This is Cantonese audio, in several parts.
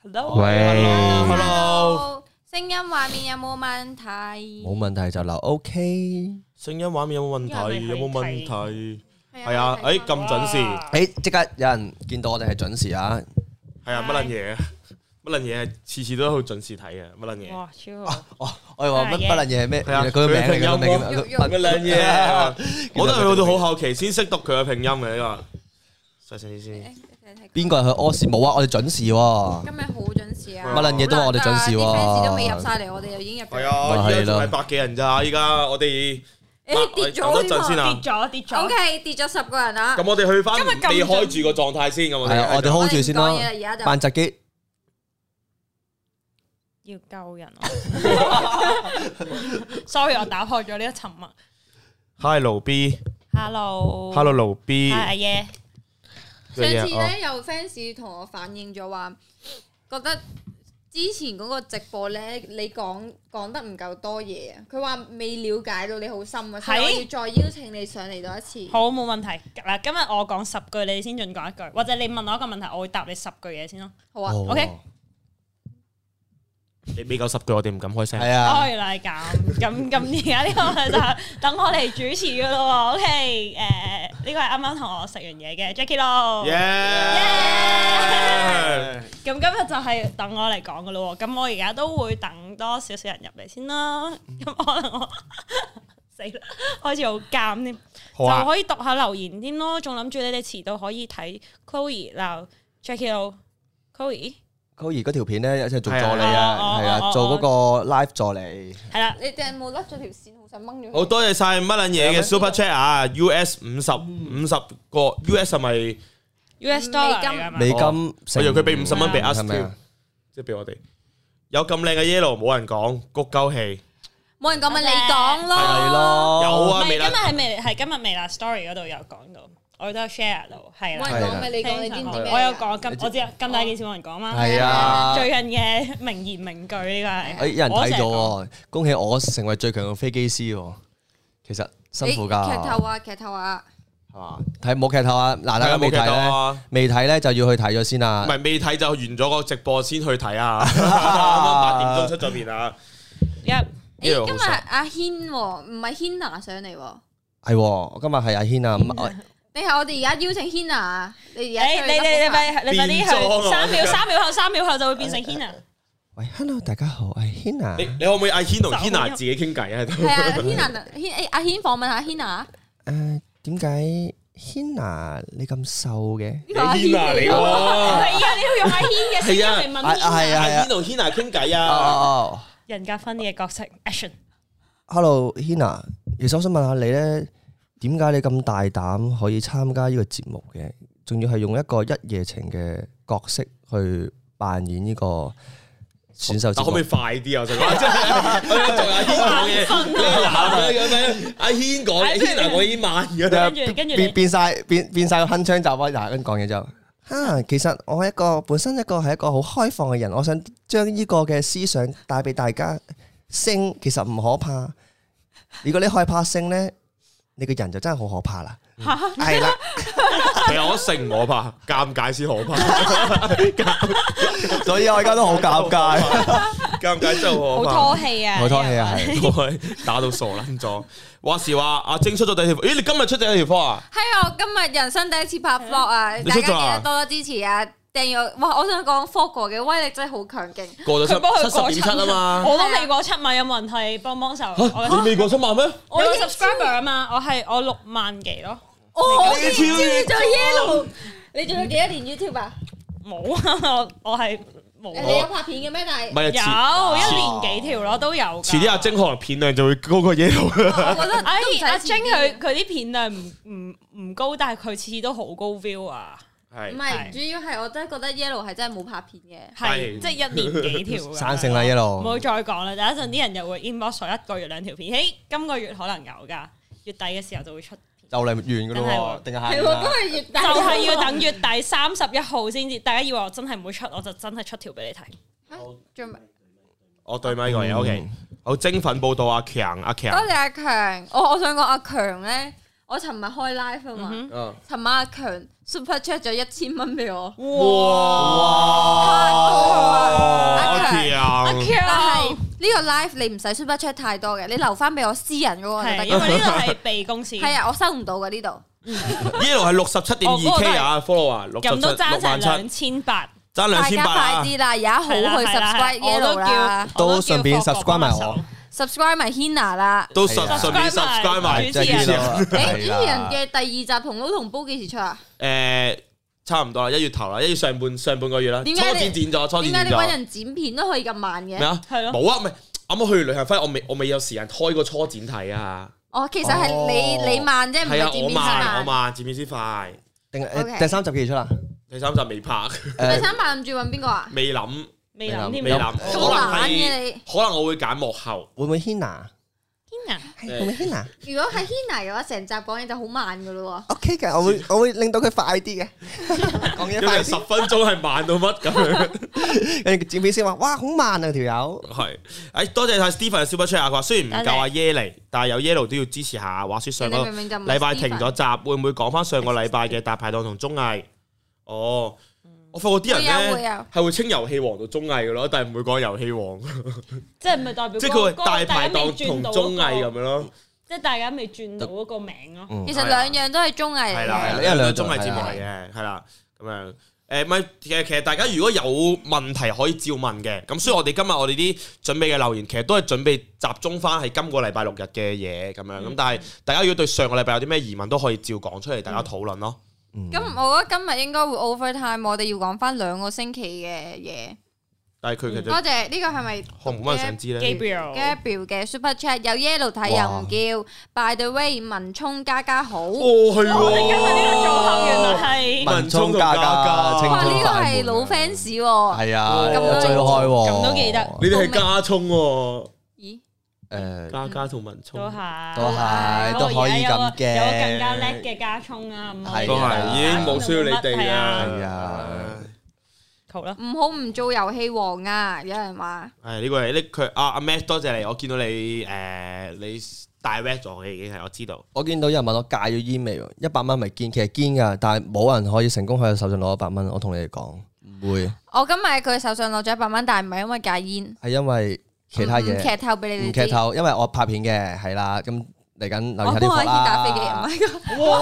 Hello， 聲音畫面有冇問題？ 冇問題就留 OK。 聲音畫面有冇問題？有冇問題？係啊，咁準時。 即刻有人見到我哋係準時啊！ 係啊，乜撚嘢？乜撚嘢係次次都好準時睇嘅？乜撚嘢？ 哇，超好！我以為乜撚嘢係咩？ 係啊， 佢個名嚟嘅， 乜撚嘢？我都係去到好後期先識讀佢嘅拼音嘅呢個。細聲啲先。 邊個係去屙屎？冇啊！我哋準時喎。 今日好準時啊！ 乜撚嘢都話我哋準時喎。 啲 fans 都未入晒嚟，我哋就已經入咗。 係啊，而家仲係百幾人咋？依家我哋跌咗等一陣先啊！ 跌咗。OK， 跌咗10個人啦。 咁我哋去翻未開住個狀態先，咁我哋 hold 住先咯。扮窒機。 要救人！Sorry， 我打破咗呢個沉默。 Hi 盧 B。Hello 盧 B。 阿爺。 上次咧有 fans 同我反映咗話，覺得之前嗰個直播咧，你講得唔夠多嘢啊！佢話未了解到你好深啊，所以我要再邀請你上嚟多一次。 好，冇問題。嗱，今日我講10句，你先盡講一句，或者你問我一個問題，我會答你10句嘢先咯。 好啊 ，OK。 你未夠10句，我哋唔敢開聲。 係啊。 原來係咁，而家呢個就等我嚟主持噶咯。OK， 呢個係啱啱同我食完嘢嘅 Jackie 咯。咁今日就係等我嚟講噶咯。咁我而家都會等多少少人入嚟先啦。咁可能我死啦，開始好尷添。就可以讀下留言添咯。仲諗住你哋遲到可以睇 Chloe 鬧 Jackie 咯 ，Chloe。 嗰條片咧，一齊做助理啊，係啊，做嗰個 live 助理。 係啦， 你哋有冇甩咗條線？好想掹咗。 好多謝晒乜撚嘢嘅 Super Chat 啊 ！US 50個 US 係咪 US dollar 美金？ 我以為佢俾50蚊俾 us 添，即係俾我哋。有咁靚嘅 yellow 冇人講，谷鳩氣。 冇人講咪你講咯。 係咯。 有啊， 今日係今日微辣 story 嗰度有講到。我都有 share 到，係啦。 冇人講咪你講，你知唔知咩？ 我有講我知啊，咁大件事冇人講嘛。 係啊， 最近嘅名言名句呢個係。 有人睇咗喎，恭喜我成為最強嘅飛機師喎。其實辛苦㗎。 劇透啊！ 係嘛？冇劇透啊！嗱，大家未睇咧，未睇咧就要去睇咗先啊。 唔係未睇就完咗個直播先去睇啊！啱啱8點鐘出咗片啊！ 今日阿軒唔係 Hina 上嚟喎。 係喎，今日係阿軒啊。 你係我哋而家邀請 Hina，你快啲去3秒後就會變成 Hina。 喂 ，Hello， 大家好，我係 Hina。 你可唔可以阿軒同 Hina 自己傾偈啊？ 係啊阿軒訪問下 Hina。 點解 Hina 你咁瘦嘅？ 你 Hina 嚟喎。 係啊，你要用阿軒嘅聲音嚟問 Hina。 係啊， 阿軒同 Hina 傾偈啊。 人格分裂嘅角色 action。 Hello Hina， 其實我想問下你咧。點解你咁大膽可以參加呢個節目嘅？仲要係用一個一夜情嘅角色去扮演呢個選秀節目？可唔可以快啲啊？我想講，阿軒講嘢，軒我已經慢咗。 跟住變晒個鏗鏘集啊！嗱，跟住講嘢之後，其實我係本身係一個好開放嘅人，我想將呢個嘅思想帶俾大家。性其實唔可怕，如果你害怕性咧。你個人就真係好可怕啦，係啦， 其實我性唔可怕，尷尬先可怕， 所以我而家都好尷尬， 尷尬真係好可怕， 好拖氣啊， 好拖氣啊，係打到傻撚咗。話時話阿晶出咗第一條，咦？你今日出第一條科啊？ 係啊，我今日人生第一次拍 vlog 啊，大家記得多多支持啊！訂閱哇！我想講 Fogo 嘅威力真係好強勁， 過咗70.7啊嘛， 我都未過7萬，有冇人係幫手？ 你未過7萬咩？ 我有 subscriber 啊嘛，我6萬幾咯。 你超越咗 Yellow， 你做咗幾多年 YouTube 啊？ 冇啊，我係冇。 你有拍片嘅咩？但係有1年幾條咯，都有。遲啲阿晶可能片量就會高過 Yellow。 我覺得阿晶佢啲片量唔高，但係佢次次都好高 view 啊。 唔係，主要係我真係覺得 Yellow 係真係冇拍片嘅， 係即係1年幾條。 生性啦 Yellow， 唔好再講啦，等一陣啲人又會 inbox 1個月2條片，今個月可能有㗎，月底嘅時候就會出。 就嚟完㗎咯喎，定係係喎，都係月底， 就係要等月底31號先至。大家以為我真係唔會出，我就真係出條俾你睇。 我對咪個嘢 OK，好精奮報道阿強， 多謝阿強。我想講阿強咧，我尋日開 live 啊嘛，尋晚阿強 super chat 咗1000蚊俾我， 哇！ 個 live 你唔使 super chat 太多嘅，你留翻俾我私人嗰個就係得。 因為呢度係被公司。 係啊，我收唔到嘅呢度。 Yellow 係67.2K 啊 follow 啊， 咁都爭成 67,67000， 2800。 爭大家 2800啊！ 快啲啦，而家好去 subscribe Yellow 啦， 都順便 subscribe 埋我。 subscribe 埋 Hina 啦， 都順便 subscribe 埋主持人。 誒，主持人嘅第2集同撈同煲幾時出啊？ 差唔多啦，1月頭啦，1月上半個月啦，初點解你剪咗， 點解你揾人剪片都可以咁慢嘅？ 咩啊？ 係咯， 冇啊，唔係啱啱去完旅行翻，我未有時間開個初剪睇啊。 哦，其實係你慢啫，唔係啊， 係剪片先我慢。 慢，剪片先快。 定 OK 第3集幾時出啦？ 第3集未拍， 第3集諗住揾邊個啊？ 未諗， 未諗添。 未諗， 咁可能懶嘅係， 你。 可能我會揀幕後。 會唔會 Hina？ 天會唔會 Hina？ 如果係 Hina 嘅話，成集講嘢就好慢噶咯 OK 嘅，我會令到佢快啲嘅，講嘢因為快啲。 10分鐘係慢到乜咁樣？ 跟住剪片先話，哇，好慢啊條友。 係，誒多謝晒 Stephen 嘅 Super Chat 啊！佢話雖然唔夠阿耶嚟，但係有 Yellow 都要支持下。話説上個人哋明明就唔係禮拜停咗集，會唔會講翻上個禮拜嘅大排檔同綜藝？哦，我發覺啲人咧會有係會稱遊戲王到綜藝嘅咯，但係唔會講遊戲王， 即係唔係代表即係佢嗰個係大排檔同綜藝咁樣咯。 即係大家未轉到嗰個名咯。 其實兩樣都係綜藝嚟係啦， 嘅。 因為兩綜藝節目嚟嘅，係啦，咁樣。唔係，其實大家如果有問題可以照問嘅，咁所以我哋今日我哋啲準備嘅留言，其實都係準備集中翻係今個禮拜6日嘅嘢咁樣。咁但係大家如果對上個禮拜有啲咩疑問，都可以照講出嚟，大家討論咯。 咁我覺得今日應該會 overtime，我哋要講翻2個星期嘅嘢。 但係佢其實多謝呢個係咪可能冇乜人想知咧。 Gabriel 嘅 super chat 有 Yellow 睇又唔叫 By the way 文聰加好。 哦，係喎， 你今日呢個組合原來係文聰同嘉嘉哇！ 青春呢個快門係老 fans 喎。 係啊， 咁都追開喎， 咁都記得你哋係加葱喎， 咦？ 誒， 嘉嘉同文聰都可以咁嘅有個更加叻嘅加葱啊，唔可以都係已經冇需要你哋啊。 係啊。 好啦， 唔好唔做遊戲王啊！有人話係呢個係呢佢阿 Matt 多謝你，我見到你你 direct 咗嘅已經係我知道。 我見到有人問我戒咗煙未喎，100蚊咪堅，其實堅㗎，但係冇人可以成功喺佢手上攞100蚊。我同你哋講，唔會， 我今日喺佢手上攞咗100蚊，但係唔係因為戒煙， 係因為其他嘢。 唔劇透俾你哋知。 唔劇透，因為我拍片嘅，係啦，咁嚟緊留意下啲我幫阿軒貨啦。 打飛機，唔係個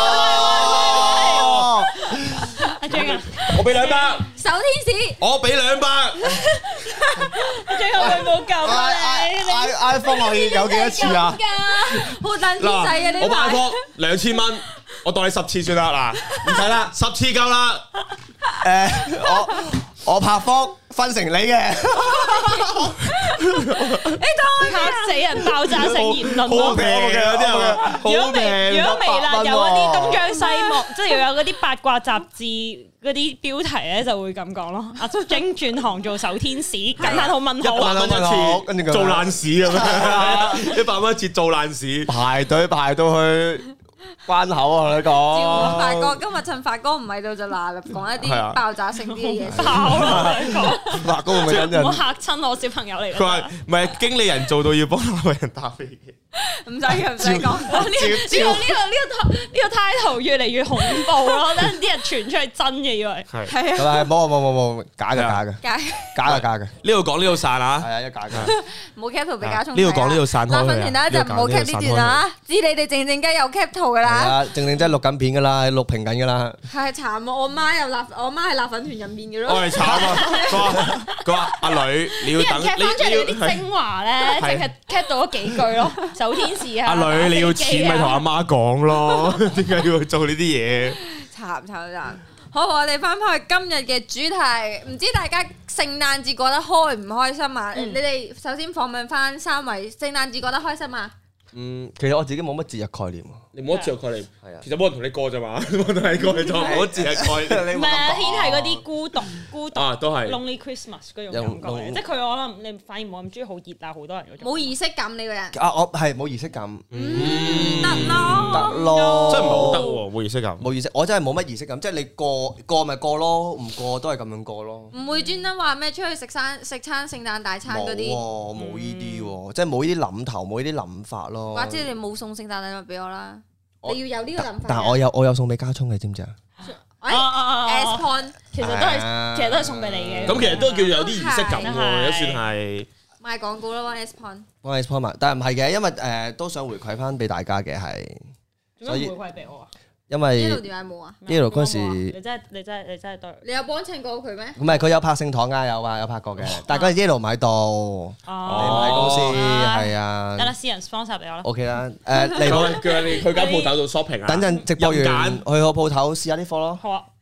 哇！ 阿 J 啊， 我俾200， 手天使。 我俾200。 最後佢冇救翻你。 iPhone 可以有幾多次啊？ 好等天仔嘅呢我買排。 貨2000蚊，我當你10次算啦，嗱，唔使啦，10次夠啦。 我拍科分成你嘅， 嚇死人，爆炸性言論好咯！ 平嘅有啲人話， 如果好平。 微辣 100蚊喎有嗰啲東張西望，即係又有嗰啲八卦雜誌嗰啲標題咧，就會咁講咯。阿晶轉行做手天使，感嘆號問號。 100蚊一跟住佢次做爛屎咁樣，100蚊一次做爛屎。 排隊排到去關口啊！你照講， 發哥今日趁發哥唔喺度就嗱嗱講一係啊啲爆炸性啲嘅嘢先。 爆咯！你講發哥會唔會等陣唔好嚇親我小朋友嚟佢話㗎。 唔係經理人做到要幫那個人打飛機。 唔使嘅，唔使講。 呢個 title 越嚟越恐怖咯，等啲人傳出去真嘅以為。 係係啊， 係咪？冇，假嘅， 假嘅， 呢度講呢度散啊！ 係啊，一假嘅。 冇 cap 圖俾家聰睇啊。 呢度講呢度散開佢啊嗱，訓前第一集唔好 cap 呢段啊，知你哋靜靜雞有 cap 圖噶係啦。 啊，正真係錄緊片噶啦，錄屏緊噶啦。 係慘啊！我媽又我媽係辣粉團入面嘅咯。 我係慘啊！佢話阿女你要啲人等， cap 翻出嚟嗰你啲精華咧，淨係 cap 到嗰幾句咯。手天使啊！ 阿女你要錢咪同阿媽講咯，點解要去做呢啲嘢？ 慘！好，我哋翻返去今日嘅主題，唔知大家聖誕節過得開唔開心啊？你哋首先訪問翻3位，聖誕節過得開心啊？ 其實我自己冇乜節日概念。 你冇得著概念， 係啊， 其實冇人同你過咋嘛，冇人同你過就冇得節日概念。 唔係啊，天係嗰啲孤獨啊，都係 Lonely Christmas 嗰種感覺，即係佢可能你反而冇咁中意好熱啊，好多人嗰種。 冇儀式感呢個人， 啊，我係冇儀式感， 得咯， 得咯， 真係唔係好得喎，冇儀式感。 冇儀式，我真係冇乜儀式感，即係你過咪過咯，唔過都係咁樣過咯。 唔會專登話咩出去食餐聖誕大餐嗰啲， 冇呢啲喎，即係冇呢啲諗頭，冇呢啲諗法咯。 或者你冇送聖誕禮物俾我啦，你要有呢個諗法。 但係我有送俾家聰嘅，知唔知啊？ S point 其實都係送俾你嘅。 咁其實都叫有啲儀式感喎， 係都算係。 賣廣告啦 ，S Point。 幫你 point 埋，但係唔係嘅，因為都想回饋翻俾大家嘅係， 做咩回饋俾我啊？ 因為 Yellow 點解冇啊？ Yellow 嗰時你真係對。 你有幫襯過佢咩？ 唔係佢有拍聖堂㗎，有拍過嘅，但係嗰陣 Yellow 唔喺度，你唔喺公司係啊。 得啦，私人 sponsor 俾我啦。 OK 啦，嚟叫你去間鋪頭度 shopping 啊。 等陣直播完任去個鋪頭試下啲貨咯。 好啊。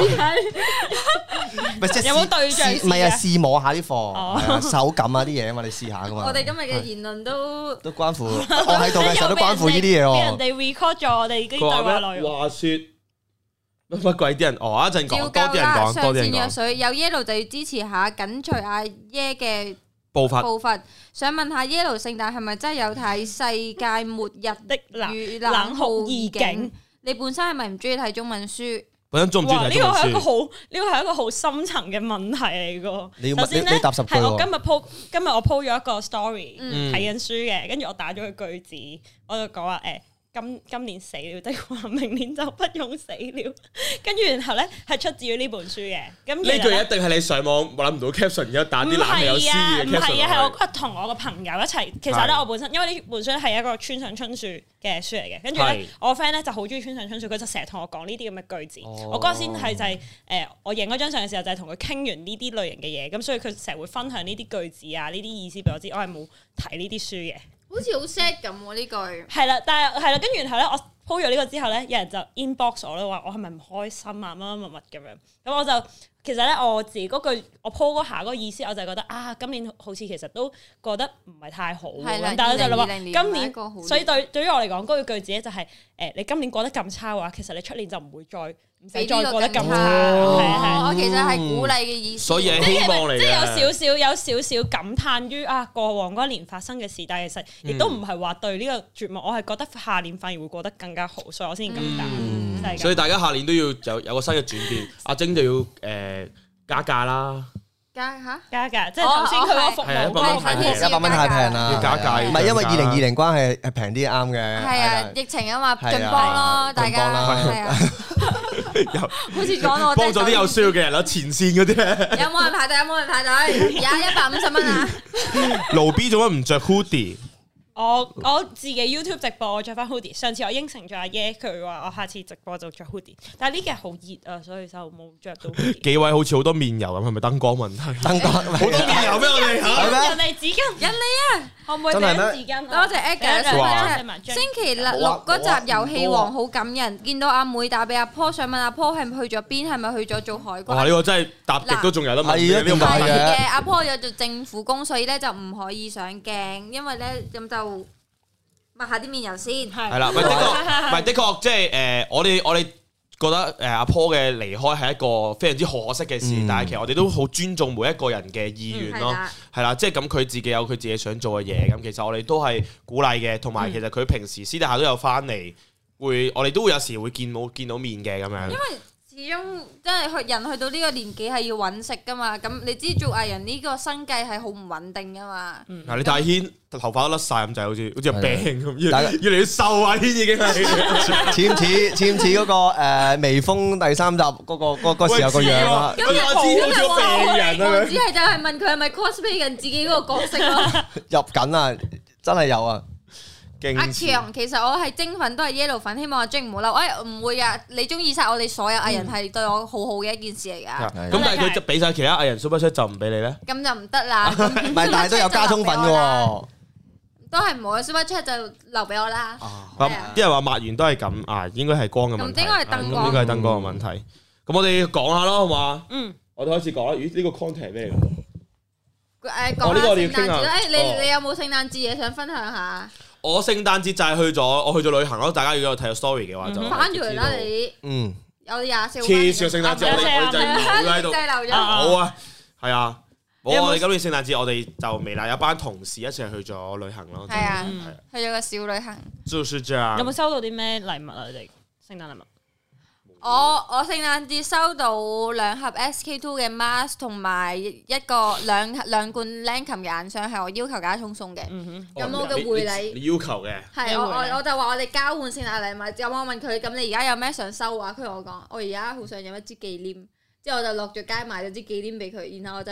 唔係即係有冇對象試唔係啊，試摸下啲貨， 哦係啊手感啊啲嘢啊嘛，你試下噶嘛。 我哋今日嘅言論都關乎，我喺度嘅時候都關乎呢啲嘢俾人喎。 哋 record 咗我哋啲對佢話話內咩？ 容。 話説乜鬼啲人？哦，一陣講照多啲人舊啦， 講， 上多啲人講線藥水有 Yellow 就要支持下，緊隨阿耶嘅步伐。 步伐。想問下 Yellow 聖誕係咪真係有睇世界末日的與冷酷異境？ 你本身係咪唔中意睇中文書？ 本身中唔中意哇！呢睇中文個係一個書？ 好，呢個深層嘅問題嚟噶。 你要首先咧， 你答10句喎係我今日我 po 咗一個 story 嗯睇緊書嘅，跟住我打咗個句子，我就講話今年死了的話，明年就不用死了。跟住然後咧係出自於呢本書嘅。咁呢句一定係你上網諗唔到 caption，然後打啲冷氣有詩嘅唔 caption 係啊，係我落去。 嗰日同我個朋友一齊。其實咧，我本身因為呢本書係一個村上春樹嘅書嚟嘅，跟住係咧我 friend 咧就好中意村上春樹，佢就成日同我講呢啲咁嘅句子。 哦我嗰日先係就係我影嗰張相嘅時候，就係同佢傾完呢啲類型嘅嘢，咁所以佢成日會分享呢啲句子啊，呢啲意思俾我知。我係冇睇呢啲書嘅。 好似好 sad 咁喎呢句。 係啦，但係係啦，跟住然後咧，我 po 咗呢個之後咧，有人就 inbox 我咧話我係咪唔開心啊乜乜乜乜咁樣，咁我就其實咧我自己嗰句我 po 嗰下嗰個意思，我就覺得啊今年好似其實都過得唔係太好咁係啦樣，但係我就諗話 2020年今年唔係一個好年， 所以對於我嚟講嗰句句子咧就係你今年過得咁差嘅話，其實你出年就唔會再唔使再過得咁差，係啊係啊。 我其實係鼓勵嘅意思。 所以係希望嚟即係嘅。 有少少感嘆於過往嗰一年發生嘅事，但係其實亦都唔係話對呢個絕望，我係覺得下年反而會過得更加好，所以我先咁答。就係咁所以大家下年都要有個新嘅轉變。阿晶就要加價啦， 加嚇。 加價，即係頭先佢嗰個服係啊務 100蚊太平 100蚊太平啦， 要加價唔係因為要漲價 2020關係平啲啱嘅。 係啊，疫情啊嘛， 係啊盡幫咯，大家盡幫啦係啊，好似講我幫咗啲有需要嘅人啦，前線嗰啲咧。 有冇人排隊？有冇人排隊？而家150蚊啊！ 盧 B 做乜唔着 hoodie？ 我自己 YouTube 直播我着翻 hoodie，上次我應承咗阿耶，佢話我下次直播就着 hoodie，但係呢幾日好熱啊，所以就冇着到 hoodie。 幾位好似好多面油咁，係咪燈光問題？ 燈光好多面油咩？我哋嚇係咩人哋紙巾， 人嚟啊！ 可唔可以真係咩俾紙巾？ 多謝 Edgar 哇星期六嗰集遊戲王好感人，見到阿妹打俾阿坡，想問阿坡係咪去咗邊？係咪去咗做海哇！呢關？ 個真係答極都仲有得問係啊呢個問點解題。 嘅嘅，阿坡有做政府工，所以咧就唔可以上鏡，因為咧咁就抹下啲面油先。 係啦，唔係的確，唔係的確，即係我哋覺得阿 Paul 嘅離開係一個非常之可惜嘅事，但係其實我哋都好尊重每一個人嘅意願咯，係啦，即係咁佢自己有佢自己想做嘅嘢，咁其實我哋都係鼓勵嘅，同埋其實佢平時私底下都有翻嚟，我哋都會有時會見到面嘅咁樣。 因為始終真係人去到呢個年紀係要揾食噶嘛，咁你知做藝人呢個生計係好唔穩定噶嘛。 嗱，你睇軒頭髮都甩晒咁滯，好似有病咁， 大家越嚟越瘦啊！軒已經係似唔似嗰個微風第3集嗰時候個樣啊？ 咁我知好似個病人啊！ 我只係就係問佢係咪 cosplay 緊自己嗰個角色咯。 入緊啊，真係有啊！ 阿強，其實我係精粉都係 Yellow 粉，希望阿晶唔好嬲。唔會啊，你中意晒我哋所有藝人係對我好好嘅一件事嚟㗎。 咁但係佢就俾晒其他藝人 super chat 就唔俾你咧？ 咁就唔得啦。 唔係，但係都有加充粉嘅喎。 都係唔好嘅 super chat 就留俾我啦。 咁啲人話抹完都係咁啊，應該係光嘅問題。 咁應該係燈光應該係燈光嘅問題。咁我哋講下咯，好嘛？ 嗯， 我哋開始講啦。咦？呢個 content 係咩嚟㗎？ 講下呢個我哋要聖誕節。 傾下你有冇聖誕節嘢想分享下？ 我聖誕節就係我去咗旅行咯。大家如果有睇咗 story 嘅話，就翻咗嚟啦你。 嗯， 有24號。 黐線聖誕節，我哋就留喺度。 留咗。 好啊，係啊。我哋今年聖誕節我哋就微辣有班同事一齊去咗旅行咯。 係啊，去咗個小旅行。 就是這樣。 有冇收到啲咩禮物啊？你哋聖誕禮物？ 我聖誕節收到2盒 SK-II 嘅 mask 同埋兩罐 Lancome 嘅眼霜，係我要求家聰送嘅。咁我嘅回禮你要求嘅係我就話我哋交換聖誕禮物。咁我問佢：咁你而家有咩想收啊？佢同我講：我而家好想有一支忌廉。之後我就落咗街買咗支忌廉俾佢，然後我就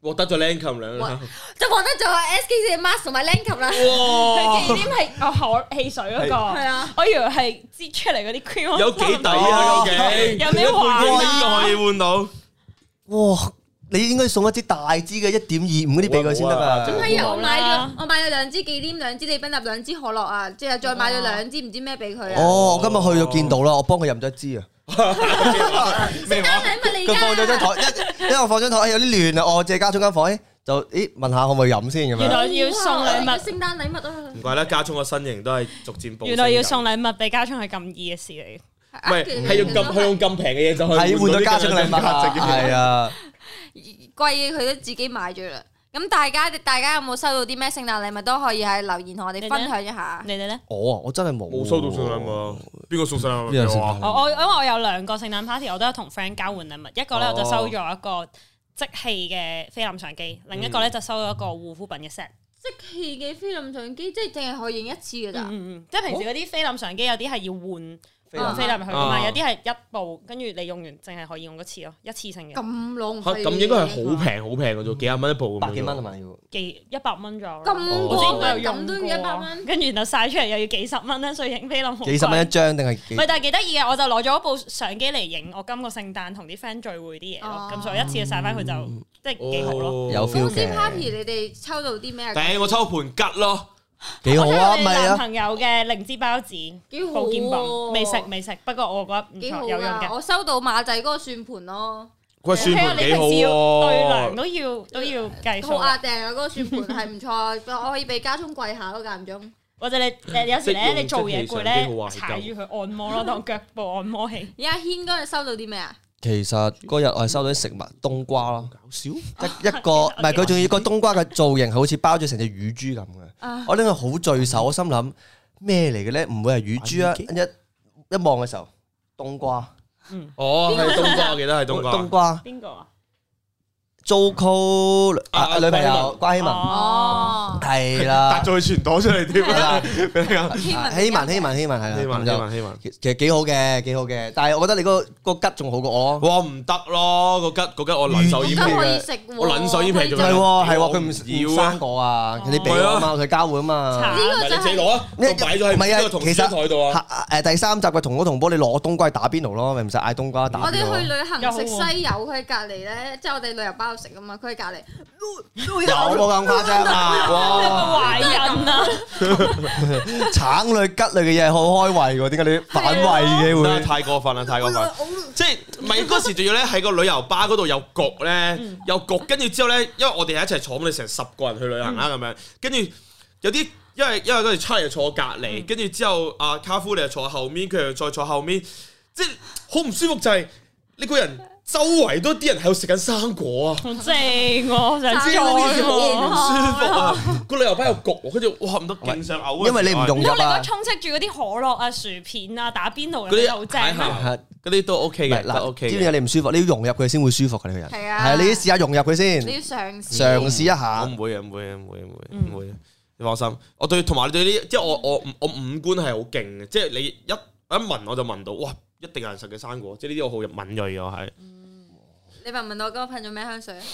獲得咗 Lancome 兩個， 就獲得咗 SK 嘅 mask 同埋 Lancome 啦。 佢紀念係可汽水嗰個， 係啊， 我以為係擠出嚟嗰啲 cream。 有幾抵啊？究竟有咩玩啊？ 都可以換到。 哇！你應該送一支大支嘅1.25嗰啲俾佢先得㗎。 唔係啊，我買咗2支忌廉、2支利賓納、2支可樂啊，之後再買咗2支唔知咩俾佢啊。 哦，我今日去到見到啦，我幫佢飲咗一支啊。 聖誕禮物嚟㗎。 佢放咗張台，因為我放張台有啲亂啊，我借家中間房，就問下可唔可以飲先咁樣。 原來要送禮物， 聖誕禮物啊！ 唔怪得家聰個身形都係逐漸暴。 原來要送禮物俾家聰係咁易嘅事嚟。 唔係，係用咁平嘅嘢就去係換咗家中禮物啊！係啊， 貴嘅佢都自己買咗啦。咁大家有冇收到啲咩聖誕禮物都可以喺留言同我哋分享一下。 你哋咧？ 我真係冇收到聖誕禮物，邊個送聖誕禮物俾我啊？ 我因為我有2個聖誕 party，我都有同 friend 交換禮物。一個咧我就收咗一個即棄嘅菲林相機，另一個咧就收咗一個護膚品嘅 set。 即棄嘅菲林相機，即係淨係可以影一次㗎咋？ 即係平時嗰啲菲林相機有啲係要換菲林去㗎嘛，有啲係一部，跟住你用完淨係可以用一次咯，一次性嘅。 咁浪費。 咁應該係好平嘅啫，幾廿蚊一部咁樣。 100幾蚊係咪要？ 100蚊左右。 咁我之前都有用咁都要100蚊， 跟住然後曬出嚟又要幾十蚊咧，所以影菲林好貴。 幾十蚊一張定係幾？ 唔係，但係幾得意嘅，我就攞咗部相機嚟影我今個聖誕同啲 friend 聚會啲嘢咯，咁所以一次就曬翻佢就即係幾好咯。 有 feel 嘅。 公司 party 你哋抽到啲咩？ 頂我抽盤吉咯。 幾好啊！ 我唔係啊， 男朋友嘅靈芝包子， 幾好保健品， 喎未食，不過我覺得唔幾好錯，有用啊！ 嘅。 我收到馬仔嗰個算盤咯， 喂，算盤幾好你平時要對喎糧。都要計數好。壓定啊！嗰個算盤係唔錯，我可以俾家聰跪下咯，間唔中。 或者你有時咧，你做嘢攰咧即用， 踩住佢按摩咯，當腳部按摩器。 而阿軒嗰日收到啲咩啊？ 其實嗰日我係收到啲食物冬瓜咯， 搞笑。 一個唔係佢仲要個冬瓜嘅造型係好似包咗成隻乳豬咁嘅。我拎佢好聚手，我心諗咩嚟嘅咧？唔會係乳豬啊！一望嘅時候，冬瓜。 哦，係冬瓜，我記得係冬瓜。 冬瓜。 邊個啊 ？Zoco 女朋友關希文。 哦， 係啦。 突咗佢全朵出嚟添啦！ 希文係啦。 希文。 其實幾好嘅，但係我覺得你個吉仲好過我。 哇，唔得咯！個吉我撚手煙可以皮， 食喎。 我撚手煙皮做咩？ 係喎，佢唔要生果啊！你俾我啊嘛，佢交換啊嘛。 呢個就你自己攞啊！我擺咗喺呢個同事台度啊！ 第3集嘅同同波，你攞冬瓜去打邊爐咯，咪唔使嗌冬瓜打邊爐。 我哋去旅行食西柚，佢喺隔離咧，即係我哋旅遊包食啊嘛，佢喺隔離。 有冇咁誇張啊？ 哇！ 懷孕啊！ 橙類、桔類嘅嘢好開胃喎，點解你反胃嘅會？ 太過分啦！即係唔係嗰時仲要咧喺個旅遊巴嗰度有焗咧，有焗，跟住之後咧，因為我哋係一齊坐，我哋成10個人去旅行啦咁樣，跟住有啲因為嗰時出嚟坐隔離，跟住之後阿卡夫你又坐後面，佢又再坐後面，即係好唔舒服就係你個人。周圍都啲人喺度食緊生果啊！ 好正喎，想知再好唔喎。 舒服啊！個旅遊巴又焗，跟住哇唔得，勁想嘔。 因為你唔融入如果啊。 充斥住嗰啲可樂啊、薯片啊、打邊爐嗰嗰啲啲好正啊！ 嗰啲都 OK 嘅，都嗱， OK 知唔知你唔舒服？你要融入佢先會舒服嘅，你個人。 係啊， 係啊，你試下融入佢先， 你要嘗試一下。 我唔會嘅，唔會。你放心，我對同埋你對呢，即係我五官係好勁嘅，即係你一聞我就聞到，哇！一定有人食嘅生果，即係呢啲我好敏鋭嘅，我係。 你問我今日噴咗咩香水啊？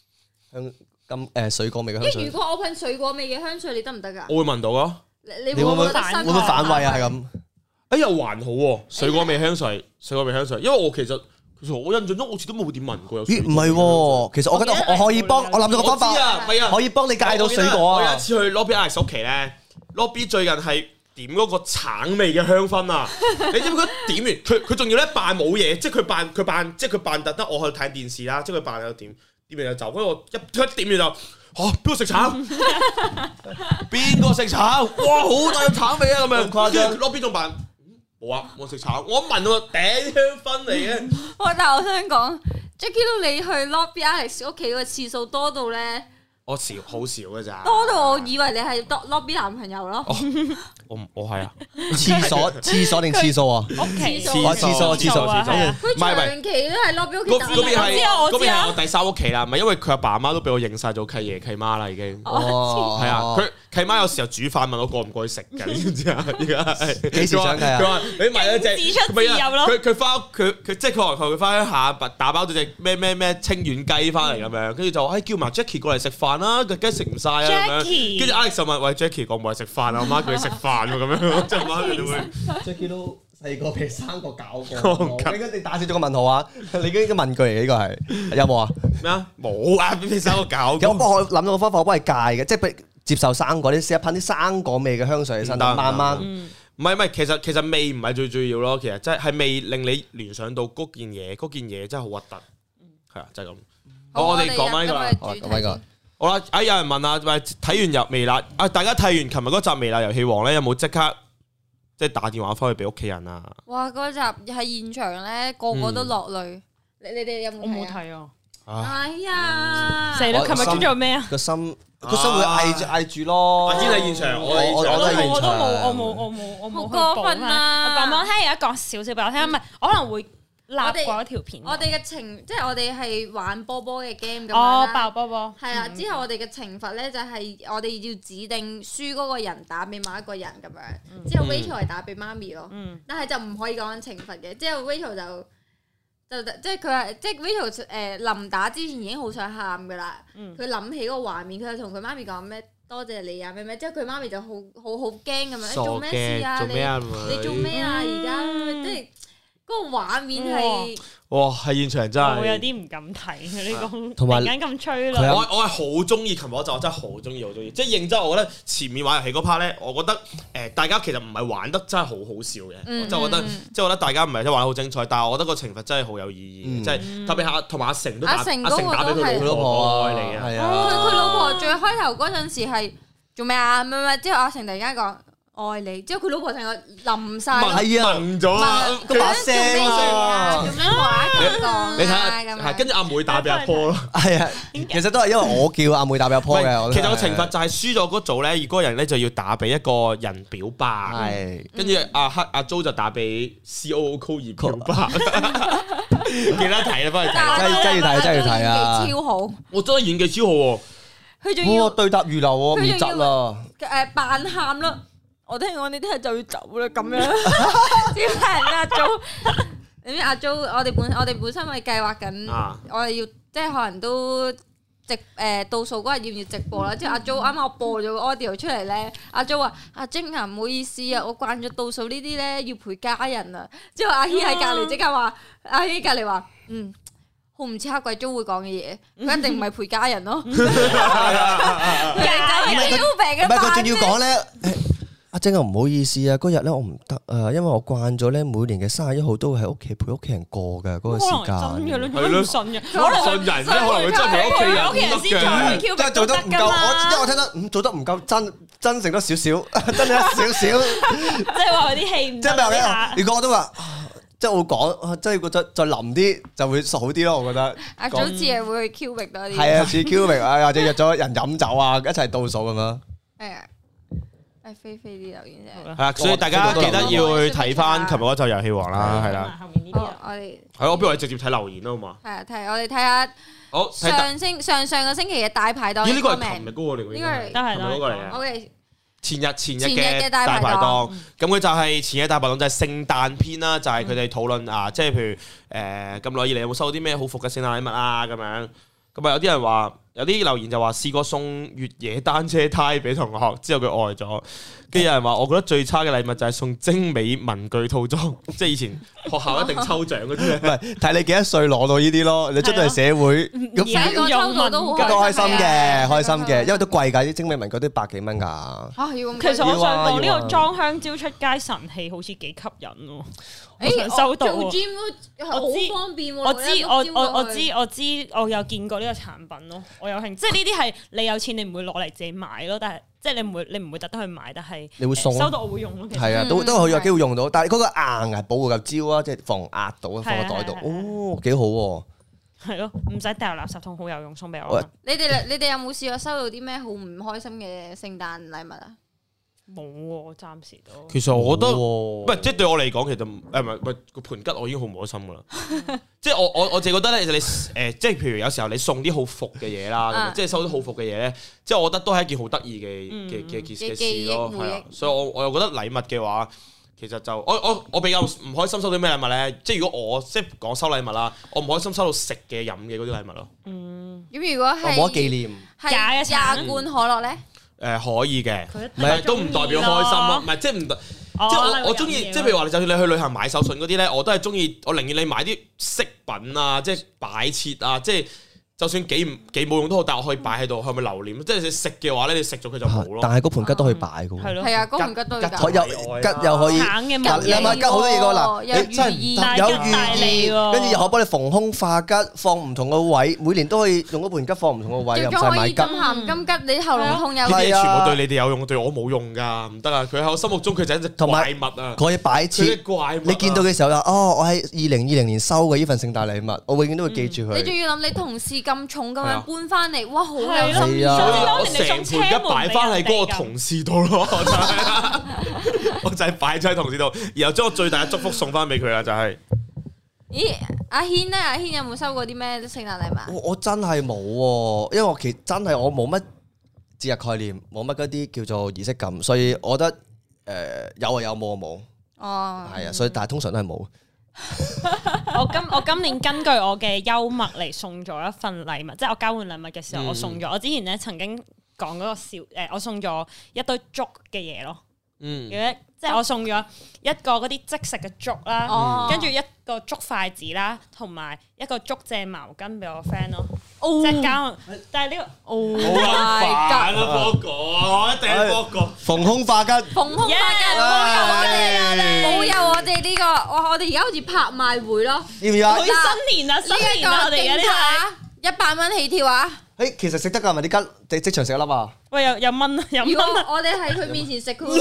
水果味嘅香水。 如果我噴水果味嘅香水，你得唔得㗎？ 我會聞到咯。 你會唔會覺得會唔會反胃啊？係咁。 哎又還好喎，水果味香水，因為我其實我印象中好似都冇點聞過有水果。 唔係喎，其實我覺得我可以幫我諗咗個方法，可以幫你戒到水果啊！ 我有一次去 Lobby Alex 屋企咧 ，Lobby 最近係點嗰個橙味嘅香薰啊！你知唔知佢點完？佢仲要咧扮冇嘢，即係佢扮特登我去睇電視啦，即係佢扮有點完就走，跟住我一點完就邊個食橙？邊個食橙？哇，好大嘅橙味啊！咁樣誇張，Lobby 仲扮冇啊，我食橙，我一聞到頂香薰嚟嘅。 但係我想講 Jackie 你去 Lobby Alex 屋企嘅次數多到咧。 我少好少嘅咋， 多到我以為你係 Lobby 男朋友咯。 我係啊， 廁所定廁所啊？ 屋企廁所， 佢長期都係 Lobby 屋企打。 嗰邊係我第3屋企啦，唔係因為佢阿爸阿媽都俾我認晒做契爺契媽啦，已經。係啊， 契媽有時候煮飯問我過唔過去食㗎，你知唔知啊？而家係幾時想計啊？ 佢話你買咗隻， 自出自入咯。 佢翻佢即係佢話佢翻鄉下打包咗隻咩清遠雞翻嚟咁樣，跟住就話叫埋 Jackie 過嚟食飯啦，個雞食唔晒啊咁樣。跟住 Alex 就問喂 Jackie 過唔過嚟食飯啊？我媽叫佢食飯喎咁樣，即係媽佢就會 Jackie 都細個俾3個搞過。你打少咗個問號啊！你嘅問句嚟呢個係有冇啊？ 咩啊？冇啊！俾3個搞過。 咁我諗到個方法，我幫你戒嘅，即係俾接受生果，你試下噴啲生果味嘅香水喺身，慢慢。 唔係，其實味唔係最重要咯，其實即係味令你聯想到嗰件嘢真係好核突，係啊，就係咁。好，我哋講翻呢個啦， 講翻呢個。 好啦，有人問啊，喂，睇完微辣啊，大家睇完琴日嗰集微辣遊戲王咧，有冇即刻即係打電話翻去俾屋企人啊？ 哇！嗰集喺現場咧，個個都落淚。你哋有冇睇啊？ 我冇睇啊。 哎呀！ 死啦！琴日做咩啊？ 個心會嗌住咯。 阿堅喺現場， 我都喺現場。 我冇好過分啊！ 講聽，而家講少少俾我聽，唔係我可能會立過一條片。 我哋嘅即係我哋係玩波波嘅 game 咁樣哦， 啦。 爆波波。 係啦，之後我哋嘅懲罰咧就係我哋要指定輸嗰個人打俾某一個人咁樣。之後 Rachel 係打俾媽咪咯，但係就唔可以講緊懲罰嘅。之後 Rachel 就即係佢話，即係 Rachel 臨打之前已經好想喊噶啦。佢諗起嗰個畫面，佢就同佢媽咪講咩多謝你啊咩咩。之後佢媽咪就好驚咁樣，做咩事啊？你做咩啊？而家即係嗰個畫面係哇，喺現場真係我有啲唔敢睇呢個， 同埋突然間咁催淚。 我係好中意琴日嗰集，我真係好中意，即係認真。我覺得前面玩遊戲嗰 part 咧，我覺得大家其實唔係玩得真係好好笑嘅，即係我覺得大家唔係真係玩得好精彩，但係我覺得個懲罰真係好有意義，即係特別同埋阿成都打俾佢老婆愛你啊， 佢老婆最開頭嗰陣時係做咩啊？咩之後阿成突然間講愛你，之後佢老婆成個冧晒， 懵咗啊！ 佢把聲啊， 咁樣話咁講， 你睇下，係跟住阿妹打俾阿波咯， 係啊，其實都係因為我叫阿妹打俾阿波嘅。 其實個懲罰就係輸咗嗰組咧，嗰個人咧就要打俾一個人表白，係跟住阿 Jo 就打俾 COO Cole 表白，記得睇啦，翻去真係要睇啊！ 超好， 我真係演技超好喎， 佢仲要對答如流喎，唔窒啦， 扮喊咯。我聽講你聽日就要走啦，咁樣點解阿 Jo？你知阿 Jo，我哋本身咪計劃緊，我哋要即係可能都倒數嗰日要唔要直播啦？之後阿 Jo 啱啱我播咗個 audio 出嚟咧，阿 Jo 話：阿晶啊，唔好意思啊，我慣咗倒數呢啲咧要陪家人啊。之後阿軒喺隔離即刻話：阿軒隔離話，好唔似黑鬼 Jo 會講嘅嘢，佢一定唔係陪家人咯。唔係佢仲要講咧。阿晶啊，唔好意思啊，嗰日咧我唔得啊，因為我慣咗咧每年嘅31號都會喺屋企陪屋企人過嘅嗰個時間。 真嘅，你都唔信嘅， 可能信人啫，可能佢真係陪屋企人先再去 Q， 真係做得唔夠。我聽得做得唔夠真誠多少少，真係少少。 即係話佢啲氣唔。即係咩？如果我都話，即係我講，即係覺得再腍啲就會好啲咯。我覺得。 阿早次係會去 Q 域多啲。 係啊，似 Q 域啊，或者約咗人飲酒啊，一齊倒數咁樣。 係啊。飛飛啲留言啫， 係啦，所以大家記得要去睇翻琴日嗰集遊戲王啦，係啦。 後面呢啲我哋係我不如我哋直接睇留言啦，好嘛？ 係啊，我哋睇下好上個星期嘅大排檔。 咦？呢個係琴日嗰個嚟㗎， 呢個係琴日嗰個嚟嘅。 OK， 前日嘅大排檔，咁佢就係前日大排檔就係聖誕篇啦，就係佢哋討論啊，即係譬如咁耐以嚟有冇收到啲咩好伏嘅聖誕禮物啊咁樣。咁啊有啲人話。有啲留言就話試過送越野單車胎俾同學，之後佢愛咗。跟住有人話，我覺得最差嘅禮物就係送精美文具套裝，即係以前學校一定抽獎嗰啲。唔係睇你幾多歲攞到呢啲咯，你出到嚟社會， 而家個抽到都好開心嘅，開心嘅，因為都貴㗎，啲精美文具都100幾蚊㗎。 其實我想講呢個裝香蕉出街神器好似幾吸引喎。收到做 gym 都好方便喎。 我知，我有見過呢個產品咯。我有興，即係呢啲係你有錢你唔會攞嚟自己買咯，但係即係你唔會特登去買，但係你會送收到我會用咯。其實係啊，都好有機會用到，但係嗰個硬係保護嚿膠啊，即係防壓到放喺袋度，哦幾好喎。 係咯，唔使掉垃圾桶，好有用，送俾我。 你哋有冇試過收到啲咩好唔開心嘅聖誕禮物啊？ 冇喎，暫時都。 其實我覺得唔唔係，即係對我嚟講，其實唔係個盤吉，我已經好唔開心噶啦。即係我自己覺得咧，你即係譬如有時候你送啲好服嘅嘢啦，咁即係收啲好服嘅嘢咧，即係我覺得都係一件好得意嘅事咯，係啊。所以我又覺得禮物嘅話，其實就我比較唔開心收到咩禮物咧？即係如果我即係講收禮物啦，我唔開心收到食嘅飲嘅嗰啲禮物咯。 咁如果係冇得紀念， 假嘅廿罐可樂咧？ 可以嘅， 唔係都唔代表開心咯，唔係即係唔即係我中意，即係譬如話，就算你去旅行買手信嗰啲咧，我都係中意，我寧願你買啲飾品啊，即係擺設啊，即係就算幾冇用都好，但我可以擺喺度，係咪留念？即係你食嘅話咧，你食咗佢就冇咯。 但係嗰盤吉都可以擺嘅喎。 係咯， 係啊，嗰盤吉都要吉又可以， 橙嘅嗱你諗下吉好多嘢㗎嗱，你真係有寓意，跟住又可以幫你逢凶化吉，放唔同嘅位，每年都可以用嗰盤吉放唔同嘅位，又唔使買吉。 金鹹金吉，你喉嚨痛有。 呢啲嘢全部對你哋有用，對我冇用㗎，唔得啊！佢喺我心目中佢就係一隻怪物啊！ 可以擺設，你見到嘅時候就我喺2020年收嘅呢份聖誕禮物，我永遠都會記住佢。 你仲要諗你同事咁重咁樣搬翻嚟，哇，好有心係意。 啊我成盤吉擺翻喺嗰個同事度咯，我就係擺咗喺同事度，然後將我最大嘅祝福送翻俾佢啦，就係。 咦，阿軒咧？阿軒有冇收過啲咩聖誕禮物？ 我真係冇喎，因為我真係我冇乜節日概念，冇乜嗰啲叫做儀式感，所以我覺得有啊有，冇啊冇。 哦， 係啊，所以但係通常都係冇。 我今年根據我嘅幽默嚟送咗一份禮物，即係我交換禮物嘅時候，我送咗。我之前咧曾經講嗰個我送咗一堆粥嘅嘢咯。即係我送咗一個嗰啲即食嘅粥啦，跟住一個粥筷子啦，同埋一個竹蔗毛巾俾我 friend 咯。即係交，但係呢個好煩啊！波哥，我一定係波哥。 逢凶化吉， 逢凶化吉，冇有我哋呢個，我哋而家好似拍賣會咯。 要唔要啊？ 新年啊，新年啊，我哋而家呢個 100蚊起跳啊！ 其實食得㗎，咪啲吉即場食一粒啊！ 喂，有蚊啊，有蚊如果啊！ 我哋喺佢面前食，佢會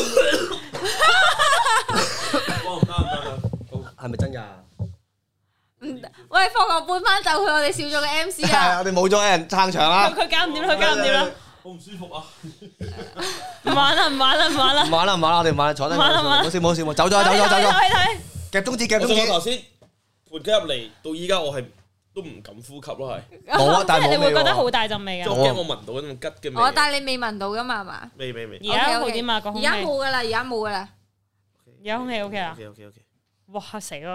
係咪真㗎？ 唔得。喂，放學搬翻走佢，我哋少咗個 MC 係啊！ 我哋冇咗人撐場啦。 佢搞唔掂啦，佢搞唔掂啦！ 好唔舒服啊！ 唔玩啦，唔玩啦，唔玩啦！ 唔玩啦，我哋唔玩啦，坐低。冇事，走咗。 睇。 夾中指。 我頭先盤吉入嚟到依家，我係都唔敢呼吸咯，係。 冇啊，但係你會冇味喎。 覺得好大陣味㗎。 我驚我聞到嗰種吉嘅味。 但係你未聞到噶嘛？係嘛？ 未。 而家好啲嘛？個而空氣。 家冇噶啦，而家冇噶啦。 而家空氣 OK 啊？ OK。 哇！死咯！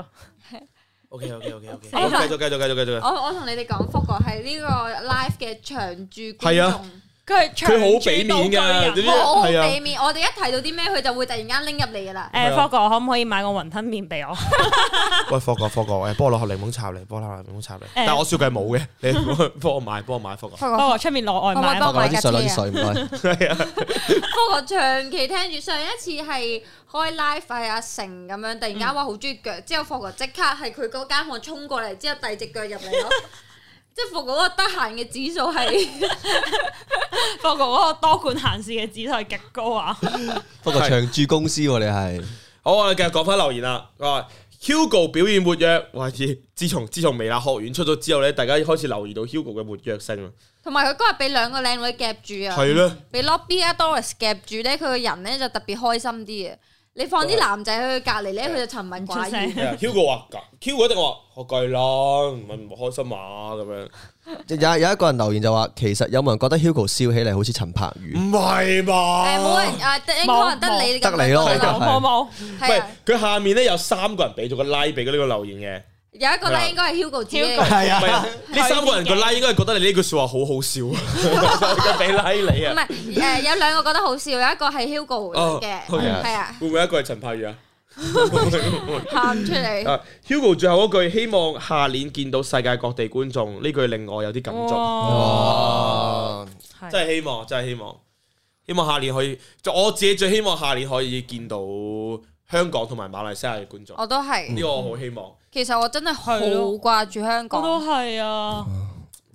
OK。繼續。 我同你哋講，福哥係呢個 live 嘅長駐觀係啊眾。 佢好俾面㗎， 好俾面。我哋一睇到啲咩，佢就會突然間拎入嚟噶啦。 霍哥可唔可以買個雲吞麵俾我？ 喂，霍哥，幫我攞盒檸檬茶嚟，但係我雪櫃冇嘅，你幫我買，霍哥。 霍哥出面攞外賣， 幫我買啲水唔該。 係啊， 福哥長期聽住，上一次係開 live 係阿成咁樣，突然間話好中意腳，之後福哥即刻係佢嗰間房衝過嚟，之後遞隻腳入嚟咯。即係霍哥嗰個得閒嘅指數係， 霍哥嗰個多管閒事嘅指數係極高啊！ 不過長駐公司喎，你係好，我哋繼續講翻留言啦。Hugo 表現活躍，哇！自從微辣學院出咗之後咧，大家開始留意到 Hugo 嘅活躍性啦。 同埋佢嗰日俾兩個靚女夾住啊， 係咧， 俾 Lobby 啊 Doris 夾住咧，佢個人咧就特別開心啲啊！你放啲男仔喺佢隔離咧，佢就沉默寡言。 Hugo 話，Hugo 一定話學計啦，唔開心啊咁樣。 有一個人留言就話，其實有冇人覺得 Hugo 笑起嚟好似陳柏宇？ 唔係吧？ 冇人應該可能得你得你咯， 冇。 喂，佢下面咧有3個人俾咗個 like 俾呢個留言嘅。 有一個咧應該係 Hugo 自己， 係啊， 呢3個人個 like 應該係覺得你呢句説話好好笑，就俾 like 你啊。 唔係有兩個覺得好笑，有一個係 Hugo 嘅，係啊。 會唔會一個係陳柏宇啊？ 喊出嚟。 Hugo 最後嗰句希望下年見到世界各地觀眾，呢句令我有啲感觸。 哇！ 真係希望，希望下年可以，就我自己最希望下年可以見到香港同埋馬來西亞嘅觀眾。 我都係呢個我好希望。 其實我真係好掛住香港。 我都係啊！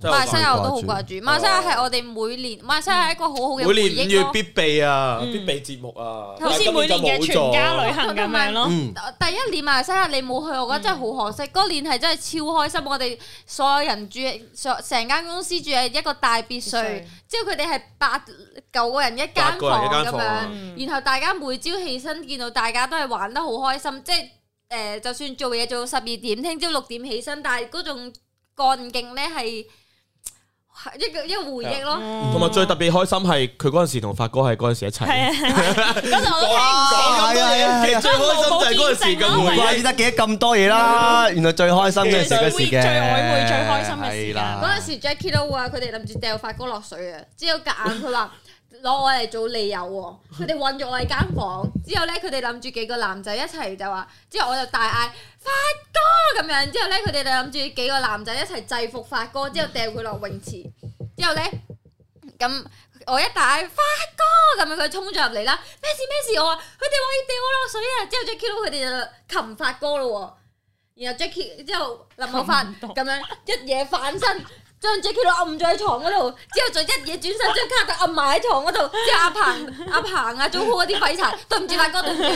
馬來西亞我都好掛住，馬來西亞係我哋每年，馬來西亞係一個好好嘅回每年5月憶咯。 必備啊，必備節目啊， 好似每年嘅全家旅行咁樣咯。 第一年馬來西亞你冇去，我覺得真係好可惜。嗰年係真係超開心，我哋所有人住成間公司住喺一個大別墅，之後佢哋係8-9個人一間房咁樣，然後大家每朝起身見到大家都係玩得好開心，即係就算做嘢做到12點，聽朝6點起身，但係嗰種幹勁咧係一個回憶咯。 同埋最特別開心係佢嗰陣時同發哥係嗰陣時一齊。 係啊，嗰陣我都聽哇係啊其實最開心就係嗰陣時嘅回憶。 唔怪之得記得咁多嘢啦，原來最開心嘅時嘅事嘅， 最曖昧最開心嘅時間。 嗰陣時 Jackie 都話佢哋諗住掉發哥落水啊，之後夾硬佢話攞我嚟做理由喎，佢哋韞咗我喺間房，之後咧佢哋諗住幾個男仔一齊就話，之後我就大嗌發哥咁樣，之後咧佢哋就諗住幾個男仔一齊制服發哥，之後掉佢落泳池，之後咧咁我一大嗌發哥咁樣，佢衝咗入嚟啦，咩事？我話佢哋話要掉我落水啊，之後 Jackie 佢哋就擒發哥咯喎，然後 Jackie 之後林某發咁樣一嘢反身。將 Jackie 佬揞咗喺床嗰度，之後再一嘢轉身將卡特揞埋喺床嗰度，之後阿鵬啊，做好嗰啲廢柴，對唔住發哥，對唔住。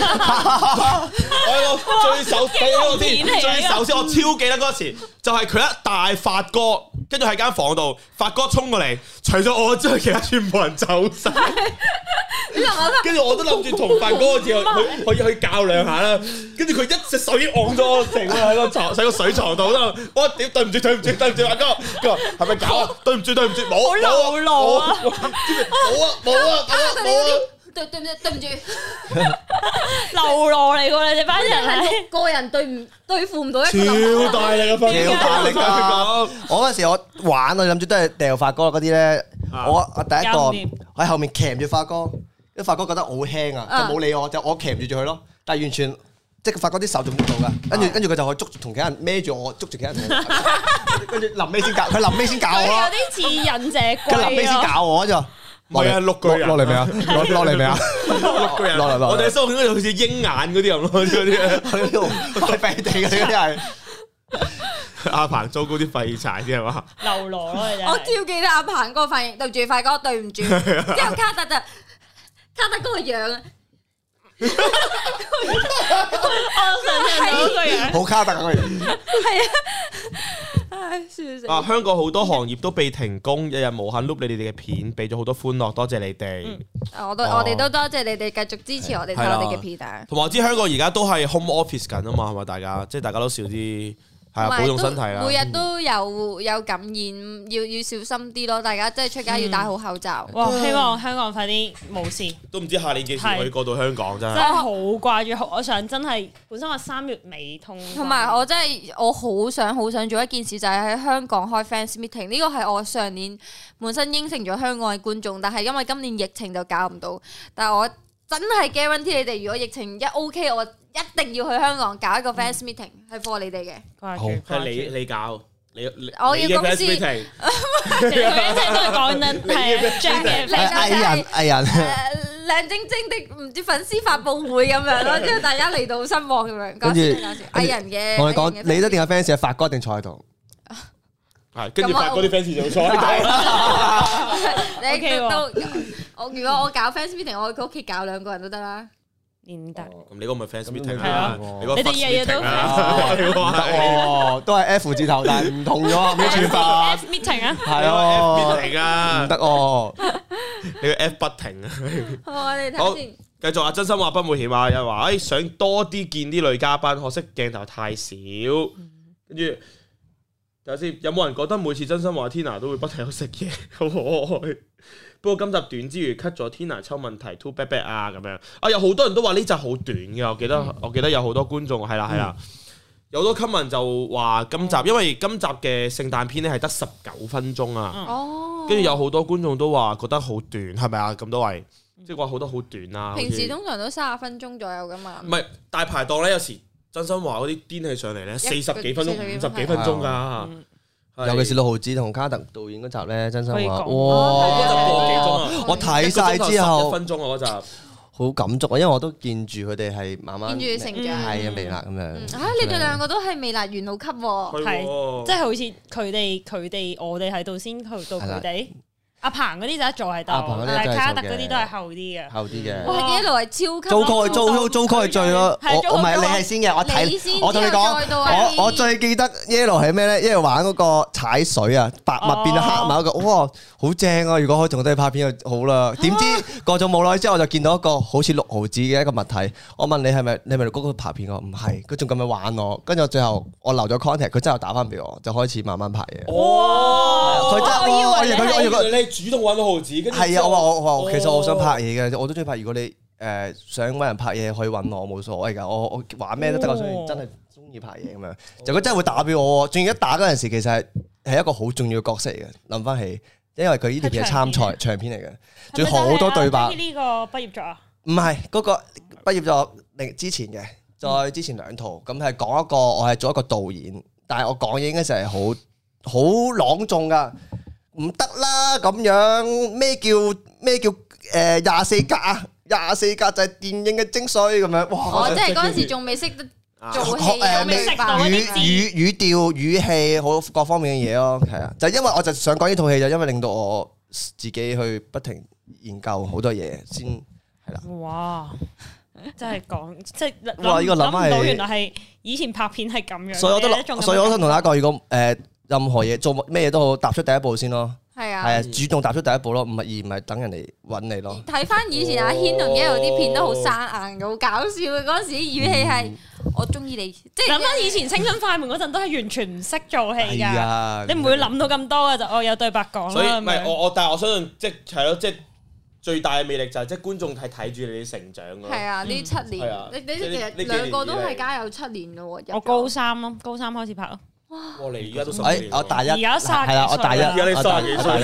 我最首先我超記得嗰時，就係佢一大發哥，跟住喺間房度，發哥衝過嚟，除咗我之外，其他全部人走晒。跟住我都諗住同發哥去較兩下啦，跟住佢一隻手已經按咗我成喺個水床度，我屌對唔住發哥，佢話係咪搞啊？對唔住冇啊！ 好老啊！ 冇啊！ 對唔住， 流羅嚟㗎你哋班人係 6個人對付唔到一個超大力嘅分別， 超大力㗎！我嗰時我玩，我諗住都係掉發哥嗰啲咧。我第一個喺後面鉗住發哥，因為發哥覺得我好輕啊，就冇理我，就我鉗住佢咯。但係完全即係發哥啲手仲唔到㗎，跟住佢就可以捉住同其他人孭住我，捉住其他人，跟住臨尾先教佢，臨尾先教我有咯。 啲似忍者龜佢臨尾先教我就。 唔係啊，6個人落嚟未啊？落嚟未啊 ？6個人，我哋收緊嗰度好似鷹眼嗰啲咁咯，嗰啲快飛地嗰啲係。 阿鵬糟糕啲廢柴啲係嘛？ 流羅咯，你真係。 我超記得阿鵬嗰個反應，對住發哥，對唔住。之後卡特嗰個樣啊， 我想象到嗰個樣。 好卡特嗰個樣。 係啊。唉，笑死！ 香港好多行業都被停工，日日無限 loop 你哋嘅片，俾咗好多歡樂，多謝你哋。 我哋都多謝你哋繼續支持我哋睇我哋嘅片啊！ 同埋我知香港而家都係 home office 緊啊嘛，係咪大家？即係大家都少啲。係啊，保重身體啦！ 每日都有感染，要小心啲咯。大家即係出街要戴好口罩。 哇！希望香港快啲冇事。 都唔知下年幾時可以過到香港真係。 真係好掛住，我想真係本身我3月尾同埋我真係我好想做一件事，就係喺香港開 fans meeting。呢個係我上年本身應承咗香港嘅觀眾，但係因為今年疫情就搞唔到。但係我真係 guarantee 你哋，如果疫情一 OK，我一定要去香港搞一個 fans meeting，係 for 你哋嘅。 好，係你搞， 我要公司。 佢一直都係講緊係 Jack 嘅藝人， 靚晶晶的唔知粉絲發佈會咁樣咯，之後大家嚟到失望咁樣。 跟住藝人嘅， 我哋講你一定有 fans 係發哥定坐喺度。 係，跟住發哥啲 fans 就坐喺度。 你都如果我搞 fans meeting，我去佢屋企搞2個人都得啦。 唔得， 咁你嗰個咪 fans meeting 啊？ 你哋日日都哦，都係 F 字頭，但係唔同咗咩串法 ？F meeting 啊， 係啊 ，F meeting 啊， 唔得哦， 你個 F 不停啊！ 好，我哋睇先。 繼續啊！真心話不冒險啊！有人話想多啲見啲女嘉賓，可惜鏡頭太少。跟住睇下先，有冇人覺得每次真心話 Tina 都會不停有食嘢，好可愛。不過今集短之餘 cut 咗 Tina 抽問題 too bad 啊咁樣啊，有好多人都話呢集好短嘅，我記得有好多觀眾係啦，有好多 comment 就話今集因為今集嘅聖誕篇咧係得19分鐘啊，跟住有好多觀眾都話覺得好短，係咪啊？咁多位即係話好多好短啊。 平時通常都30分鐘左右噶嘛。 唔係大排檔咧，有時真心話嗰啲癲起上嚟咧40幾分鐘、50幾分鐘㗎。 尤其是6毫子同卡特導演嗰集咧，真心話，哇！ 嗰集個幾鐘啊！ 我睇晒之後 1分鐘啊嗰集， 好感觸啊，因為我都見住佢哋係慢慢見住成長係啊微辣咁樣。 你哋兩個都係微辣元老級喎， 係即係好似佢哋我哋喺度先去到佢哋。阿鵬嗰啲就一座喺度，但係卡特嗰啲都係後啲嘅。 後啲嘅。 我係一路係超級。 租 call 係最咯，我唔係你係先嘅，我同你講，我最記得 Yellow 係咩咧？Yellow 玩嗰個踩水啊，白物變到黑物嗰個，哇，好正啊！如果可以同佢哋拍片就好啦。點知過咗冇耐之後，我就見到一個好似6毫子嘅一個物體。我問你係咪嗰個拍片？我唔係，佢仲咁樣玩我。跟住最後我留咗 contact，佢真係打翻俾我，就開始慢慢拍嘢。 哇！ 佢真係我以為你主動揾到毫子，跟住係啊！我話其實我想拍嘢嘅，我都中意拍。如果你想揾人拍嘢，可以揾我，冇所謂㗎。我玩咩都得，我想真係中意拍嘢咁樣。就佢真係會打俾我，仲要一打嗰陣時，其實係一個好重要嘅角色嚟嘅。諗翻起，因為佢呢條片係參賽長片嚟嘅，仲要好多對白。 呢個畢業作啊？唔係嗰個畢業作之前嘅，再之前2套咁係講一個我係做一個導演，但係我講嘢應該就係好朗誦㗎。唔得啦咁樣，咩叫24格啊？24格就係電影嘅精髓咁樣。哇！ 即係嗰陣時仲未識得做戲， 未識到語調、語氣好各方面嘅嘢咯，係啊。就因為我就想講呢套戲，就因為令到我自己去不停研究好多嘢先係啦。 哇！真係講即係哇！呢個諗唔到原來係以前拍片係咁樣。 所以我想同大家講，如果任何嘢做咩嘢都好，踏出第一步先咯。係啊，主動踏出第一步咯，唔係等人哋揾你咯。 睇翻以前阿軒同 Yellow 啲片都好生硬嘅，好搞笑嘅。嗰陣時啲語氣係我中意你，即係諗翻以前青春快門嗰陣都係完全唔識做戲㗎。你唔會諗到咁多嘅就我有對白講啦。 所以唔係但係我相信即係咯，即係最大嘅魅力就係即係觀眾係睇住你哋成長咯。係啊，呢7年，你其實兩個都係加油7年咯。 我高三開始拍咯。 哇！ 你而家都10年， 我大一， 而家係啦，我大一， 而家你30幾歲，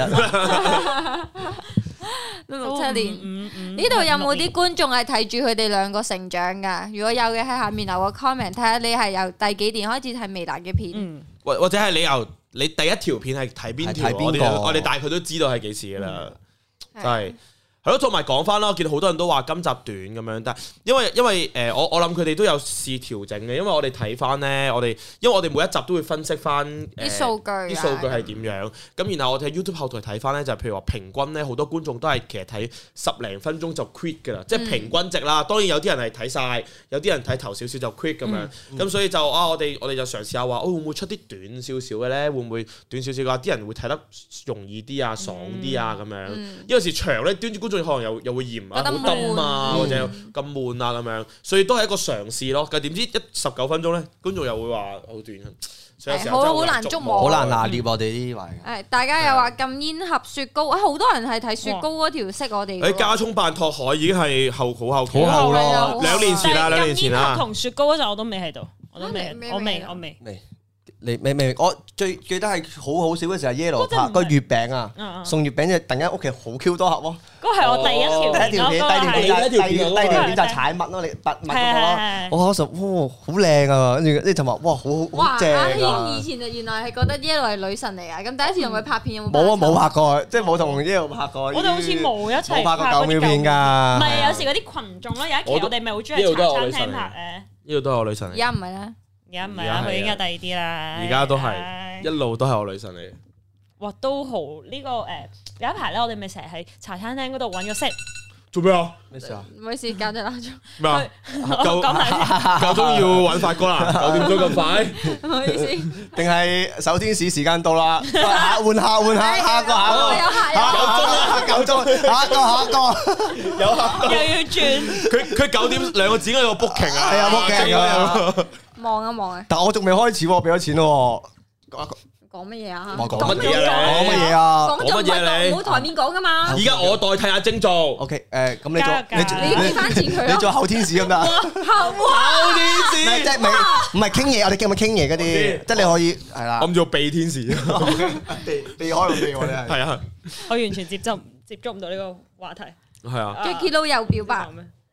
都6、7年。呢度有冇啲觀眾係睇住佢哋兩個成長㗎？如果有嘅，喺下面留個 comment，睇下你係由第幾年開始睇微辣嘅片， 或者係你第一條片係睇邊條？我哋大概都知道係幾時㗎啦，真係。係咯，同埋講翻啦，我見到好多人都話今集短咁樣，但係因為我諗佢哋都有試調整嘅，因為我哋睇翻咧，因為我哋每一集都會分析翻啲數據係點樣，咁然後我哋喺 YouTube 後台睇翻咧，就譬如話平均咧，好多觀眾都係其實睇10零分鐘就 quit 㗎啦，即係平均值啦。當然有啲人係睇晒，有啲人睇頭少少就 quit 咁樣，咁所以就我哋就嘗試下話，會唔會出啲短少少嘅咧？會唔會短少少嘅話，啲人會睇得容易啲啊、爽啲啊咁樣？有時長咧，端住觀眾可能又會嫌啊，好悶啊，或者咁悶啊咁樣，所以都係一個嘗試咯。但係點知19分鐘咧，觀眾又會話好短，所以有時候好難捉摸， 好難拿捏我哋呢啲位。 大家又話禁煙盒雪糕，好多人係睇雪糕嗰條識我哋。 加葱扮拓海已經係好後期好咯 ，2年前啦，2年前啦。 同雪糕嗰陣我都未喺度，我未。 你未我最記得係好笑嘅時候 Yellow 拍個月餅啊，送月餅就突然間屋企好 Q 多盒喎。 嗰係我第一條片， 第二條片就係踩襪咯，你拔襪嗰個咯。我嗰時哇好靚啊，跟住呢就話哇好正啊。 阿軒以前就原來係覺得 Yellow 係女神嚟啊，咁第一次同佢拍片有冇？ 冇拍過，即係冇同 Yellow 拍過。 我哋好似冇一齊拍過9秒片㗎。 唔係有時嗰啲群眾咯，有一期我哋咪好中意茶餐廳拍誒。 呢度都係我女神嚟。 而家唔係啦。 而家唔係啦，佢應該第二啲啦。 而家都係一路都係我女神嚟。 哇，都好呢個有一排咧，我哋咪成日喺茶餐廳嗰度揾個 set。 做咩啊？ 咩事啊？ 唔好意思，搞隻鬧鐘。 咩啊？夠鐘要揾法官啦！9點鐘咁快？ 唔好意思。 定係守天使時間到啦？換下，下個。 有客。 夠鐘，下一個。有客。 又要轉。 佢9點2個字應該有個 booking 啊。 係啊，booking 啊。 望一望啊！ 但我仲未開始喎，俾咗錢咯。 講乜嘢啊？ 講乜嘢啊？ 講乜嘢你？冇台面講噶嘛？ 而家我代替阿晶做。 OK，咁你你俾翻錢佢。 你做後天使咁得？ 後天使即係唔係傾嘢？我哋叫咪傾嘢嗰啲，即係你可以係啦。 我唔做避天使，避開我哋係啊！ 我完全接觸唔到呢個話題。 係啊 Jacky Lou 又表白。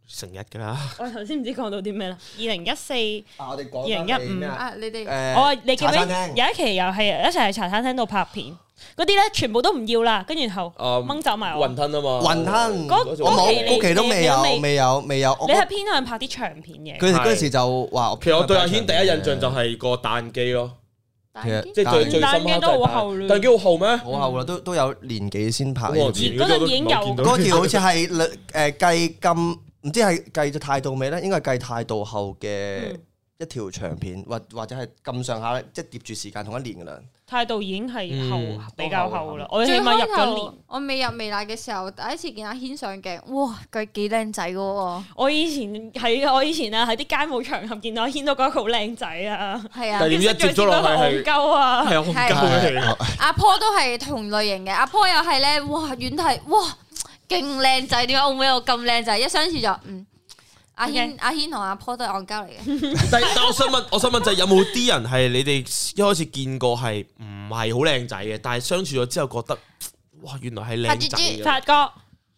成日㗎啦。 我頭先唔知講到啲咩啦。2014、 我哋講 2015 啊，你哋你記唔記得茶餐廳有一期又係一齊喺茶餐廳度拍片，嗰啲咧全部都唔要啦，跟住然後掹走埋我。 雲吞啊嘛， 雲吞嗰我冇期嗰期都未有。 你係偏向拍啲長片嘅。 佢哋嗰陣時就話， 其實我對阿軒第一印象就係個彈機咯， 其實即係最深刻彈機都好後啦彈機好後咩？ 好後啦，都有年幾先拍呢我條片。 嗰陣已經有嗰條好似係計咁，唔知係計咗態度未咧？應該係計態度後嘅一條長片，或者係咁上下，即係疊住時間同一年噶啦。 態度已經係後比較後啦，我起最碼入開頭咗年。 我未入微辣嘅時候，第一次見阿軒上鏡，哇，佢幾靚仔嘅喎。 我以前啊喺啲街舞場合見到阿軒都覺得佢好靚仔啊， 係啊但，係點知一接咗落去係戇鳩啊， 係好鳩嘅。 阿坡都係同類型嘅，阿坡又係咧，哇，遠睇哇，勁靚仔，點解澳門有咁靚仔？一相處就阿軒同阿坡都係戇鳩嚟嘅。 但我想問就係有冇啲人係你哋一開始見過係唔係好靚仔嘅，但係相處咗之後覺得哇原來係靚仔嘅。 發哥，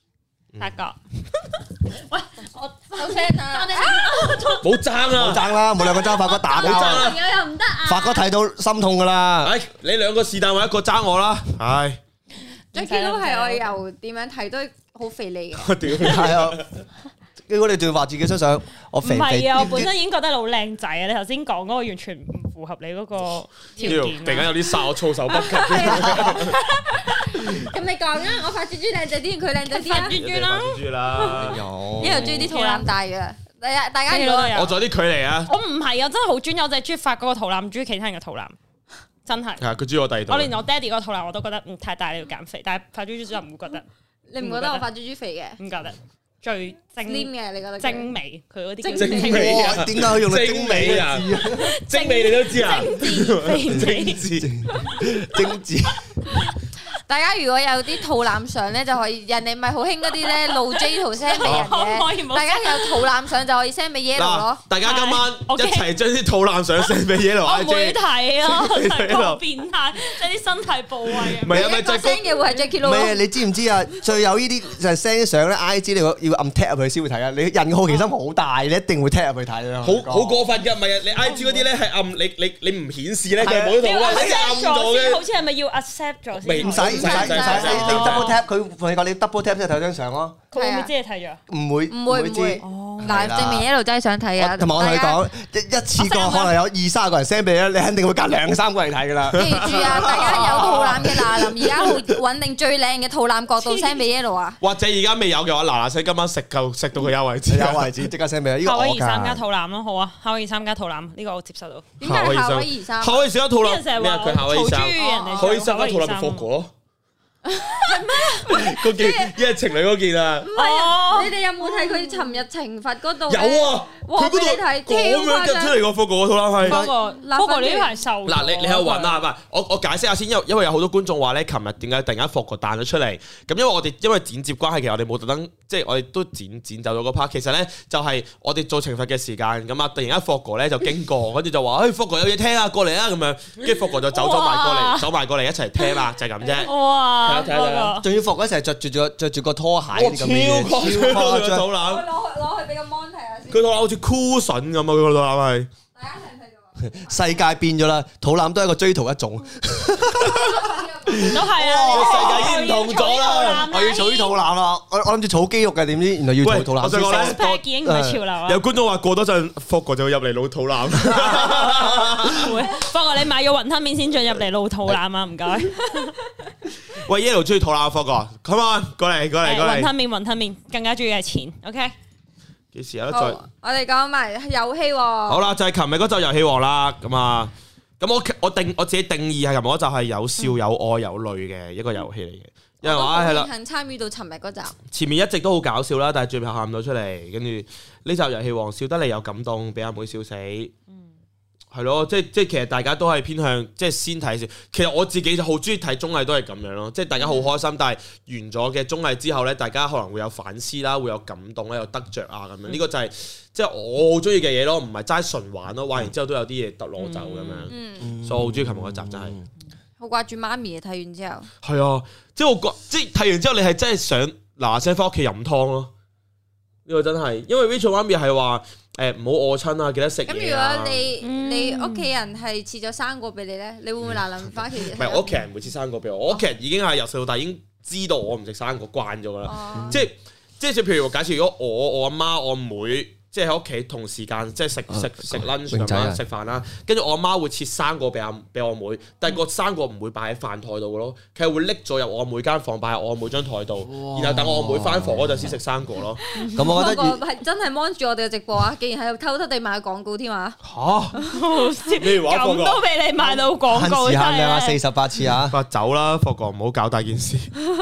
喂， 我收聲啊！ 冇爭啊！ 冇爭啦，冇兩個爭，發哥打交冇爭啦啊！ 朋友又唔得啊！ 發哥睇到心痛噶啦。 唉，你兩個是但揾一個爭我啦。唉， Jackie 都係我由點樣睇都好肥膩嘅。 我屌你！ 係啊，如果你仲要話自己身上我肥唔係肥， 啊，我本身已經覺得你好靚仔啊！你頭先講嗰個完全唔符合你嗰個條件突然間有啲殺我措手不及。 咁你講啊，我發豬豬靚仔啲，定佢靚仔啲啊？ 豬豬啦， 豬啦！ 有呢度中意啲肚腩大嘅，大家如果我仲有啲距離啊！ 我唔係啊，真係好專一，我淨係中意發嗰個肚腩，唔中意其他人嘅肚腩，真係。 係啊，佢中意我第二度。 我連我爹哋嗰個肚腩我都覺得太大，你要減肥，但係發豬豬就唔會覺得， 你唔覺得我發豬豬肥嘅唔覺得最 ？Slim 嘅你覺得？ 精美，佢嗰啲精叫精美啊哇點解佢用到精美啊？精美你都知啊？ 精致精致。 大家如果有啲肚腩相咧，就可以人哋咪好興嗰啲咧露 J 圖 send 俾人可唔可以唔嘅， 好大家有肚腩相就可以 send 俾 Yellow 咯。 大家今晚一 OK 齊將啲肚腩相 send 俾 Yellow 我唔會 IG。 睇啊， 俾真係佢好變態，即係啲身體部位啊唔。係啊，咪一個就係 send 嘅會係 Jackie 唔 Lou 係啊， 咯。 你知唔知啊？最有呢啲就係 send 相咧，IG 你要按 tap 入去先會睇啊！你人嘅好奇心好大，你一定會 tap 入去睇啊！ 好過分㗎，唔係啊！你 IG 嗰啲咧係暗，你唔顯示咧，佢係冇你要圖案，你 accept 暗咗咗先，好嘅。 似係咪要 accept 咗先？ 唔使，你 double tap 佢同你講，你 double tap 先睇張相咯， 佢會唔會知你睇咗？ 唔會唔會知。 嗱，證明 Yellow 真係想睇啊！ 同埋我同你講，一次過可能有20-30個人 send 俾你，你肯定會隔2-3個人睇噶啦。 記住啊，大家有肚腩嘅嗱林，而家好穩定最靚嘅肚腩角度 send 俾 Yellow 啊！ 或者而家未有嘅話，嗱嗱聲今晚食到佢有為止。 有位置即刻 send 俾你。呢個夏威我夷三加㗎。 肚腩咯，好啊，夏威夷三加肚腩呢個我接受到。 點解係夏威夷衫？ 夏威夷三肚腩啲人成日咩啊？ 話佢夏威夷衫我嘈住人哋夏威夷三加肚腩咪 Fogo 咯。嗰件一係情侶嗰件啊。 唔係啊！你哋有冇睇佢尋日懲罰嗰度？ 有啊， 哇佢嗰度俾你睇咁樣夾出嚟個 Fogo 個肚腩係。 不過呢排瘦咗。 嗱，你喺度揾啊，唔係我解釋下先，因為有好多觀眾話咧，琴日點解突然間Fogo彈咗出嚟？咁因為剪接關係，其實我哋冇特登，即係我哋都剪走咗嗰 part。其實咧就係我哋做懲罰嘅時間，咁啊突然間Fogo咧就經過，跟住就話Fogo有嘢聽啊，過嚟啊咁樣，跟住Fogo就走埋過嚟一齊聽啦，就係咁啫。 哇！ 睇下仲要服嗰時係着住個拖鞋嗰啲咁嘅嘢， 超誇張肚腩， 攞去俾個 mon 睇下先。 佢肚腩好似 cushion 咁啊！佢個肚腩係。 大家睇唔睇到？ 世界變咗啦，肚腩都係一個追圖一種。 都係啊！ 世界已經唔同咗啦我要儲肚腩啦，我諗住儲肌肉嘅，點知原來要儲肚腩。 喂我想講咧 pack 已經唔係潮流啦。 有觀眾話過多陣Fogo就會入嚟露肚腩。 會，不過你買咗雲吞麵先進入嚟露肚腩啊！唔該。 喂 ，Yellow 中意肚腩Fogo，come on，過嚟雲吞麵更加中意係錢。OK。 幾時有得好再？ 我哋講埋遊戲喎。 好啦，就係琴日嗰集遊戲王啦，咁啊，咁我自己定義係琴日嗰集係有笑有愛有淚嘅一個遊戲嚟嘅，因為話係啦， 幸參與到尋日嗰集。 前面一直都好搞笑啦，但係最後喊唔到出嚟，跟住呢集遊戲王笑得嚟又感動，俾阿妹笑死。係咯，即係其實大家都係偏向即係先睇先。其實我自己就好中意睇綜藝，都係咁樣咯。即係大家好開心，但係完咗嘅綜藝之後咧，大家可能會有反思啦，會有感動啦，有得着啊咁樣。呢個就係即係我好中意嘅嘢咯，唔係齋純玩咯。玩完之後都有啲嘢得攞走咁樣。所以我好中意琴日嗰集真係。 好掛住媽咪啊！睇完之後。 係啊，即係我覺，即係睇完之後，你係真係想嗱嗱聲翻屋企飲湯咯。 呢個真係，因為 Rachel 媽咪係話唔好餓親啊，記得食嘢。 咁如果你屋企人係切咗生果俾你咧，你會唔會嗱臨翻屋企？ 唔係我屋企人唔會切生果俾我，我屋企人已經係由細到大已經知道我唔食生果慣咗㗎啦。即係譬如假設如果我阿媽我妹。即係喺屋企同時間，即係食 lunch 啦，食飯啦，跟住我阿媽會切生果俾我妹，但係個生果唔會擺喺飯台度嘅咯，佢係會拎咗入我阿妹間房，擺喺我阿妹張台度，然後等我阿妹翻房嗰陣先食生果咯。 咁我覺得係真係 mon 住我哋嘅直播啊！竟然喺度偷偷地賣廣告添啊！ 嚇，咩話？ 咁都俾你賣到廣告， 限時限量啊！48次啊！ 走啦，霍哥唔好搞大件事。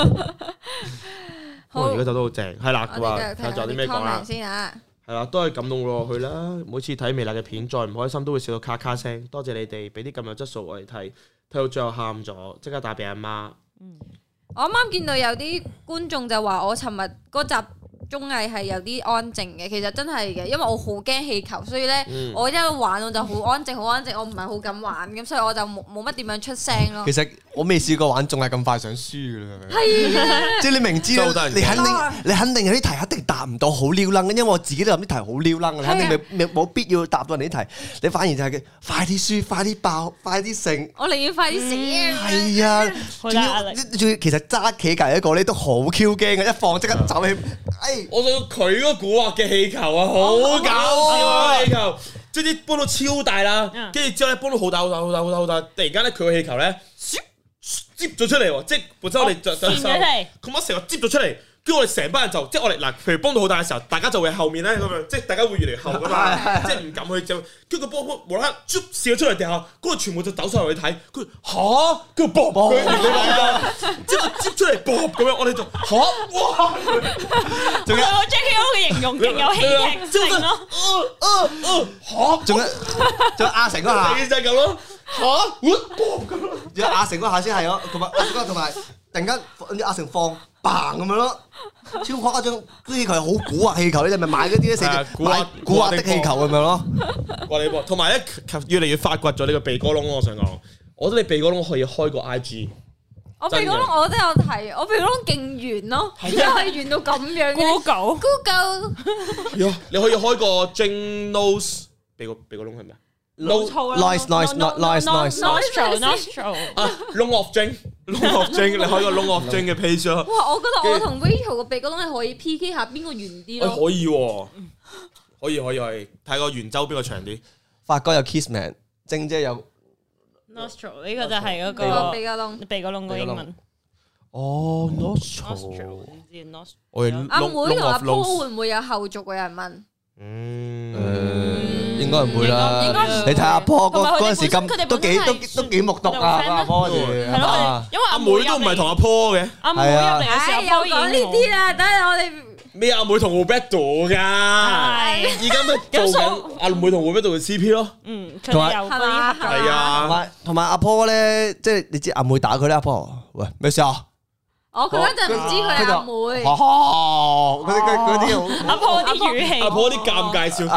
我而家走得好正，係啦，佢話睇下仲有啲咩講啦。 先啊！ 係啦，都係感動落去啦。每次睇微辣嘅片，再唔開心都會笑到咔咔聲。多謝你哋俾啲咁有質素我哋睇，睇到最後喊咗，即刻打俾阿媽。 我啱啱見到有啲觀眾就話我尋日嗰集綜藝係有啲安靜嘅，其實真係嘅，因為我好驚氣球，所以咧我一玩我就好安靜，我唔係好敢玩，咁所以我就冇乜點樣出聲咯。 其實我未試過玩仲係咁快想輸㗎啦， 係即係你明知你肯定有啲題一定答唔到好撩楞嘅，因為我自己都諗啲題好撩楞，你肯定冇必要答到人哋啲題，你反而就係快啲輸、快啲爆、快啲勝。 我寧願快啲死啊！ 係啊，仲要其實揸企隔一個咧都好 Q 驚嘅，一放即刻走起。 我想佢嗰個古惑嘅氣球啊，好搞笑啊！氣球即係啲搬到超大啦，跟住之後咧搬到好大，突然間咧佢個氣球咧接咗出嚟喎，即係本身我哋就收，佢乜成個接咗出嚟。跟住我哋成班人就即係我哋嗱，譬如幫到好大嘅時候，大家就會喺後面咧咁樣，即係大家會越嚟越後噶嘛，即係唔敢去就，跟住個波無啦啦射咗出嚟地下，嗰個全部就走上嚟去睇，佢嚇，跟住啵，即係接出嚟啵咁樣，我哋就嚇，哇！ 仲有 JKO 嘅形容勁有戲劇性咯， 嚇，仲有阿成嗰下， 就係咁咯，嚇，啵咁咯， 仲有阿成嗰下先係咯，同埋突然間阿成放。嘭咁樣咯，超誇張！啲氣球係好古惑氣球，你哋咪買嗰啲咧，寫住買古惑的氣球咁樣咯。 哇！你同埋咧，越嚟越發掘咗呢個鼻哥窿。我想講，我覺得你鼻哥窿可以開個 IG。 我鼻哥窿我都有睇，我鼻哥窿勁圓咯，點解可以圓到咁樣嘅 ？Google， 你可以開個 Jane Nose 鼻哥窿係咩啊？ noise 啊 ，Long of Jane，你開個 Long of Jane 嘅 page 咯。 哇！我覺得我同 Rachel 個鼻哥窿係可以 PK 下邊個圓啲咯。 可以喎，可以，睇個圓周邊個長啲。 發哥有 Kissman，晶姐有 nostril， 呢個就係嗰個鼻哥窿個英文。 哦 ，nostril， 阿妹同阿波會唔會有後續？有人問。 應該唔會啦。你睇阿波嗰陣時咁都幾木獨啊！阿波嗰時係嘛？ 因為阿妹都唔係同阿波嘅。 阿妹入嚟嘅時候， 又講呢啲啦。等下我哋咩阿妹同 Roberto 㗎？而家咪做緊阿妹同 Roberto 嘅 CP 咯。 佢哋有嗰啲係啊， 同埋阿波咧，即係你知阿妹打佢咧，阿波喂咩事啊？ 佢嗰陣唔知佢係阿妹， 嗰啲阿婆啲語氣， 阿婆啲尷尬笑，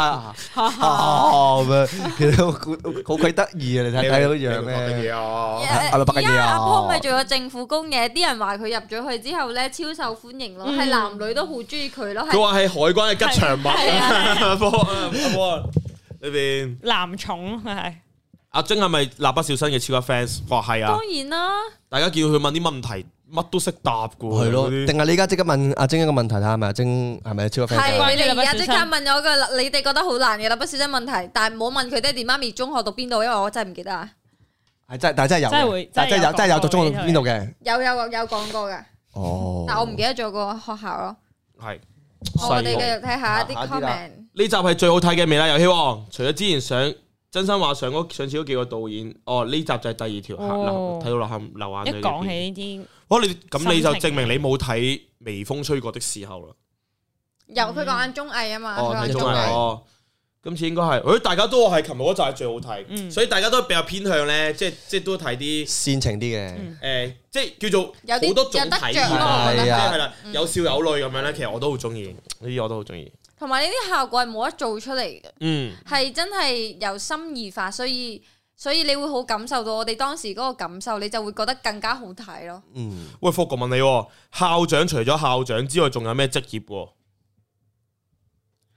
其實好鬼得意啊！你睇到樣咧， 阿婆咪做咗政府工嘅，啲人話佢入咗去之後咧超受歡迎咯，係男女都好中意佢咯。 佢話係海關嘅吉祥物，阿婆呢邊男寵係。 阿晶係咪蠟筆小新嘅超級 fans？ 話係啊， 當然啦。大家見到佢問啲問題，乜都識答噶喎。 係咯，定係你而家即刻問阿晶一個問題睇下，係咪阿晶係咪超級 fans？ 係，你哋而家即刻問我個你哋覺得好難嘅蠟筆小新問題，但係唔好問佢爹哋媽咪中學讀邊度，因為我真係唔記得啊。 係真，但係真係有，真係有讀中學讀邊度嘅。有講過嘅。 哦。 但我唔記得咗個學校咯。 係。 我哋繼續睇下啲 comment。 呢集係最好睇嘅《微辣遊戲王》，除咗之前上。真心話上次嗰幾個導演，呢集就係第二條睇到流眼淚。 一講起呢啲， 咁你就證明你冇睇微風吹過的時候啦。 有佢講緊綜藝啊嘛， 睇綜藝。今次應該係，大家都話係琴日嗰集係最好睇，所以大家都比較偏向咧，即係都睇啲煽情啲嘅。 即係叫做好多種體驗，係啦，有笑有淚咁樣咧。其實我都好中意呢啲，我都好中意。同埋呢啲效果係冇得做出嚟嘅，係真係由心而發，所以你會好感受到我哋當時嗰個感受，你就會覺得更加好睇咯。 喂，霍哥問你，校長除咗校長之外，仲有咩職業？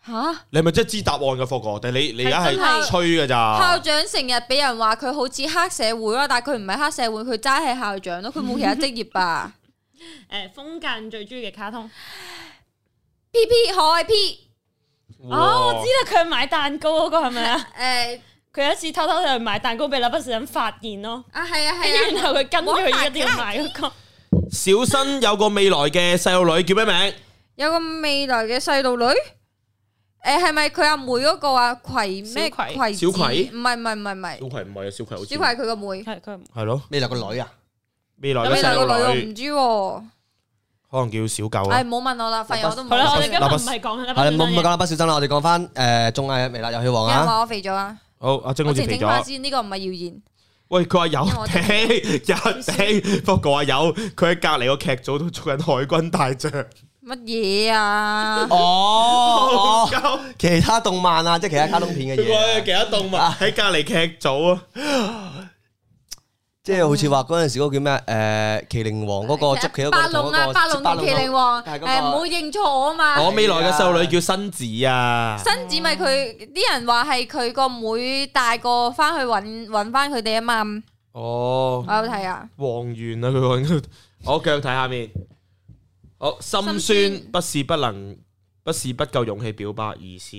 嚇！ 你係咪真係知答案嘅霍哥？定你而家係真係吹㗎咋？ 校長成日俾人話佢好似黑社會咯，但係佢唔係黑社會，佢齋係校長咯，佢冇其他職業吧？ 風間最中意嘅卡通 P 可愛 P 我知啦，佢買蛋糕嗰個係咪啊？ 誒佢有一次偷偷去買蛋糕俾蠟筆小新發現咯， 係啊跟住然後佢跟住佢一定要買嗰個。 小新有個未來嘅細路女叫咩名？ 有個未來嘅細路女，係咪佢阿妹嗰個啊？葵咩？葵小葵？ 唔係， 小葵唔係啊，小葵好似小葵係佢個妹， 係佢係咯， 未來個女啊， 未來嘅未來個女我細路女唔知喎。 可能叫小狗唉， 啦。 唔好問我啦，發現我都唔好啦，我哋識。 今日唔係講啦， 係冇講啦，不小心啦，我哋講翻綜藝微辣遊戲王啊。 有人話我肥咗啊？ 好，阿晶好我澄似肥咗。 清翻先，呢個唔係謠言。 喂，佢話有因為我頂，不過話有，佢喺隔離個劇組都做緊海軍大將。 乜嘢啊？ 哦，其他動漫啊，即係其他卡通片嘅佢話嘢， 其他動物喺隔離劇組啊。 即係好似話嗰陣時嗰個叫咩麒麟王嗰個捉棋嗰個白龍啊，白龍同麒麟王， 係嗰個唔好認錯我啊嘛。 我未來嘅細路女叫新子啊。 新子咪佢啲人話係佢個妹大個翻去揾翻佢哋啊嘛。 哦， 我有睇啊。 王源啊，佢講緊。好，繼續睇下面。好，心酸不是不夠勇氣表白，而是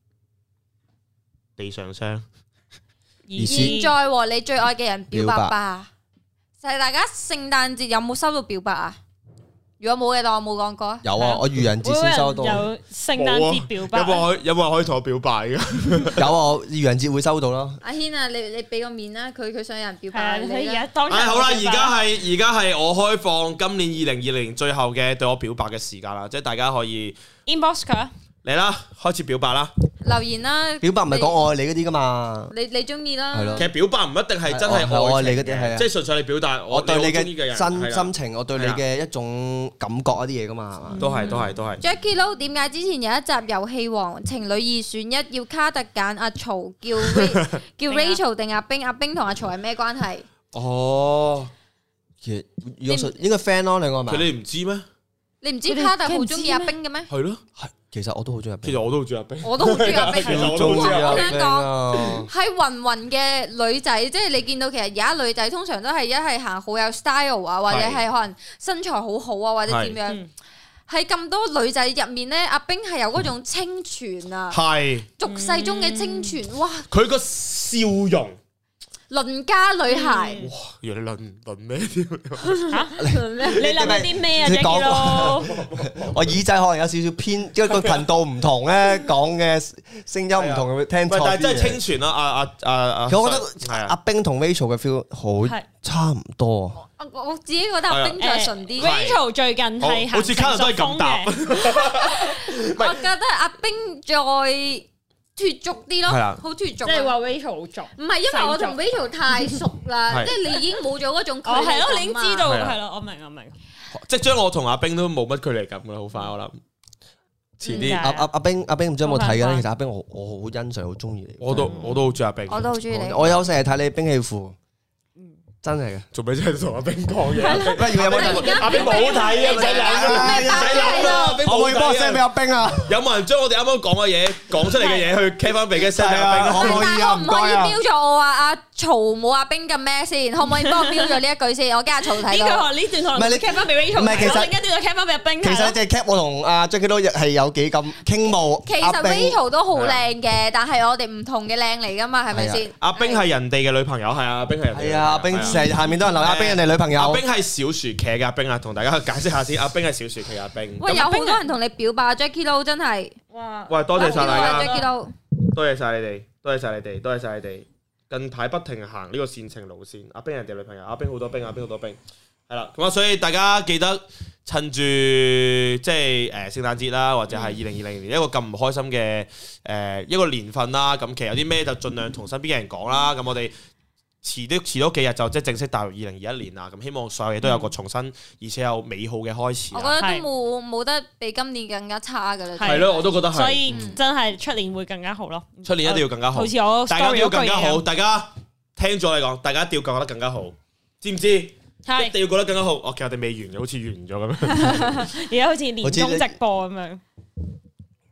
地上霜。 現在和你最愛嘅人表白吧。就係大家聖誕節有冇收到表白啊？如果冇嘅，當我冇講過。 有啊，我愚人節先收到。 有聖誕節表白， 有冇人可以同我表白嘅？ 有啊，我愚人節會收到咯。 阿軒啊，你俾個面啦，佢想有人表係啊， 白你而你啦。 家當好啦，而家係我開放今年2020最後嘅對我表白嘅時間啦，即係大家可以 inbox 佢。 嚟啦，開始表白啦。 留言啦。 表白唔係講愛你嗰啲噶嘛？ 你中意啦。 係咯其實表白唔一定係真係愛你愛情嗰啲係啊即係純粹你表達我對你好鍾意嘅人嘅真係啦心情，我對你嘅一種感覺一啲嘢噶嘛，係嘛？ 都係。 Jackie Lou 點解之前有一集遊戲王情侶二選一，要卡特揀阿曹叫 Rachel 定阿冰？阿冰同阿曹係咩關係？ 哦， 其實如果應該 friend 咯，兩個係咪？ 佢哋唔知咩？ 你唔知卡特好中意阿冰嘅咩？ 係咯， 係其實我都好中意阿冰， 其實我都好中意阿冰。 我都好中意阿冰。 其實我都好中意阿我冰想講啊！ 係芸芸嘅女仔，即係你見到其實而家女仔通常都係一係行好有 style 啊，或者係可能身材好好啊，或者點樣。喺咁多女仔入面咧，阿冰係有嗰種清純啊， 係俗世中嘅清純，哇！ 佢個笑容， 鄰家女孩， 哇！原來論咩添？ 嚇？你諗緊啲咩啊你講 Jackie Lou？ 我耳仔可能有少少偏，因為個頻道唔同咧，講嘅聲音唔同，會聽錯啲嘢。 但係真係清純啦！ 其實我覺得係啊阿冰同 Rachel 嘅 feel 好差唔多。 我自己覺得阿冰再純啲。 Rachel 最近係好似卡特都係咁答。 我覺得阿冰再脫俗啲咯， 係啊好脫俗。 即係話 Rachel 好俗。 唔係因為我同 Rachel 太熟啦， 係即係你已經冇咗嗰種距哦，係咯， 離感啊你已經知道係啊係咯，我明。 即將我同阿冰都冇乜距離感噶啦，好快我諗。遲啲阿冰唔知有冇睇嘅咧？其實阿冰我好欣賞，好中意你。 我都好中意阿冰。 我都好中意你。 我有成日睇你兵器庫，真係嘅。 做咩真係同阿冰講嘢？ 不如有冇阿冰冇睇啊！唔使諗啦，唔使諗啦。 可唔可以幫我 send 俾阿冰啊？ 有冇人將我哋啱啱講嘅嘢講出嚟嘅嘢去 cap 翻俾嘅 send 俾阿冰？ 可唔可以啊？唔可唔可以該啊！ 標咗我話阿曹冇阿冰咁咩先？可唔可以幫我標咗呢一句先？我驚阿曹睇到。 呢段可能唔係你 cap 翻俾 Rachel， 唔係其實另一段就 cap 翻俾阿冰。 其實你淨係 cap 我同阿 Jackie 都係有幾咁傾慕。 其實 Rachel 都好靚嘅，但係我哋唔同嘅靚嚟噶嘛，係咪先？ 阿冰係人哋嘅女朋友，係啊，阿冰係人哋嘅女朋友。 係啊，阿冰成日下面都有人留阿冰人哋女朋友。 阿冰係小薯茄嘅阿冰啊，同大家解釋下先。阿冰係小薯茄嘅阿冰。 喂，有好多人同你表白，Jackie Lou 真係。 哇！ 喂，多謝晒大家， Jackie Lou。 多謝晒你哋，多謝晒你哋，多謝晒你哋。近排不停行呢個煽情路線，阿冰人哋女朋友，阿冰好多冰，阿冰好多冰，係啦。咁啊，所以大家記得趁住即係聖誕節啦，或者係2020年一個咁唔開心嘅一個年份啦。咁其實有啲咩就盡量同身邊嘅人講啦。咁我哋遲多幾日就即係正式踏入2021年啦。咁希望所有嘢都有個重新而且有美好嘅開始。 我覺得都冇得比今年更加差噶啦。 係咯，我都覺得係。 所以真係出年會更加好咯。 出年一定要更加好， 好似我大家都要更加 story 嗰句嘢好。大家聽咗你講，大家一定要覺得更加好，知唔知？一定要覺得更加好。其實我哋未完嘅，好似完咗咁樣。 而家好似年終直播咁樣。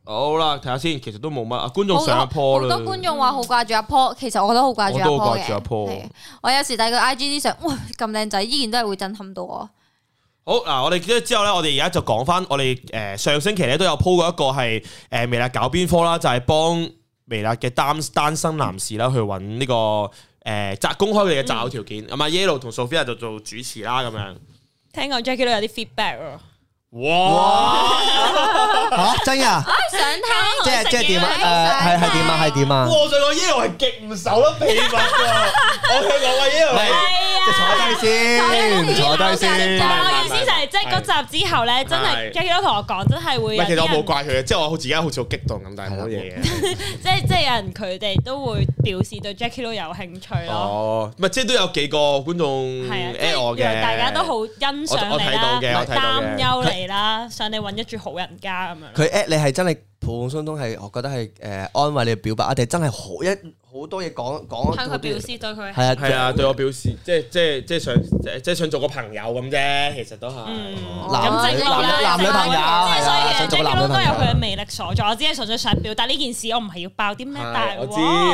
好啦，睇下先，其實都冇乜啊。觀眾上阿 Paul 啦， 好多觀眾話好掛住阿 Paul，其實我都好掛住阿 Paul 我都好掛住阿 Paul 嘅。我有時睇佢 IG 啲相，哇咁靚仔，依然都係會震撼到我。 好嗱，我哋之後咧，我哋而家就講翻，我哋上星期咧都有 po 過一個係微辣搞邊科啦，就係幫微辣嘅單身男士啦去揾呢個公開佢哋嘅擇偶條件。咁啊 Yellow 同 Sophia 就做主持啦，咁樣。 聽講 Jackie 都有啲 feedback 喎。 哇！ 嚇真㗎？ 想聽即係點啊？係點啊？ 我想講 Yellow 係極唔守得秘密㗎。我想講話 Yellow 坐低先。 我意思就係即係嗰集之後咧，真係 Jackie 都同我講，真係會有。 其實我冇怪佢嘅，即係我自己好似好激動咁，但係冇嘢嘅。 即係有人佢哋都會表示對 Jackie 都有興趣咯。 哦，唔係即係都有幾個觀眾 at 我嘅， 大家都好欣賞你啦，擔憂你啦，想你揾一住好人家咁樣。 佢 at 你係真係普普通通係，我覺得係安慰你嘅表白，定係真係好多嘢講向佢表示對佢係啊，對我表示即係想做個朋友咁啫，其實都係男女朋友， 即係所以想做個男女朋友都有佢嘅魅力所在。我只係純粹想表達呢件事，我唔係要爆啲咩大鑊。 我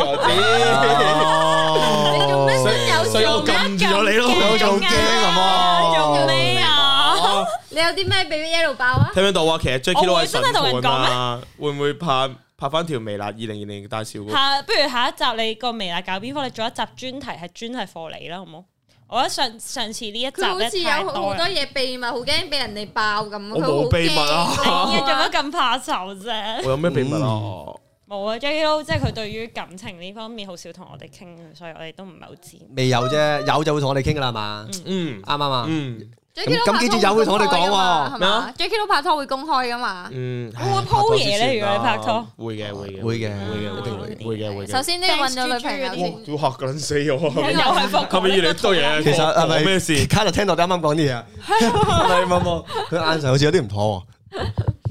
知，所以我撳住咗你咯， 我仲驚做咩啊？ 你有啲咩俾 Yellow 爆啊？ 聽唔聽到啊？其實 Jackie 都係真係同人講咩？會唔會拍翻條微辣2020大笑？ 不如下一集你個微辣搞邊科？你做一集專題係專係課你啦，好冇？我覺得上次呢一集好似有好多嘢嘢秘密，好驚俾人哋爆咁。 我冇秘密啊！ 做乜咁怕醜啫？ 我有咩秘密啊？ 冇啊 Jackie 都即係佢對於感情呢方面好少同我哋傾，所以我哋都唔係好知。 未有啫，有就會同我哋傾噶啦，係嘛？ 啱啱啊？ 咁記住有會同我哋講喎， 係嘛 Jackie 都拍拖會公開噶嘛？ 會鋪嘢咧？如果你拍拖， 會嘅，一定會嘅。 首先都要揾咗女朋友先。 都嚇緊死我， 又係復係咪越嚟越多嘢？ 其實係咪咩事？ 卡就聽到你啱啱講啲嘢，係冇，佢眼神好似有啲唔妥喎。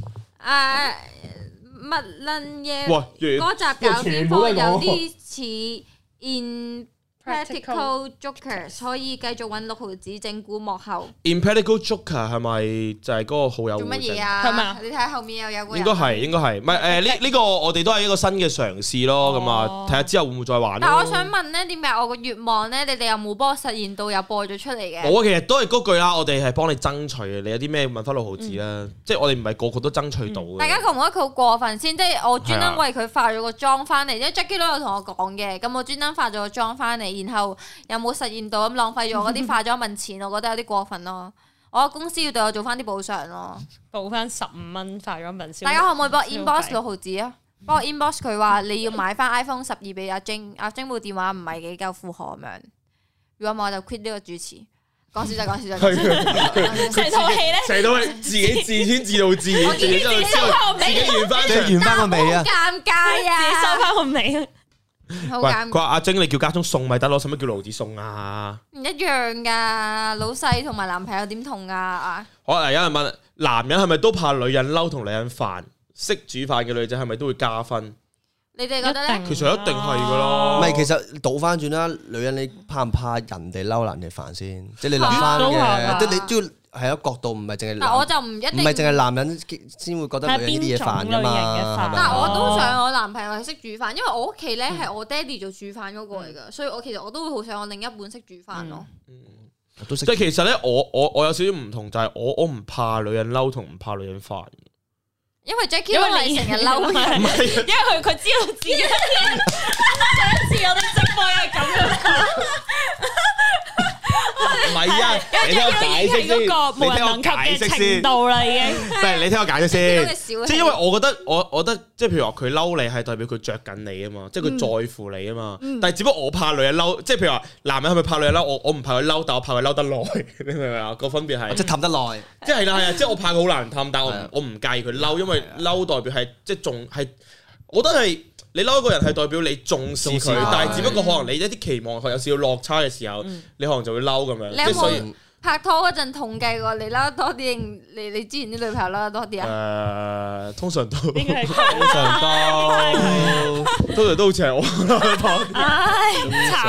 乜撚嘢？嗰集搞邊科有啲似 Impractical Jokers， 可以繼續揾6毫子整蠱幕後。 Impractical Joker 係咪就係嗰個好友？ 做乜嘢啊？ 係咪？ 你睇後面又有個人。 應該係，唔係呢個我哋都係一個新嘅嘗試咯，咁啊睇下之後會唔會再玩。 但我想問咧，點解我個願望咧，你哋有冇幫我實現到有播咗出嚟嘅？ 我其實都係嗰句啦，我哋係幫你爭取嘅。你有啲咩問翻6毫子啦，即係我哋唔係個個都爭取到嘅。 大家覺唔覺得佢好過分先？即係我專登為佢化咗個妝翻嚟，因為 Jackie 都有同我講嘅，咁我專登化咗個妝翻嚟，然後有冇實現到咁浪費咗嗰啲化妝品錢，我覺得有啲過分咯。我公司要對我做翻啲補償咯， 補翻15蚊化妝品。 大家可唔可以幫我 inbox 6毫子啊？幫我 inbox 佢話你要買翻 iPhone 12俾阿晶，阿晶部電話唔係幾夠負荷咁樣。如果唔係我就 quit 呢個主持。講笑就講笑就。 成套戲咧， 成套戲自己自編自導自演，自己完翻個尾啊！ 尷尬啊！ 自己收翻個尾。 好尷尬。 佢話阿晶你叫家中送咪得咯，使乜叫盧子送啊？ 唔一樣噶，老細同埋男朋友點同啊？ 好嗱，有人問男人係咪都怕女人嬲同女人煩？識煮飯嘅女仔係咪都會加分？ 你哋覺得咧？ 其實一定係噶咯。 唔係，其實倒翻轉啦，女人你怕唔怕人哋嬲人哋煩先？即係你諗翻嘅，即係你都要係一個角度，唔係淨係。 但我就唔一定， 唔係淨係男人先會覺得女人呢啲嘢煩噶嘛。 但係我都想我男朋友係識煮飯，因為我屋企咧係我爹哋做煮飯嗰個嚟噶，所以我其實我都會好想我另一半識煮飯咯。 即係其實咧，我有少少唔同，就係我唔怕女人嬲同唔怕女人煩。 因為 Jackie 都係成日嬲人， 因為佢知道自己上一次我哋直播係咁樣講， 唔係啊，你聽我解釋先， 嗰個無人能及嘅程度啦，已經。 唔係你聽我解釋先，即係因為我覺得即係譬如話佢嬲你係代表佢着緊你啊嘛，即係佢在乎你啊嘛。但係只不過我怕女人嬲，即係譬如話男人係咪怕女人嬲？我唔怕佢嬲，但我怕佢嬲得耐，你明唔明啊？個分別係即係氹得耐， 即係啦，係啊，即係我怕佢好難氹，但係我唔介意佢嬲，因為嬲代表係即係仲係，我覺得係你嬲一個人係代表你重視佢，但係只不過可能你一啲期望佢有少少落差嘅時候，你可能就會嬲咁樣。 你有冇拍拖嗰陣統計過你嬲得多啲定你之前啲女朋友嬲得多啲啊？ 通常都應該係通常都好似係我嬲得多啲。 唉，慘！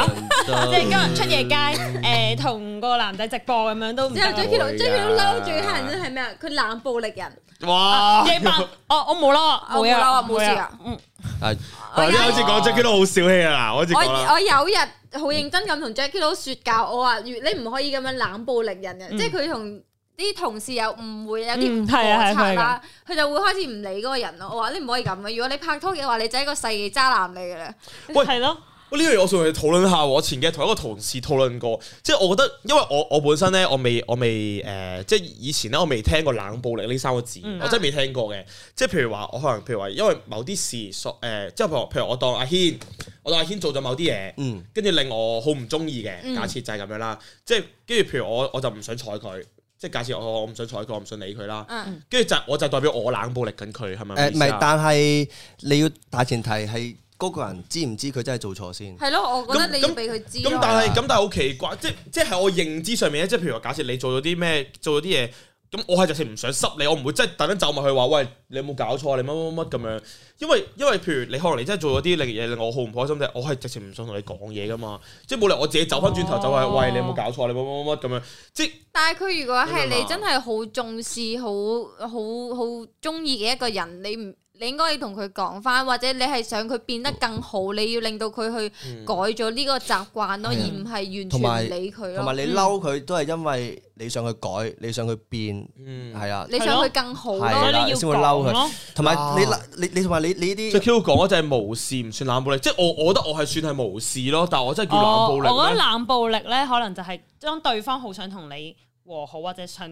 即係今日出夜街，同個男仔直播咁樣都唔得。 之後 Jacky Lou 嬲最嚇人真係咩啊？佢冷暴力人。 哇！ 夜晚我冇嬲，冇嬲冇事啊。 好似講 Jacky Lou 好小氣啊！我有日好認真咁同 Jacky Lou 説教，我話你唔可以咁樣冷暴力人嘅，即係佢同啲同事有誤會，有啲摩擦啦，佢就會開始唔理嗰個人咯。我話你唔可以咁嘅，如果你拍拖嘅話，你就係一個世紀渣男嚟嘅啦。 喂，係咯。 呢樣嘢我想同你討論下，我前幾日同一個同事討論過，即係我覺得，因為我本身咧，我未即係以前咧，我未聽過冷暴力呢3個字，我真係未聽過嘅。即係譬如話，我可能譬如話，因為某啲事即係譬如我當阿軒做咗某啲嘢，跟住令我好唔中意嘅，假設就係咁樣啦。即係跟住譬如我就唔想睬佢，即係假設我唔想睬佢，我唔想理佢啦。跟住我就代表我冷暴力緊佢，係咪？ 唔係，但係你要大前提係。嗰個人知唔知佢真係做錯先？ 係咯，我覺得你要俾佢知。 咁但係好奇怪，即係我認知上面咧，即係譬如話，假設你做咗啲咩，做咗啲嘢，咁我係直情唔想濕你，我唔會真係特登走埋去話，喂，你有冇搞錯？你乜咁樣？因為譬如你可能你真係做咗啲嘢令我好唔開心嘅，我係直情唔想同你講嘢噶嘛，即係冇理由我自己走翻轉頭就係，喂，你有冇搞錯？你乜咁樣？即係。 但係佢如果係你真係好重視、好中意嘅一個人，你應該要同佢講翻，或者你係想佢變得更好，你要令到佢去改咗呢個習慣咯，而唔係完全唔理佢咯。同埋你嬲佢都係因為你想佢改，你想佢變，係啊， 你想佢更好咯， 你先會嬲佢。同埋你同埋你呢啲， 最 Q 講嗰就係無視，唔算冷暴力，即係我覺得我係算係無視咯，但係我真係叫冷暴力。 我覺得冷暴力咧，可能就係當對方好想同你和好，或者想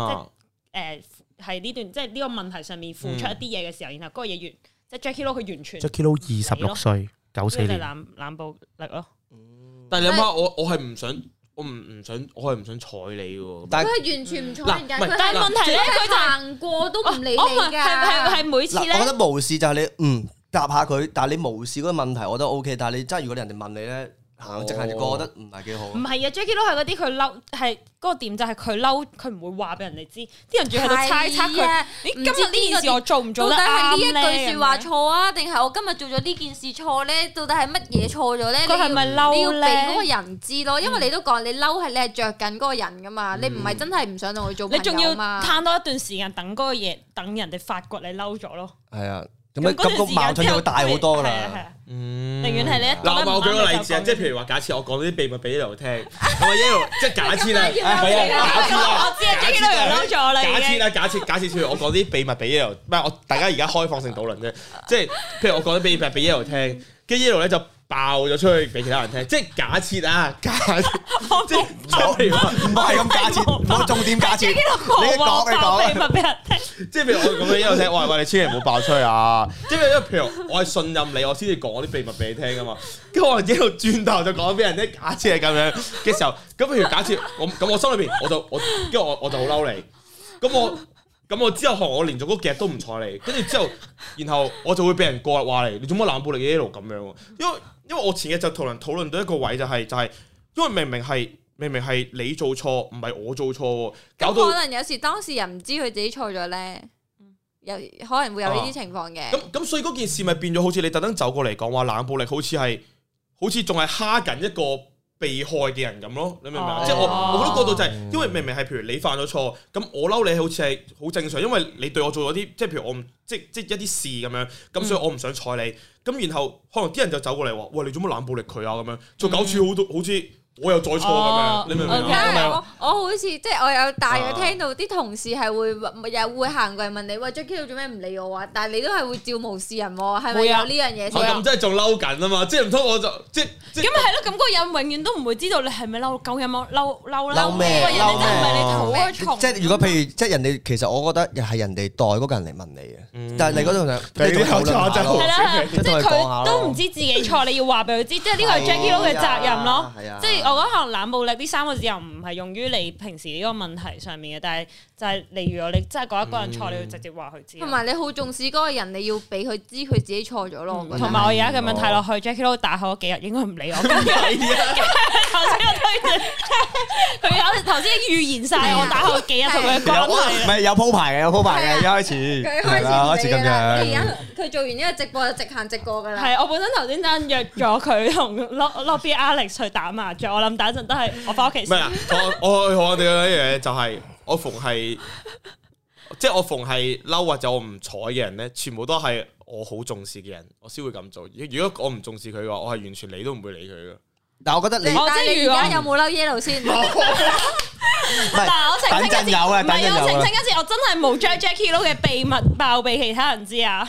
係呢段即係呢個問題上面付出一啲嘢嘅時候，然後嗰個嘢即係 Jacky Lou 佢完全 Jacky Lou 26歲94年冷暴力咯。 但係你諗下，我係唔想，我係唔想睬你嘅。 但係佢係完全唔睬人㗎。 但係問題咧，佢就行過都唔理你㗎。 係每次咧。 我覺得無視就係你答下佢，但係你無視嗰個問題，我覺得 OK。但係你真係如果人哋問你咧。直行直過，我覺得唔係幾好。唔係啊 Jacky Lou 係嗰啲佢嬲，係嗰個點就係佢嬲，佢唔會話俾人哋知，啲人仲喺度猜測佢。你今日呢件事我做唔做得啱咧？ 到底係呢一句説話錯啊，定係我今日做咗呢件事錯咧？到底係乜嘢錯咗咧？ 佢係咪嬲咧？ 你要俾嗰個人知咯，因為你都講你嬲係你係着緊嗰個人噶嘛，你唔係真係唔想同佢做朋友嘛。 你仲要攤多一段時間等嗰個嘢，等人哋發覺你嬲咗咯。 係啊。咁個矛盾就會大好多啦。 寧願係你一嗱，我舉個例子啊，即係譬如話，假設我講啲秘密俾 Yellow 聽，咁啊 Yellow 即係假設啦， 我知啊 Jacky Lou 又嬲咗啦。 假設譬如我講啲秘密俾 Yellow，唔係我大家而家開放性討論啫，即係譬如我講啲秘密俾 Yellow 聽，跟住 Yellow 咧就爆咗出去俾其他人聽，即係假設啊，即係唔係咁假設，冇重點假設，你講秘密俾人聽。 即係譬如我咁樣一路聽，喂，你千祈唔好爆出去啊！即係因為譬如我係信任你，我先至講啲秘密俾你聽噶嘛。跟住我一路轉頭就講俾人聽，假設係咁樣嘅時候，咁譬如假設我心裏邊我就好嬲你，咁我之後我連續嗰幾日都唔睬你，跟住之後，然後我就會俾人過話你做乜冷暴力嘅一路咁樣？因為我前日就同人討論到一個位就係因為明明係你做錯，唔係我做錯，搞到可能有時當事人唔知佢自己錯咗咧，可能會有呢啲情況嘅。 咁所以嗰件事咪變咗好似你特登走過嚟講話冷暴力，好似仲係蝦緊一個被害嘅人咁咯，你明唔明啊？即係我覺得嗰度就係因為明明係譬如你犯咗錯，咁我嬲你好似係好正常，因為你對我做咗啲即係譬如我唔即一啲事咁樣，咁所以我唔想睬你，咁然後可能啲人就走過嚟話，喂，你做乜冷暴力佢啊？咁樣做搞處好似。我又再錯咁樣，你明唔明啊？ 我好似即係我有大約聽到啲同事係會行過嚟問你，喂 Jacky Lou做咩唔理我啊？但係你都係會照無視人喎，係咪有呢樣嘢先？ 咁真係仲嬲緊啊嘛！即係唔通我就即咁咪係咯？咁嗰個人永遠都唔會知道你係咪嬲，究竟有冇嬲啦？ 嬲咩？ 人哋真係唔係你討開蟲。 即係如果譬如即係人哋其實我覺得係人哋代嗰個人嚟問你嘅，但係你嗰度就你討論下咯。 係啦，即係佢都唔知自己錯，你要話俾佢知，即係呢個係 Jacky Lou 嘅責任咯。即係我覺得可能冷暴力呢3個字又唔係用於你平時呢個問題上面嘅，但係就係例如果你真係覺得一個人錯，你要直接話佢知。 同埋你好重視嗰個人，你要俾佢知佢自己錯咗咯。 同埋我而家咁樣睇落去 Jackie Lou 打後嗰幾日應該唔理我。頭先我推佢頭先預言晒我打後幾日同佢嘅關係。 唔係有鋪排嘅，一開始佢開始咁樣。 而家佢做完呢個直播就直行直過㗎啦。 係我本身頭先真約咗佢同 Lobby Alex 去打麻雀，我諗打一陣都係我翻屋企先。 唔係啊，我哋嘅一樣嘢就係我逢係嬲或者我唔睬嘅人咧，全部都係我好重視嘅人，我先會咁做。如果我唔重視佢嘅話，我係完全理都唔會理佢㗎。 但係我覺得你， 但係你而家有冇嬲 Yellow 先？ 嗱，我澄清一次， 等陣有啊， 唔係我澄清一次，我真係冇將 Jackie Lou 嘅秘密爆俾其他人知啊。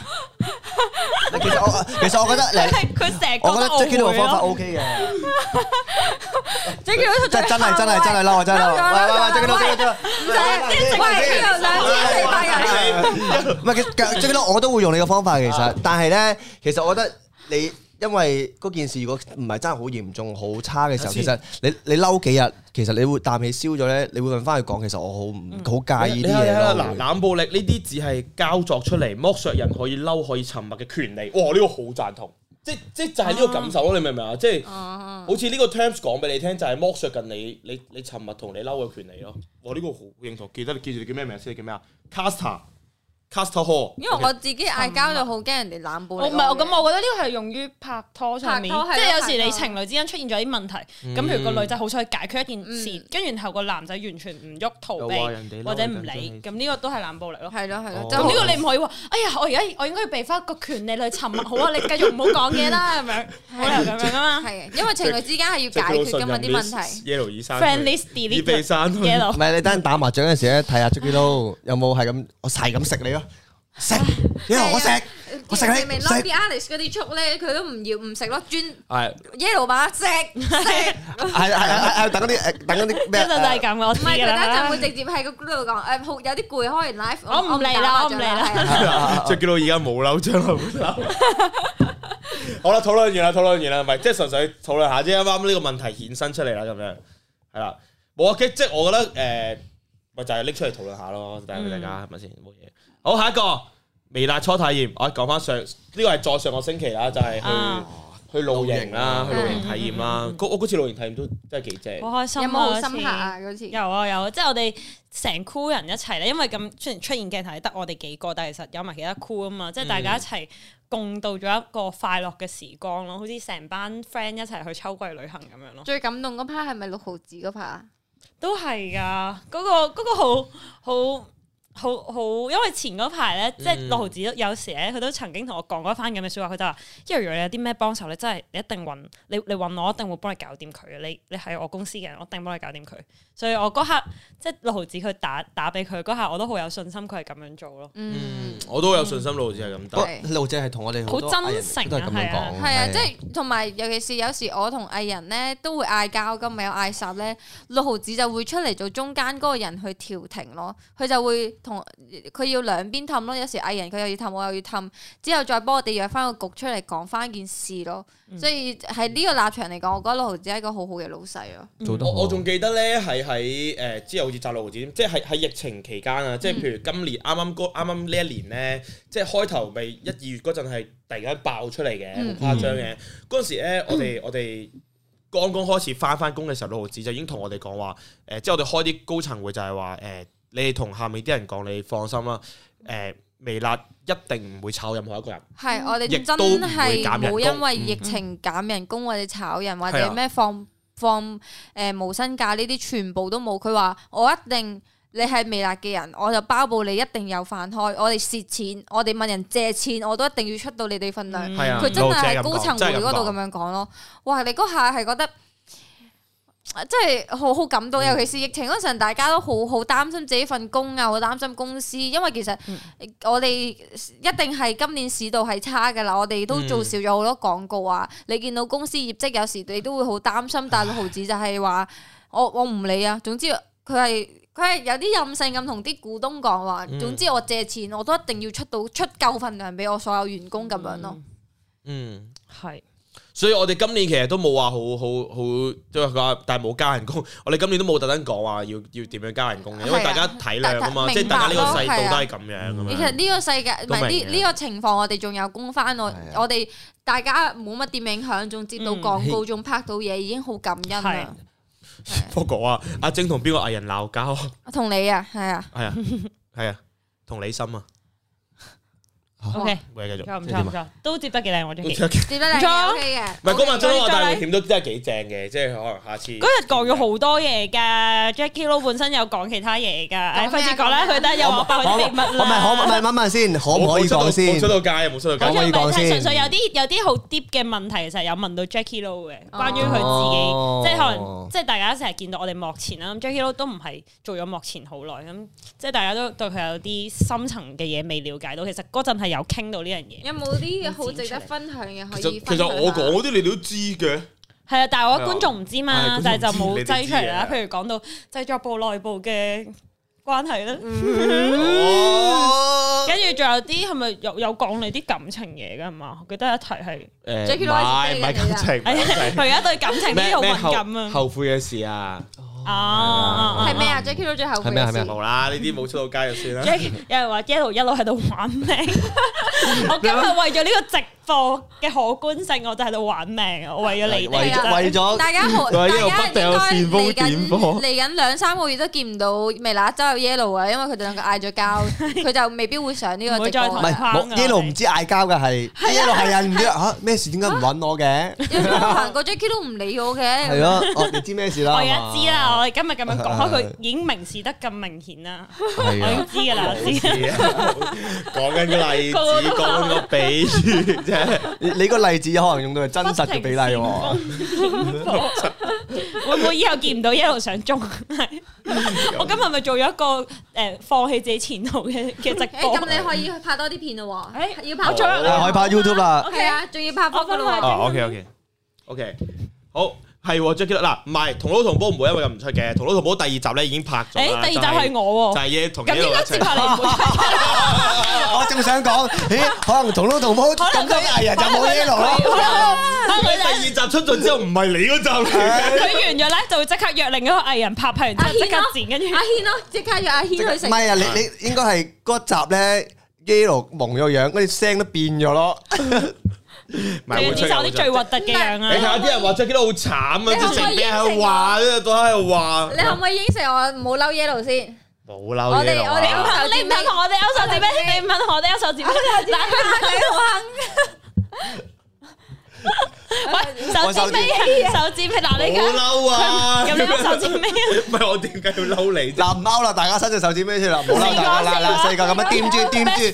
其實我覺得佢成日我覺得 Jackie Lou 嘅方法我 OK 嘅。 Jackie Lou 真係嬲，真係嬲！喂 Jackie Lou，唔係Jackie Lou，我都會用你嘅方法其實，但係咧，其實我覺得你。因為嗰件事如果唔係真係好嚴重、好差嘅時候，其實你嬲幾日，其實你會啖氣燒咗咧，你會問翻佢講，其實我好介意啲嘢咯。 嗱，冷暴力呢啲只係交作出嚟，剝削人可以嬲、可以沉默嘅權利。哇！呢個好贊同，即就係呢個感受咯。你明唔明啊？即係好似呢個 terms 講俾你聽，就係剝削緊你沉默同你嬲嘅權利咯。哇！呢個好認同，記住你叫咩名先？你叫咩啊 ？Caster Hall， 因為我自己嗌交就好驚人哋冷暴力。 唔係，咁我覺得呢個係用於拍拖上面，即係有時你情侶之間出現咗啲問題，咁譬如個女仔好想去解決一件事，跟住然後個男仔完全唔喐逃避或者唔理，咁呢個都係冷暴力咯。 係咯。 咁呢個你唔可以話，哎呀，我應該要俾翻個權利去沉默，好啊，你繼續唔好講嘢啦，咁樣，冇理由咁樣啊嘛。 係因為情侶之間係要解決㗎嘛啲問題。 Yellow 醫生 Friendly delete Yellow。 唔係你等陣打麻雀嗰陣時咧，睇下 Jackie Lou有冇係咁，我係咁食你咯。食，我食你。 明明 Lobby Alex 嗰啲粥咧，佢都唔食咯，專係 Yellow 嘛食。 係等嗰啲咩？ 一陣就係咁，我知唔係佢㗎啦。 一陣會直接喺個 group 度講，好有啲攰，開完 live 我唔嚟啦。 Jackie Lou而家冇嬲，將來會嬲。好啦，討論完啦，唔係即係純粹討論下啫。啱啱呢個問題衍生出嚟啦，咁樣係啦，冇啊，即係我覺得咪就係拎出嚟討論下咯，帶俾大家係咪先？冇嘢。好，下一個微辣初體驗，我講翻呢個係再上個星期啦，就係去露營啦，去露營體驗啦。我嗰次露營體驗都真係幾正， 好開心啊！ 有冇好深刻啊？嗰次有啊，即係我哋成 crew 人一齊咧，因為咁雖然出現鏡頭係得我哋幾個，但係其實有埋其他 crew 啊嘛，即係大家一齊共度咗一個快樂嘅時光咯，好似成班 friend 一齊去秋季旅行咁樣咯。 最感動嗰 part 係咪6毫子嗰 part 啊？ 都係㗎，嗰個好，因為前嗰排咧，即係6毫子有時咧，佢都曾經同我講過一番咁嘅説話，佢就話：因為如果你有啲咩幫手咧，真係你一定揾你揾我，一定會幫你搞掂佢嘅。你係我公司嘅人，我一定幫你搞掂佢。所以我嗰刻即係6毫子佢打俾佢嗰刻，我都好有信心佢係咁樣做咯。 我都有信心6毫子係咁打。 6毫子係同我哋好真誠都係咁樣講。 係啊，即係同埋尤其是有時我同藝人咧都會嗌交㗎，咪有嗌霎咧，6毫子就會出嚟做中間嗰個人去調停咯，佢就會。佢要兩邊氹咯，有時藝人佢又要氹，我又要氹，之後再幫我哋約翻個局出嚟講翻件事咯。所以喺呢個立場嚟講，我覺得6毫子係一個好好嘅老細咯。 我仲記得咧，係喺之後好似摘6毫子，即係喺疫情期間啊，即係譬如今年啱啱呢一年咧，即係開頭咪1、2月嗰陣係突然間爆出嚟嘅，好誇張嘅。嗰陣時咧，我哋剛剛開始翻工嘅時候，6毫子就已經同我哋講話，即係我哋開啲高層會就係話你哋同下面啲人講，你放心啦，微辣一定唔會炒任何一個人。係，我哋真係冇因為疫情減人工或者炒人或者咩放無薪假呢啲，全部都冇。佢話我一定，你係微辣嘅人，我就包保你一定有飯開。我哋蝕錢，我哋問人借錢，我都一定要出到你哋份量。佢真係喺高層會嗰度咁樣講咯。哇！你嗰下係覺得。真係好感動，尤其是疫情嗰陣，大家都好擔心自己份工啊，好擔心公司，因為其實我哋一定係今年市道係差㗎啦，我哋都做少咗好多廣告啊。你見到公司業績有時你都會好擔心，但6毫子就係話我唔理啊，總之佢係有啲任性咁同啲股東講話，總之我借錢我都一定要出夠份量俾我所有員工咁樣咯。係。 所以我哋今年其實都冇話好，即係話，但係冇加人工。我哋今年都冇特登講話要點樣加人工嘅，因為大家體諒啊嘛，即係大家呢個世道都係咁樣咁樣。 其實呢個世界唔係呢個情況，我哋仲有工翻我哋大家冇乜點影響，仲接到廣告，仲拍到嘢，已經好感恩啦。 不過啊，阿晶同邊個藝人鬧交？ 同你啊，係啊， 同李心啊。 O K， 唔繼續， 唔錯，都接得幾靚喎，Jackie， 接得靚 OK 嘅。 唔係嗰晚中華大冒險都真係幾正嘅，即係可能下次。 嗰日講咗好多嘢㗎 ，Jackie Lou 本身有講其他嘢㗎，費事講啦，佢得又話爆啲秘密啦。 問問先，可唔可以講先？ 冇出到街，冇出到街。 可以講先。 純粹有啲好 deep 嘅問題，其實有問到 Jackie Lou 嘅，關於佢自己，即係可能即係大家成日見到我哋幕前啦，咁 Jackie Lou 都唔係做咗幕前好耐，咁即係大家都對佢有啲深層嘅嘢未了解到，其實嗰陣係有傾到呢樣嘢。有冇啲好值得分享嘅可以？ 其實我講嗰啲你都知嘅。 係啊，但係我觀眾唔知嘛，但係就冇擠出嚟啦。譬如講到製作部內部嘅關係啦，跟住仲有啲係咪有講你啲感情嘢㗎係嘛？我記得一題係唔係感情， 佢而家對感情啲好敏感啊， 後悔嘅事啊。 係咩啊 ？Jackie Lou 最後悔嘅事冇啦，呢啲冇出到街就算啦。 有人話 Yellow 一路喺度玩命，我今日為咗呢個直播嘅可觀性，我就喺度玩命啊！我為咗你哋， 為咗大家應該嚟緊2-3個月都見唔到微辣周有 Yellow 啊，因為佢哋兩個嗌咗交，佢就未必會上呢個直播。 唔係 Yellow 唔知嗌交嘅係 Yellow 係啊，唔知嚇咩事？點解唔揾我嘅？ 有冇行過 Jackie 都唔理我嘅。 係咯，你知咩事啦？ 我而家知啦，我哋今日咁樣講開，佢已經明示得咁明顯啦。我已經知㗎啦，我知。 講緊個例子，講緊個比喻啫。 你個例子可能用到係真實嘅比例喎。 會唔會以後見唔到一路上鐘？我今日咪做咗一個放棄自己前途嘅直播。 咁你可以拍多啲片咯喎。要拍咗，可以拍 YouTube 啦。 係啊，仲要拍 vlog 咯喎。 OK，好。係 Jackie Lou 嗱，唔係同撈同煲唔會因為咁唔出嘅，同撈同煲第2集咧已經拍咗啦。 第2集係我喎， 就係嘢同 Yellow 咁應該接下嚟唔會出。 我正想講，可能同撈同煲咁多藝人就冇 Yellow 咯。 第2集出咗之後唔係你嗰集嚟嘅， 佢完咗咧就會即刻約另一個藝人拍完之後即刻剪，跟住阿軒咯，即刻約阿軒去食。 唔係啊，你應該係嗰集咧 Yellow 蒙咗樣，嗰啲聲都變咗咯。 你接受啲最核突嘅樣啊！ 你睇下啲人話 Jackie Lou好慘啊，之前俾人話，都喺度話。 你可唔可以應承我唔好嬲 Yellow 先？ 冇嬲我哋你唔肯同我哋勾手指咩？你唔肯同我哋勾手指咩？嗱，佢好肯。喂，手指尾，嗱你好嬲啊！ 咁樣手指尾， 唔係我點解要嬲你？ 嗱唔勾啦，大家伸隻手指尾出嚟，唔好嬲大家啦，四個咁樣掂住，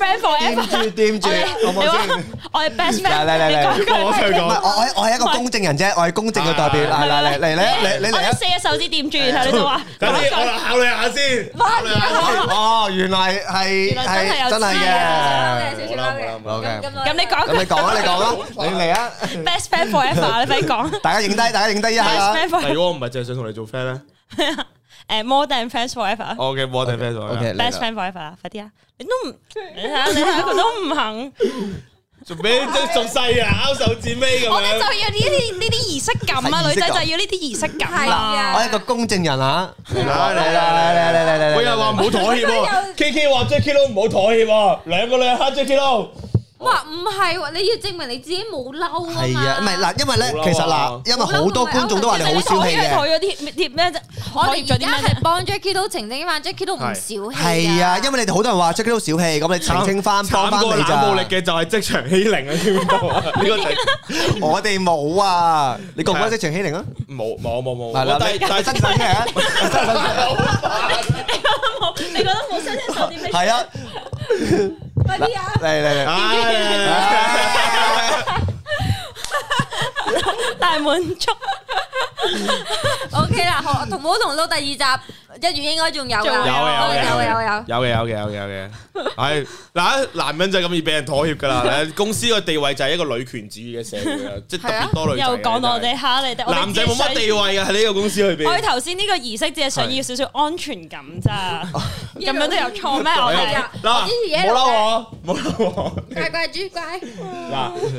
好唔好先？ 我係 best friend， 我想講， 我係一個公證人啫，我係公證嘅代表，嚟，你嚟啊！ 4隻手指掂住，然後你就話， 等啲我考慮下先， 哦，原來係真係嘅， 少嘅。 咁你講啊，你嚟啊！ Best friend forever，你快講！ 大家影低一下啦。 如果我唔係淨係想同你做 friend 咧 ，more than friends forever。 OK，more than friends forever。Best friend forever 啦，快啲啊！你都唔，你睇下佢都唔肯。 做咩即係仲細啊？拗手指尾咁樣。 我哋就要呢啲儀式感啊！女仔就要呢啲儀式感啊！ 我係一個公證人啊！嚟！ 我又話唔好妥協喎，KK 話 Jackie Lou 唔好妥協喎，兩個女人蝦 Jackie Lou。 哇，唔係喎，你要證明你自己冇嬲啊嘛。 係啊，唔係嗱，因為咧，其實嗱，因為好多觀眾都話你好小氣嘅。 妥咗啲咩啫？ 我哋而家係幫 Jackie Lou 澄清翻 Jackie Lou 唔小氣。 係啊，因為你哋好多人話 Jackie Lou 小氣，咁你澄清翻幫翻你咋。 冷暴力嘅就係職場欺凌啊！知唔知道啊？呢個我哋冇啊，你覺唔覺得職場欺凌啊？ 冇。 係啦，但係真實嘅， 你覺得冇新鮮手指咩？ 係啊。 快啲啊！ 嚟！ 大滿足。 OK 啦，同冇同撈第2集1月應該仲有㗎。 有嘅。係嗱，男人就係咁易俾人妥協㗎啦。公司個地位就係一個女權主義嘅社會啊，即係特別多女仔。 又講我哋蝦你哋， 男仔冇乜地位嘅喺呢個公司裏邊。 我哋頭先呢個儀式只係想要少少安全感咋，咁樣都有錯咩？我哋嗱，冇嬲我， 乖豬乖。 嗱，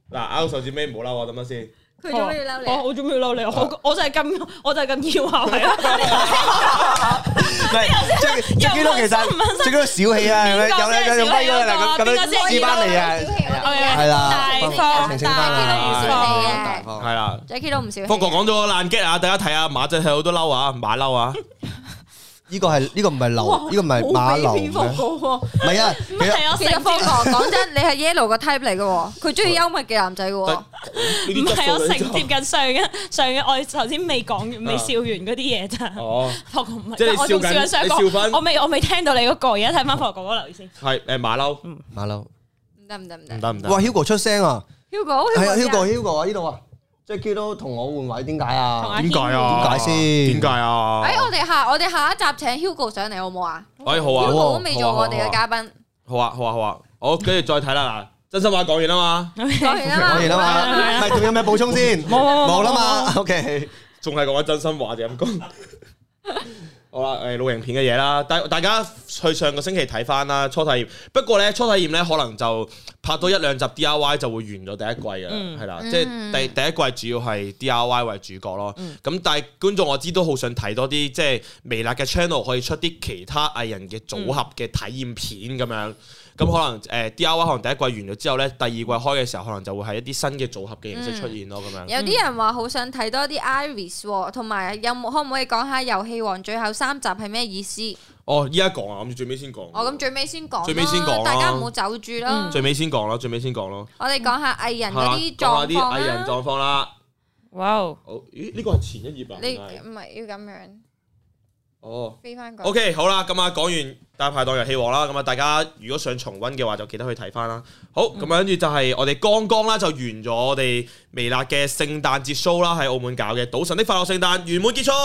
嗱，拗手指尾唔好嬲我，等陣先。 佢做咩要嬲你啊？ 我做咩要嬲你？我就係咁要下係咯。 唔係，最基都其實最基都小氣啊，有威嗰個咁樣支翻嚟啊，係啦， 大方澄清翻啦係啦 Jackie 都唔少氣嘅。 福哥講咗個爛 get 啊，大家睇下馬仔睇好多嬲啊，馬嬲啊。 呢個唔係流，呢個唔係馬流咩？唔係啊， 其實福哥講真，你係 Yellow 個 type 嚟嘅喎，佢中意幽默嘅男仔嘅喎。 唔係我承接緊上嘅，我頭先未講完、未笑完嗰啲嘢咋。 哦， 福哥唔係， 即係你我仲笑緊想講， 你我未聽到你嗰個，而家睇翻福哥嗰個留意先。 係馬嬲， 馬流。 唔得。 唔得。 哇 ，Hugo 出聲啊！ Hugo 係啊，Hugo 啊，呢度啊。Jackie 都同我換位，點解啊？ 點解啊？ 點解先？ 點解啊？ 我哋下一集請 Hugo 上嚟好唔好啊哎，好啊， ？Hugo 都未做我哋嘅嘉賓。 好啊，好，跟住再睇啦嗱，真心話講完啦嘛， 講完啦講完啦嘛，唔係仲有咩補充先？冇啦嘛。OK， 仲係講緊真心話就咁講。好啦，露營片嘅嘢啦，大家去上個星期睇翻啦，初體驗。不過咧，初體驗咧可能就拍多一兩集 DIY 就會完咗第一季嘅啦，係啦，即係第一季主要係 DIY 為主角咯。咁但係觀眾我知都好想睇多啲，即係微辣嘅 channel 可以出啲其他藝人嘅組合嘅體驗片咁樣。咁可能DIY 可能第一季完咗之後咧，第二季開嘅時候可能就會係一啲新嘅組合嘅形式出現咯，咁樣。 有啲人話好想睇多啲 Iris 喎，同埋可唔可以講下遊戲王最後3集係咩意思？ 哦，依家講啊，諗住最尾先講。 咁最尾先講， 最尾先講大家唔好走住啦。 最尾先講咯。 我哋講下藝人嗰啲講下啲狀況藝人狀況啦。 哇！ 好，咦？呢個係前一頁啊？ 你唔係要咁樣？ 哦飛翻過。 OK， 好啦，咁啊講完大排檔遊戲王啦，咁啊大家如果想重溫嘅話，就記得去睇翻啦。好，咁跟住就係我哋剛剛啦就完咗我哋微辣嘅聖誕節 show 啦，喺澳門搞嘅《賭神的快樂聖誕》圓滿結束。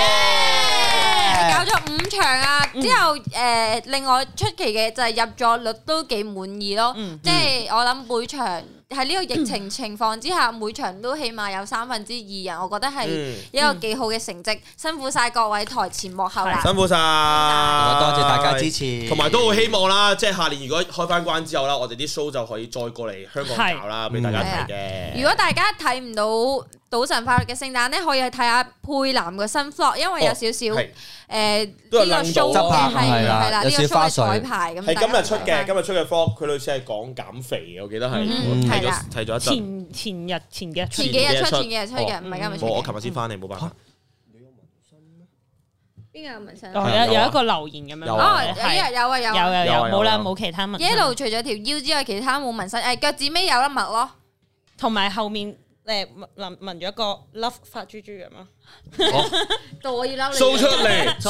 搞咗5場啊！之後另外出奇嘅就係入座率都幾滿意咯，即係我諗每場喺呢個疫情情況之下，每場都起碼有2/3人，我覺得係一個幾好嘅成績。辛苦晒各位台前幕後啦， 辛苦晒， 多謝大家支持， 同埋都好希望啦，即係下年如果開翻關之後啦，我哋啲 show 就可以再過嚟香港搞啦，俾大家睇嘅。 如果大家睇唔到賭神快樂嘅聖誕咧，可以去睇下佩南嘅新 vlog，因為有少少呢個 show 嘅係啦，呢個 show 嘅彩排咁。 係今日出嘅 vlog，佢類似係講減肥嘅，我記得係睇咗一陣。 前幾日出嘅，唔係今日出嘅。 我琴日先翻嚟，冇辦法。 邊個有紋身？ 有一個留言咁樣。 有冇啦，冇其他紋。 Yellow 除咗條腰之外，其他冇紋身。腳趾尾有粒墨咯， 同埋後面紋咗一個 love 發豬豬咁咯。 到我要嬲你。 show 出嚟，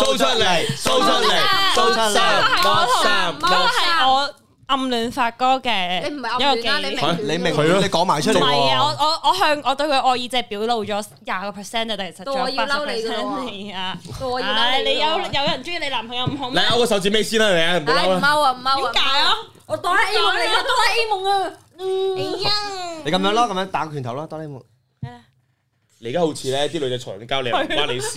係我暗戀發哥嘅你唔係暗戀啊， 你明佢，你講埋出嚟。 唔係啊，我對佢愛意就係表露咗20%啊，但係其實仲有80%啊。 我要嬲你。 你有人中意你男朋友唔好咩？ 你勾個手指尾先啦，你唔好嬲啦。 唔踎啊！ 點解啊？ 我哆啦 A 夢嚟噶，哆啦 A 夢啊！ 你咁樣咯，咁樣打個拳頭咯，哆啦 A 夢。 你而家好似咧啲女仔嘈緊交，你唔關你事。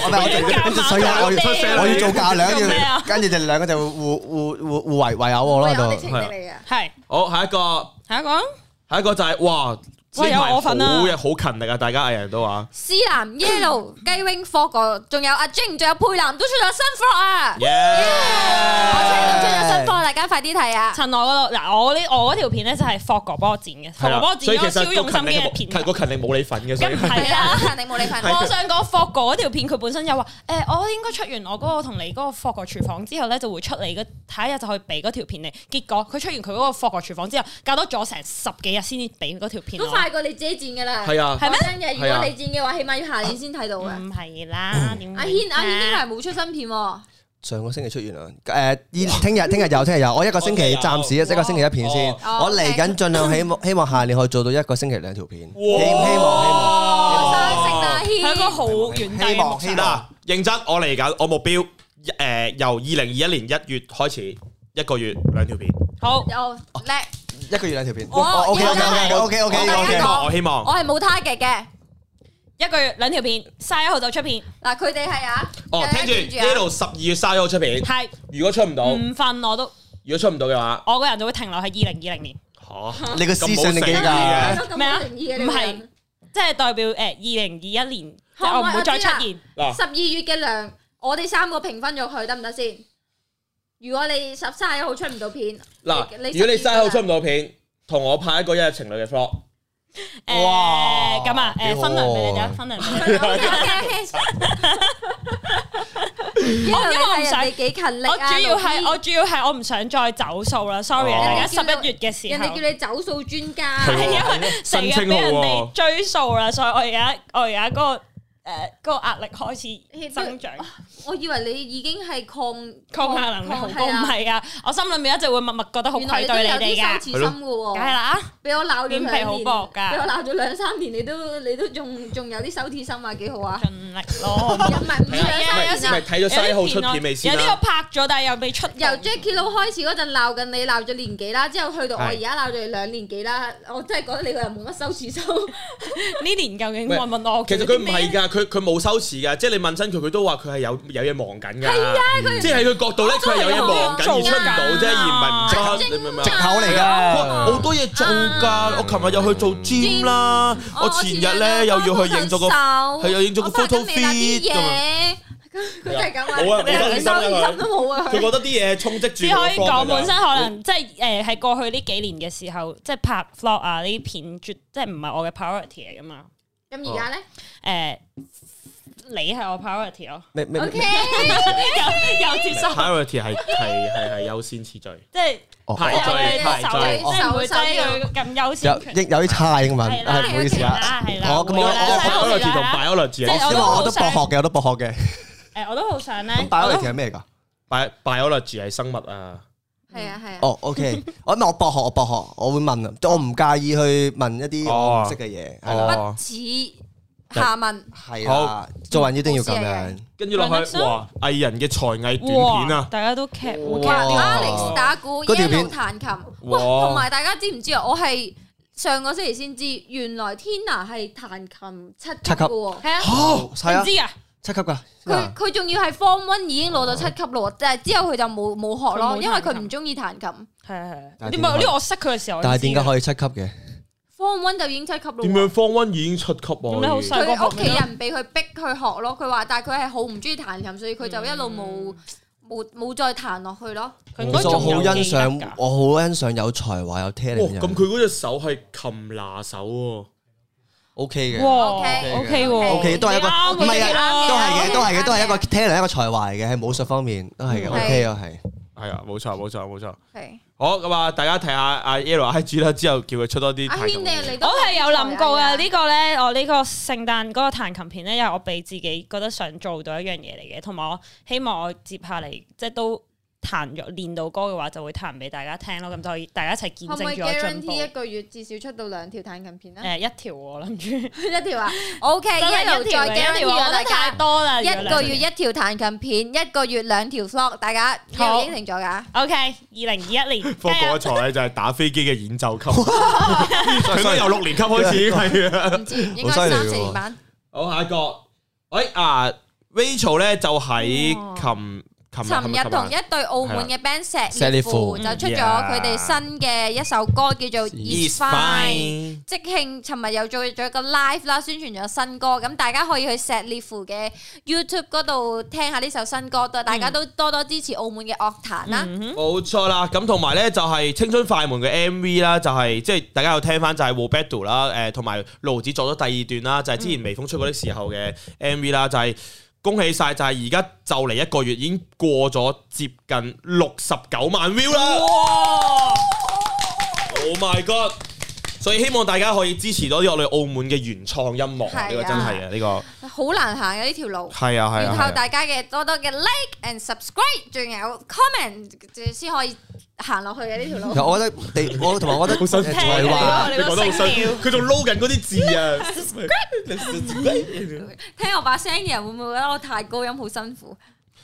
我要做嫁娘，跟住就兩個就互圍毆我咯喺度。 係。 好，下一個就係哇！ 有我份啊！ 好勤力啊！大家藝人都話。 思南 Yellow 雞 wing 科個，仲有阿 Jing，仲有佩南都出咗新 vlog 啊！我聽到出咗新 vlog，大家快啲睇啊！ 趁我嗰度嗱，我嗰條片咧就係霍哥幫我剪嘅，霍哥幫我剪咗超用心機嘅片。 個勤力冇你份嘅， 咁係啦， 勤力冇你份。 我想講霍哥嗰條片，佢本身又話我應該出完我嗰個同你嗰個霍哥廚房之後咧，就會出嚟嘅，下一日就可以俾嗰條片你。結果佢出完佢嗰個霍哥廚房之後，隔多咗成10幾日先至俾嗰條片。 都快過你自己剪嘅啦。 係啊， 係咩？如果你剪嘅話，起碼要下年先睇到嘅。 唔係啦， 阿軒呢排冇出新片喎。 上個星期出完啦，聽日有，我一個星期暫時一個星期一片先，我嚟緊盡量希望下年可以做到一個星期2條片，希望。 係一個好遠大嘅目標。 嗱，認真，我嚟緊，我目標由2021年1月開始，一個月2條片。 好， 又叻， 一個月2條片。OK， 我希望。 我係冇 target 嘅。 一個月2條片，31號就出片。 嗱，佢哋係啊。 聽住呢度12月31號出片。 係。 如果出唔到， 唔瞓我都。 如果出唔到嘅話， 我個人就會停留喺2020年。 你個思想力幾㗎？ 咩啊？唔係，即係代表2021年，即係我唔會再出現。 嗱 12月嘅糧，我哋3個平分咗佢得唔得先？如果你31號出唔到片， 嗱，如果你30號出唔到片，同我拍一個一日情侶嘅 vlog。 哇！咁啊，分糧俾你啫，分糧俾你。 因為我唔想你幾勤力啊！ 我主要係我唔想再走數啦，sorry 啊！大家11月嘅時候， 人哋叫你走數專家， 係因為成日俾人哋追數啦，所以我而家嗰個壓力開始增長。 我以為你已經係抗壓能力好高，唔係啊！我心裏面一直會默默覺得好愧對你哋㗎， 羞恥心嘅喎， 梗係啦， 俾我鬧咗臉皮好薄㗎， 俾我鬧咗2-3年，你都仲有啲羞恥心啊，幾好啊！ 盡力咯， 唔係咪睇咗30號出片未先啦？ 有啲我拍咗，但係又未出。 由 Jacky Lou 開始嗰陣鬧緊你，鬧咗年幾啦，之後去到我而家鬧咗你2年幾啦，我真係覺得你個人冇乜羞恥心。 呢年究竟問我？ 其實佢唔係㗎，佢冇羞恥㗎，即係你問親佢，佢都話佢係有嘢忙緊㗎。係啊，即係喺佢角度咧，佢係有嘢忙緊而出唔到啫，而唔係唔出。你明唔明啊？ 藉口嚟㗎， 好多嘢做㗎。我琴日又去做 gym 啦，我前日咧又要去影咗個影咗個 photo feed 咁樣。 佢就係咁話， 冇啊，冇收心都冇啊！ 佢覺得啲嘢充斥住。 只可以講本身可能即係喺過去呢幾年嘅時候，即係拍 vlog 啊呢啲片，即係唔係我嘅 priority 嚟㗎嘛。 咁而家咧？ 你係我 priority 咯。 OK， 有接受。 priority 係優先次序， 即係排序， 我唔會擠佢咁優先。 有啲差英文，唔好意思啊。 係啦。 我 priority 同 biology， 因為我都博學嘅。 我都好想咧。 咁 biology 係咩㗎 ？biology 係生物啊。 係啊。 哦，OK，我博學，我會問啊，我唔介意去問一啲我唔識嘅嘢，係啦。 不恥下問。 係啦，做人一定要咁樣。 跟住落去，哇！藝人嘅才藝短片啊， 大家都劇 Alex 打鼓，Yellow 彈琴，哇！同埋大家知唔知啊？我係上個星期先知，原來 Tina 係彈琴7級嘅喎。係啊， 唔知啊 ，7級㗎。 佢仲要係 Form 1已經攞到7級咯，但係之後佢就冇學咯，因為佢唔中意彈琴。 係。點解呢？我識佢嘅時候， 但係點解可以7級嘅 ？Form 1就已經7級咯。 點樣 Form 1已經7級啊？ 你好細個學。 佢屋企人俾佢逼佢學咯，佢話，但係佢係好唔中意彈琴，所以佢就一路冇再彈落去咯。 其實我好欣賞有才華有 talent 嘅人。 咁佢嗰隻手係琴拿手喎。 OK 嘅。 OK 喎。 OK 都係一個唔係啊，都係嘅，都係一個 talent 一個才華嚟嘅，喺武術方面都係嘅。OK 啊，係啊，冇錯。 係。 好咁啊！大家睇下阿 Yellow IG 啦，之後叫佢出多啲。 阿軒你都我係有諗過啊！呢個咧，我呢個聖誕嗰個彈琴片咧，因為我俾自己覺得想做到一樣嘢嚟嘅，同埋我希望我接下嚟即係都練到歌嘅話，就會彈俾大家聽咯。咁就可以大家一齊見證住我進步。 可唔可以 guarantee 一個月至少出到2條彈琴片咧？ 一條我諗住 1條啊。OK，一路再 guarantee 啊！大家太多啦， 一個月1條彈琴片，一個月2條 vlog，大家有應承咗㗎。 OK，2021年。 科嗰一咧就係打飛機嘅演奏級，佢都由6年級開始係啊， 唔知應該3-4年班。 好，下一個，Rachel 咧就喺尋日同一對澳門嘅 band 石烈符就出咗佢哋新嘅一首歌叫做 It's Fine， 即興尋日又做咗個 live 啦，宣傳咗新歌，咁大家可以去石烈符嘅 YouTube 嗰度聽下呢首新歌，大家都多多支持澳門嘅樂壇啦。 冇錯啦，咁同埋咧就係青春快門嘅 MV 啦，就係即係大家有聽翻就係 Roberto 啦，同埋盧子做咗第2段啦，就係之前微風吹過的時候嘅 MV 啦，就係。恭喜晒！就係而家就嚟1個月已經過咗接近69萬 view 啦！哇 ！Oh my god！所以希望大家可以支持多啲我哋澳門嘅原創音樂，呢個真係啊，呢個好難行嘅呢條路。 係啊， 要靠大家嘅多多嘅 like and subscribe， 仲有 comment 先可以行落去嘅呢條路。 我覺得我同埋我覺得好辛苦啊！你講得好辛苦，佢仲撈緊嗰啲字啊！ 聽我把聲嘅人會唔會覺得我太高音好辛苦？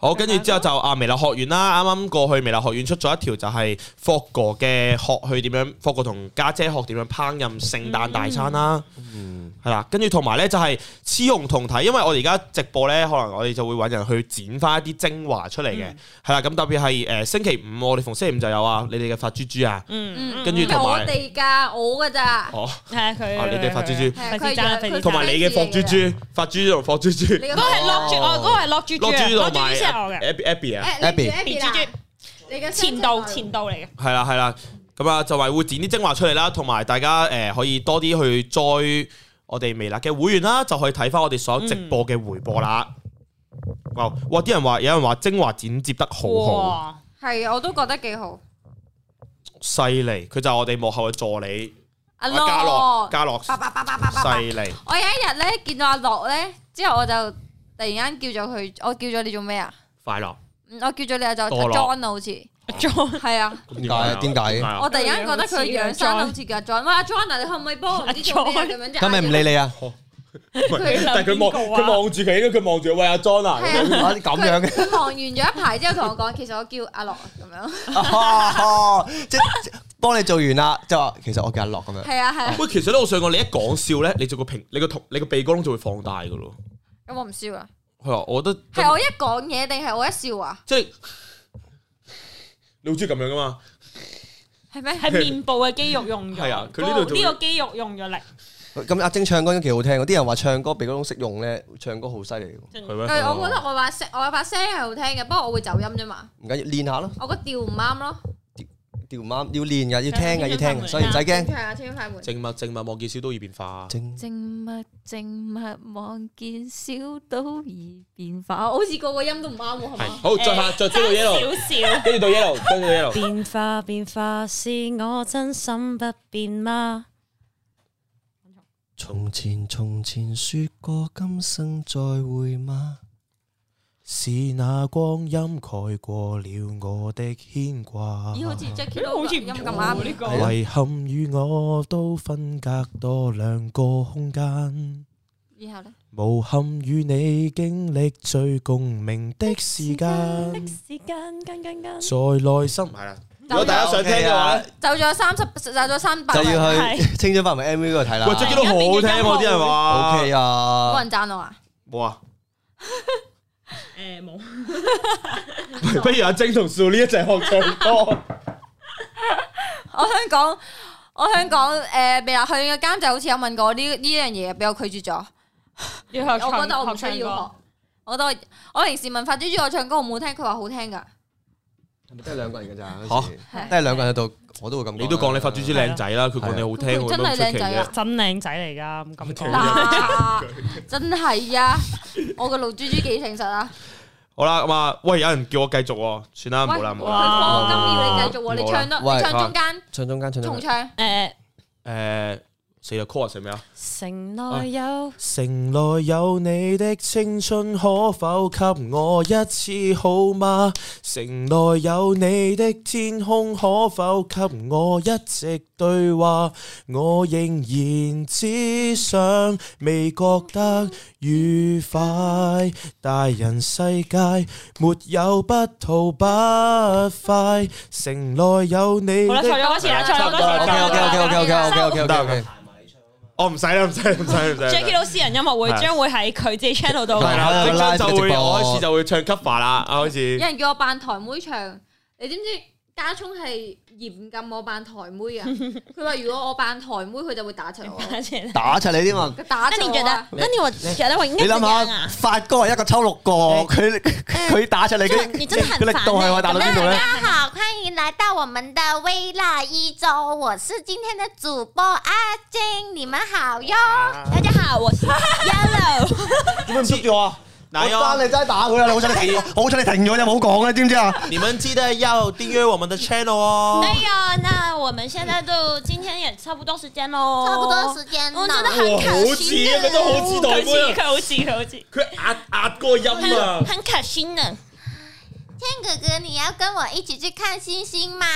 好，跟住之後就微辣學院啦，啱啱過去微辣學院出咗一條就係霍哥嘅學去點樣，霍哥同家姐學點樣烹飪聖誕大餐啦。係啦，跟住同埋咧就係雌雄同體，因為我哋而家直播咧，可能我哋就會揾人去剪翻一啲精華出嚟嘅，係啦。咁特別係星期五，我哋逢星期五就有你哋嘅發豬豬啊，跟住同埋我哋㗎，我㗎咋？ 哦， 係啊，佢你哋發豬豬， 佢同埋你嘅霍豬豬，發豬同霍豬豬， 嗰個係落豬，嗰個係落豬豬，落豬豬先係我嘅 Abby 啊 ，Abby 豬豬， 你嘅前度嚟嘅。 係啦，咁啊就係會剪啲精華出嚟啦，同埋大家可以多啲去載我哋微辣嘅會員啦，就可以睇翻我哋所有直播嘅回播啦。哇！啲人話有人話精華剪接得好好， 係我都覺得幾好， 犀利！佢就係我哋幕後嘅助理阿嘉樂，犀利！ 我有一日咧見到阿樂咧，之後我就突然間叫咗佢，我叫咗你做咩啊？ 快樂， 我叫咗你就 John 好似。John 係啊， 點解？ 我突然間覺得佢樣生好似阿 John，喂阿 John 啊，你可唔可以幫我唔知做咩咁樣啫？ 咁咪唔理你啊？ 但係佢望住佢，佢望住喂阿 John 啊， 咁樣嘅。 佢望完咗一排之後同我講，其實我叫阿樂咁樣。 即係幫你做完啦，就話其實我叫阿樂咁樣。 係啊。 喂，其實咧，我想講你一講笑咧，你個鼻哥窿就會放大噶咯。 咁我唔笑啊。 係啊，我覺得係我一講嘢定係我一笑啊？ 即係。你好中意咁樣噶嘛？ 係咩？ 係面部嘅肌肉用咗， 係啊，佢呢度呢個肌肉用咗力。 咁阿晶唱歌都幾好聽，啲人話唱歌鼻哥窿識用咧，唱歌好犀利喎。 係咩？ 我覺得我把聲係好聽嘅，不過我會走音啫嘛。 唔緊要，練下咯。 我個調唔啱咯。 調唔啱，要練㗎，要聽㗎，要聽，所以唔使驚。 係啊，天快門。 靜默望見小島易變化。 靜默望見小島易變化，好似個音都唔啱喎，係嘛？ 好，再追到 yellow，跟住到 yellow，跟住 yellow。 變化是我真心不變嗎？ 從前說過今生再會嗎？ 是那光陰蓋過了我的牽掛。 咦，好似 Jackie 都好似音咁啱呢個。 遺憾與我都分隔多兩個空間。 然後咧， 無憾與你經歷最共鳴的時間。在內心係啦。如果大家想聽嘅話咧， 走咗300， 就要去青春發明 MV 嗰度睇啦。 喂，Jackie 都好好聽喎，啲人話。 OK 啊。 冇人讚我啊？ 冇啊。 冇。 不如阿晶同少呢一齊學唱歌。 我想講，微辣學院嘅監製好似有問過呢樣嘢，俾我拒絕咗。 要學我覺得我唔需要學。我覺得我平時問發豬豬我唱歌好唔好聽，佢話好聽㗎。係咪得兩個人㗎咋？嚇，得兩個人喺度，我都會咁講。你都講你發豬豬靚仔啦，佢講你好聽， 真係靚仔啊！ 真靚仔嚟㗎，咁講。 真係啊！我個老豬豬幾誠實啊！ 好啦，咁啊，喂，有人叫我繼續喎，算啦，冇啦，冇啦。 佢課金要你繼續喎，你唱中間， 唱中間， 重唱。 死啦 call 係咩啊？ 城內有你的青春，可否給我一次好嗎？城內有你的天空，可否給我一直對話？我仍然只想未覺得愉快，大人世界沒有不吐不快，城內有你的。 好啦，唱咗嗰次啦，唱咗嗰次。 OK。 我唔使啦，唔使。 Jackie 老私人音樂會將會喺佢自己 channel 度。 係啦，即將就會我開始就會唱 cover 啦，開始。 有人叫我扮台妹唱，你知唔知家聰係嚴禁我扮台妹啊？佢話如果我扮台妹，佢就會打柒我。 打柒你添嘛？ 打柒我啊！ 那你我覺得我應該點樣啊？ 發哥係一個抽6個，佢打出嚟嘅，佢力度係話打到邊度咧？ 大家好，歡迎來到我們的微辣一周，我是今天的主播阿晶，你們好喲！ 大家好，我是 Yellow。 點解唔捉住我啊？我爭你真係打佢啊！好彩你停咗就冇講啦，知唔知啊？ 你們記得要訂閱我們的 channel 哦。 對呀，那我們現在都今天也差不多時間咯， 差不多時間， 我真的很可惜， 佢都好似台妹， 好似， 佢壓個音啊， 很可惜呢。 天哥哥，你要跟我一起去看星星嗎？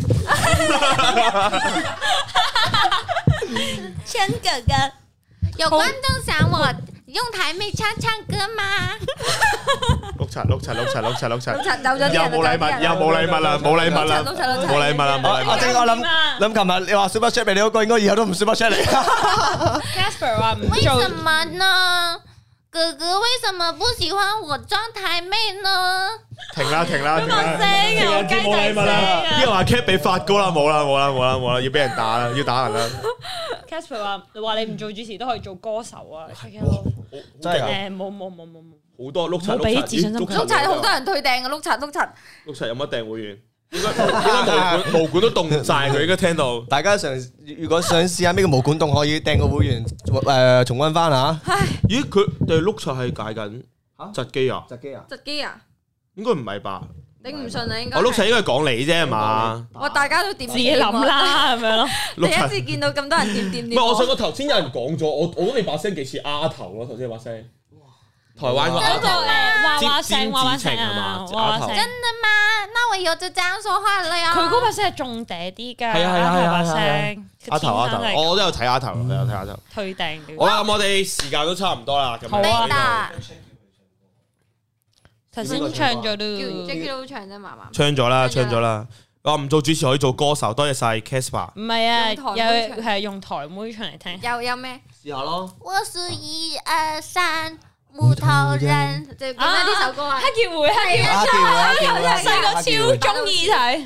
天哥哥， 有觀眾想我用台妹唱歌嗎？ 柒碌柒碌柒碌柒碌柒， 走咗啲人， 又冇禮物，又冇禮物啦，冇禮物啦， 碌柒冇禮物啦，冇禮物。 我正我諗琴日你話 super chat 俾你嗰個，應該以後都唔 super chat 你。 Casper 話唔為做什麼呢？哥哥為什麼不喜歡我裝台妹呢？ 停啦停啦停啦！ 聲啊，雞冇禮物啦！啲仔人話 cap 俾發哥啦，冇啦冇啦冇啦冇啦，要俾人打啦，要打人啦！ Casper 話你唔做主持都可以做歌手啊！ 真係誒冇， 好多碌柒冇俾自信心佢碌柒好多人退訂嘅，碌柒。 碌柒有乜訂會員？應該毛管都凍晒，佢應該聽到。 大家如果想試下咩叫毛管動，可以訂個會員重溫翻嚇。 咦？佢哋碌柒係解緊窒機啊？ 窒機啊？ 窒機啊？ 應該唔係吧？ 頂唔順啊，應該。 我碌柒應該係講你啫係嘛？ 我大家都點自己諗啦咁樣咯。 第一次見到咁多人點唔係，我想講頭先有人講咗，我覺得你把聲幾似丫頭咯，頭先把聲。台灣個丫頭娃娃聲詹子晴係嘛？丫頭。 真的嗎？那我以後就這樣說話了呀。 佢嗰把聲係重嗲啲㗎， 係啊把聲。 丫頭，我都有睇丫頭，有睇丫頭。 退訂。 好啦，咁我哋時間都差唔多啦，咁好啊。 頭先唱咗都 Jackie 都唱啫嘛嘛。 唱咗啦。我唔做主持可以做歌手，多謝晒 Casper。 唔係啊， 用台妹有係用台妹唱嚟聽。 有咩？ 試下咯。 我是1、2、3木頭人。 就講緊呢首歌啊。 黑傑會，細個超中意睇。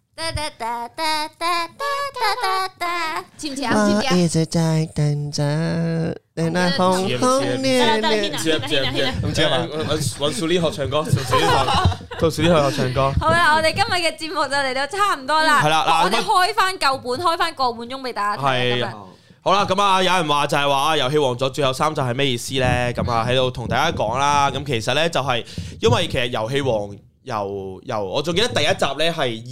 似唔似啊？似唔似啊？ 一直在等着，等那紅紅烈烈。 唔知啊嘛？揾小呢學唱歌，到小呢學唱歌。 好啦，我哋今日嘅節目就嚟到差唔多啦。 係啦嗱我哋開翻舊本，開翻個半鐘俾大家睇。 係好啦，咁啊，有人話就係話遊戲王咗最後3集係咩意思咧？咁啊喺度同大家講啦。咁其實咧就係因為其實遊戲王由我仲記得第一集咧係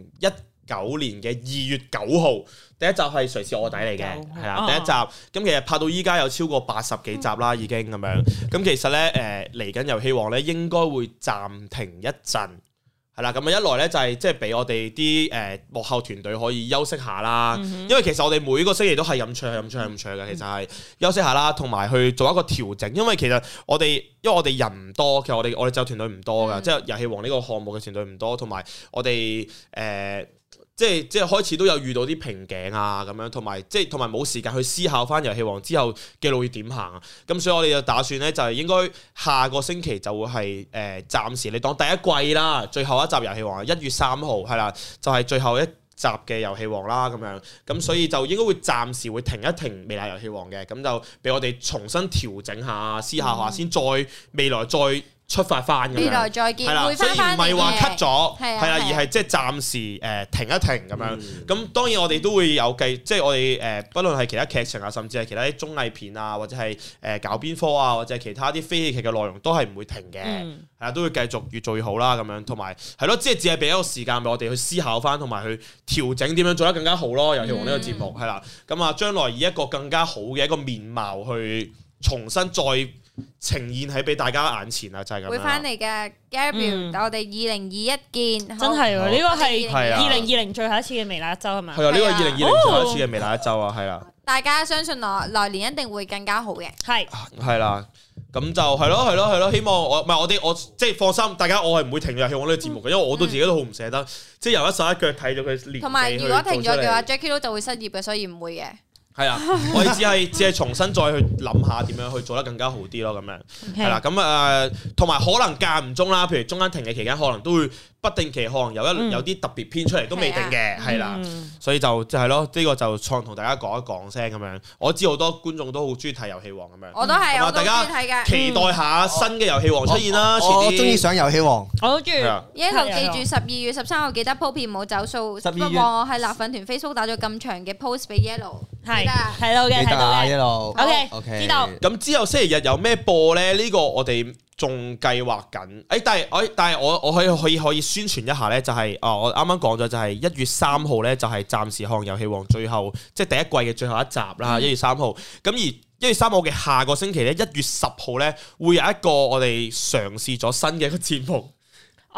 2019年嘅2月9號，第一集係誰是臥底嚟嘅，係啦，第一集。咁其實拍到依家有超過80幾集啦，已經咁樣。咁其實咧嚟緊遊戲王咧應該會暫停一陣。係啦，咁啊一來咧就係即係俾我哋啲幕後團隊可以休息下啦，因為其實我哋每個星期都係咁唱嘅，其實係休息下啦，同埋去做一個調整，因為我哋人唔多，其實我哋就團隊唔多㗎，即係遊戲王呢個項目嘅團隊唔多，同埋我哋即係開始都有遇到啲瓶頸啊咁樣，同埋冇時間去思考翻遊戲王之後嘅路要點行啊。咁所以我哋就打算咧，就係應該下個星期就會係暫時你當第一季啦，最後一集遊戲王1月3號係啦，就係最後一集嘅遊戲王啦咁樣。咁所以就應該會暫時會停一停微辣遊戲王嘅，咁就俾我哋重新調整下、思考下先，再未來再出發翻咁樣， 未來再見， 係啦，所以唔係話 cut 咗，係啦，而係即係暫時停一停咁樣。咁當然我哋都會有計，即係我哋不論係其他劇情啊，甚至係其他啲綜藝片啊，或者係搞邊科啊，或者係其他啲非戲劇嘅內容，都係唔會停嘅，係啦，都會繼續越做越好啦咁樣。同埋係咯，即係只係俾一個時間俾我哋去思考翻，同埋去調整點樣做得更加好咯。遊戲王呢個節目係啦，咁啊將來以一個更加好嘅一個面貌去重新再呈現喺俾大家眼前啊，就係咁樣。 會翻嚟嘅 Gabriel，我哋2021見， 真係喎，呢個係係啊 2020最後一次嘅微辣一周係咪？ 係啊，呢個2020最後一次嘅微辣一周啊，係啦。 大家相信來年一定會更加好嘅。 係啦，咁就係咯，希望我即係放心，大家我係唔會停遊戲王呢個節目嘅，因為我都自己都好唔捨得，即係由一手一腳睇咗佢練。 同埋如果停咗嘅話，Jackie 都就會失業嘅，所以唔會嘅。 係啊，我哋只係重新再去諗下點樣去做得更加好啲咯，咁樣係啦。咁同埋可能間唔中啦，譬如中間停嘅期間，可能都會不定期可能有啲特別篇出嚟都未定嘅，係啦。所以就係咯，呢個就同大家講一講聲咁樣。我知好多觀眾都好中意睇遊戲王咁樣， 我都係，我都中意睇嘅。 期待下新嘅遊戲王出現啦。 我中意上遊戲王， 我都中意。 Yellow 記住12月13號記得鋪片唔好走數，不過我喺辣粉團 Facebook 打咗咁長嘅 post 俾 Yellow， 係睇到嘅，睇到嘅。 Yellow，OK， 知道。 咁之後星期日有咩播咧？呢個我哋仲計劃緊。但係我可以宣傳一下咧，就係我啱啱講咗，就係1月3號咧，就係暫時看遊戲王最後即係第一季嘅最後一集啦。1月3號。咁而1月3號嘅下個星期咧，1月10號咧，會有一個我哋嘗試咗新嘅一個節目。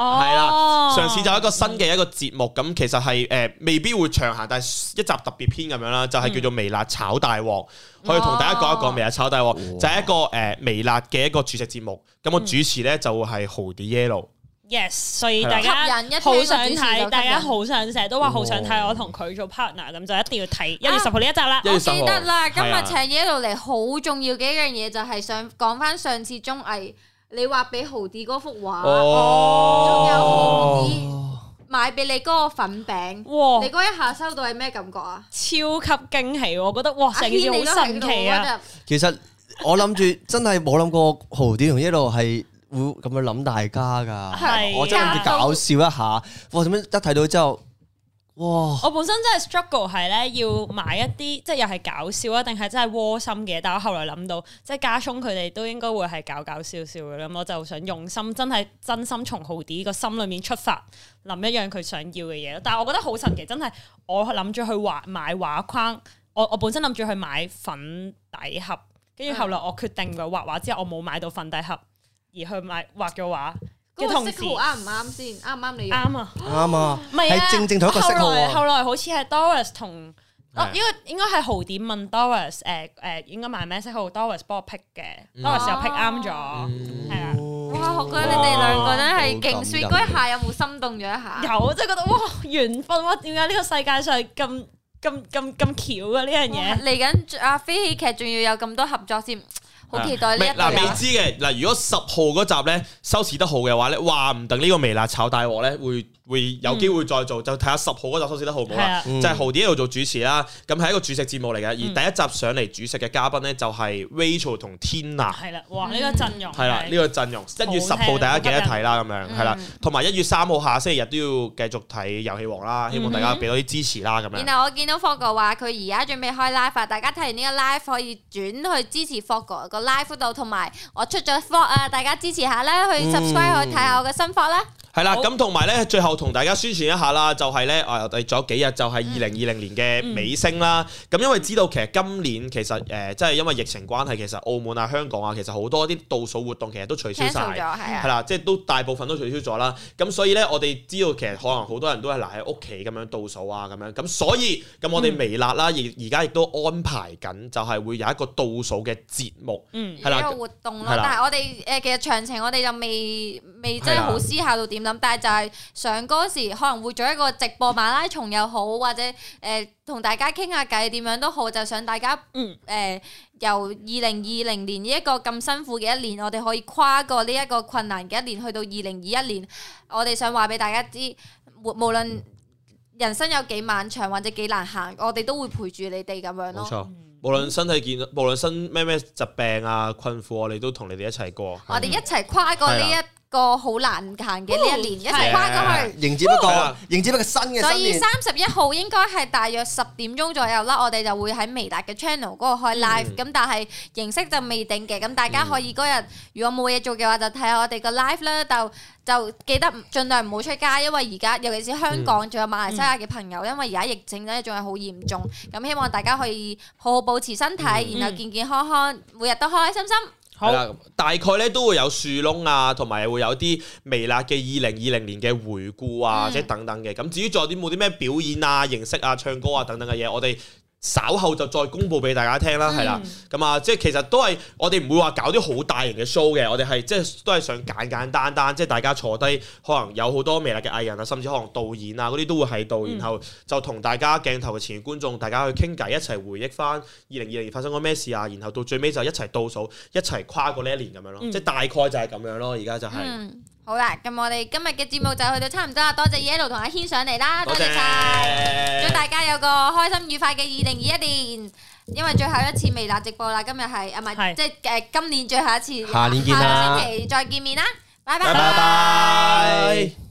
係啦，上次就一個新嘅一個節目，咁其實係未必會長行，但係一集特別篇咁樣啦，就係叫做微辣炒大鑊，可以同大家講一講微辣炒大鑊，就係一個微辣嘅一個煮食節目。咁我主持咧就係豪迪 Yellow。Yes， 所以大家好想睇，大家好想成日都話好想睇我同佢做 partner，咁就一定要睇1月10號呢一集啦。 我記得啦，今日請 Yellow嚟好重要嘅一樣嘢就係想講翻上次綜藝你畫俾豪迪嗰幅畫，仲有豪迪買俾你嗰個粉餅，你嗰一下收到係咩感覺啊？超級驚喜，我覺得哇，成件事好神奇啊！ 其實我諗住真係冇諗過豪迪同 Yellow係會咁樣諗大家㗎，我真係諗住搞笑一下，哇！點樣一睇到之後，哇！ 我本身真係 struggle 係咧要買一啲即係又係搞笑啊，定係真係窩心嘅？但我後來諗到，即係家聰佢哋都應該會係搞笑嘅，咁我就想用心，真心從豪迪個心裏面出發，諗一樣佢想要嘅嘢。但係我覺得好神奇，真係我諗住去買畫框，我本身諗住去買粉底盒，跟住後來我決定咗畫畫之後，我冇買到粉底盒。而去畫咗畫嘅同時， 啱唔啱先？啱唔啱你用？ 啱啊， 啱啊， 唔係啊， 正同一個色號啊。 後來好似係 Doris 同，應該係豪迪問 Doris， 應該買咩色號 ？Doris 幫我 pick 嘅，Doris 又 pick 啱咗，係啊。 哇！我覺得你哋兩個真係勁 sweet，嗰一下有冇心動咗一下？ 有，即係覺得哇緣分哇！點解呢個世界上咁巧嘅呢樣嘢？ 嚟緊阿飛喜劇仲要有咁多合作先。好期待呢一集。 未知嘅嗱，如果10號嗰集咧收視得好嘅話咧，話唔定呢個微辣炒大鑊咧會有機會再做，就睇下10號嗰集收視得好唔好啦。就係豪迪喺度做主持啦，咁係一個煮食節目嚟嘅。而第一集上嚟煮食嘅嘉賓咧就係 Rachel 同 Tina。 係啦，哇！呢個陣容係啦，呢個陣容1月10號大家記得睇啦，咁樣係啦。同埋1月3號下星期日都要繼續睇遊戲王啦，希望大家俾多啲支持啦，咁樣。 然後我見到 Fogg 話佢而家準備開 live， 大家睇完呢個 live 可以轉去支持 Fogg 個 live 度，同埋我出咗 vlog 啊，大家支持下啦，去 subscribe 去睇下我嘅新 vlog 啦。 係啦，咁同埋咧，最後同大家宣傳一下啦，就係咧，我哋仲有幾日就係2020年嘅尾聲啦。咁因為知道其實今年其實即係因為疫情關係，其實澳門啊、香港啊，其實好多啲倒數活動其實都取消晒，係啦，即係都大部分都取消咗啦。咁所以咧，我哋知道其實可能好多人都係留喺屋企咁樣倒數啊，咁樣。咁所以咁我哋微辣啦，而家亦都安排緊，就係會有一個倒數嘅節目，係啦， 一個活動咯。但係我哋其實詳情我哋就未真係好思考到點。但係就係上嗰時可能會做一個直播馬拉松又好，或者同大家傾下偈點樣都好，就想大家由2020年呢一個咁辛苦嘅一年，我哋可以跨過呢一個困難嘅一年，去到2021年，我哋想話俾大家知，無論人生有幾漫長或者幾難行，我哋都會陪住你哋咁樣咯。 冇錯，無論身體健，無論身咩疾病啊困苦，我哋都同你哋一齊過。 我哋一齊跨過呢個好難行嘅呢一年，一齊跨過去， 迎接一個新嘅新年。 所以31號應該係大約10點鐘左右啦，我哋就會喺微辣嘅 channel 嗰度開 live，咁但係形式就未定嘅，咁大家可以嗰日如果冇嘢做嘅話，就睇下我哋個 live 啦，就記得盡量唔好出街，因為而家尤其是香港仲有馬來西亞嘅朋友，因為而家疫情咧仲係好嚴重，咁希望大家可以好好保持身體，然後健健康康，每日都開開心心。 係啦，大概咧都會有樹窿啊，同埋會有啲微辣嘅2020年嘅回顧啊，即係等等嘅。咁至於仲有啲冇啲咩表演啊、形式啊、唱歌啊等等嘅嘢，我哋稍後就再公佈俾大家聽啦，係啦。咁啊，即係其實都係我哋唔會話搞啲好大型嘅 show 嘅，我哋係即係都係想簡單，即係大家坐低，可能有好多微辣嘅藝人啊，甚至可能導演啊嗰啲都會喺度，然後就同大家鏡頭嘅前觀眾，大家去傾偈，一齊回憶翻2020年發生過咩事啊，然後到最尾就一齊倒數，一齊跨過呢一年咁樣咯，即係大概就係咁樣咯，而家就係。 好啦，咁我哋今日嘅節目就去到差唔多啦，多謝 Yellow 同阿軒上嚟啦，多謝晒，祝大家有個開心愉快嘅2021年，因為最後一次微辣直播啦，今日係唔係即係今年最後一次， 下年見啦， 下個星期再見面啦，拜拜。 拜拜。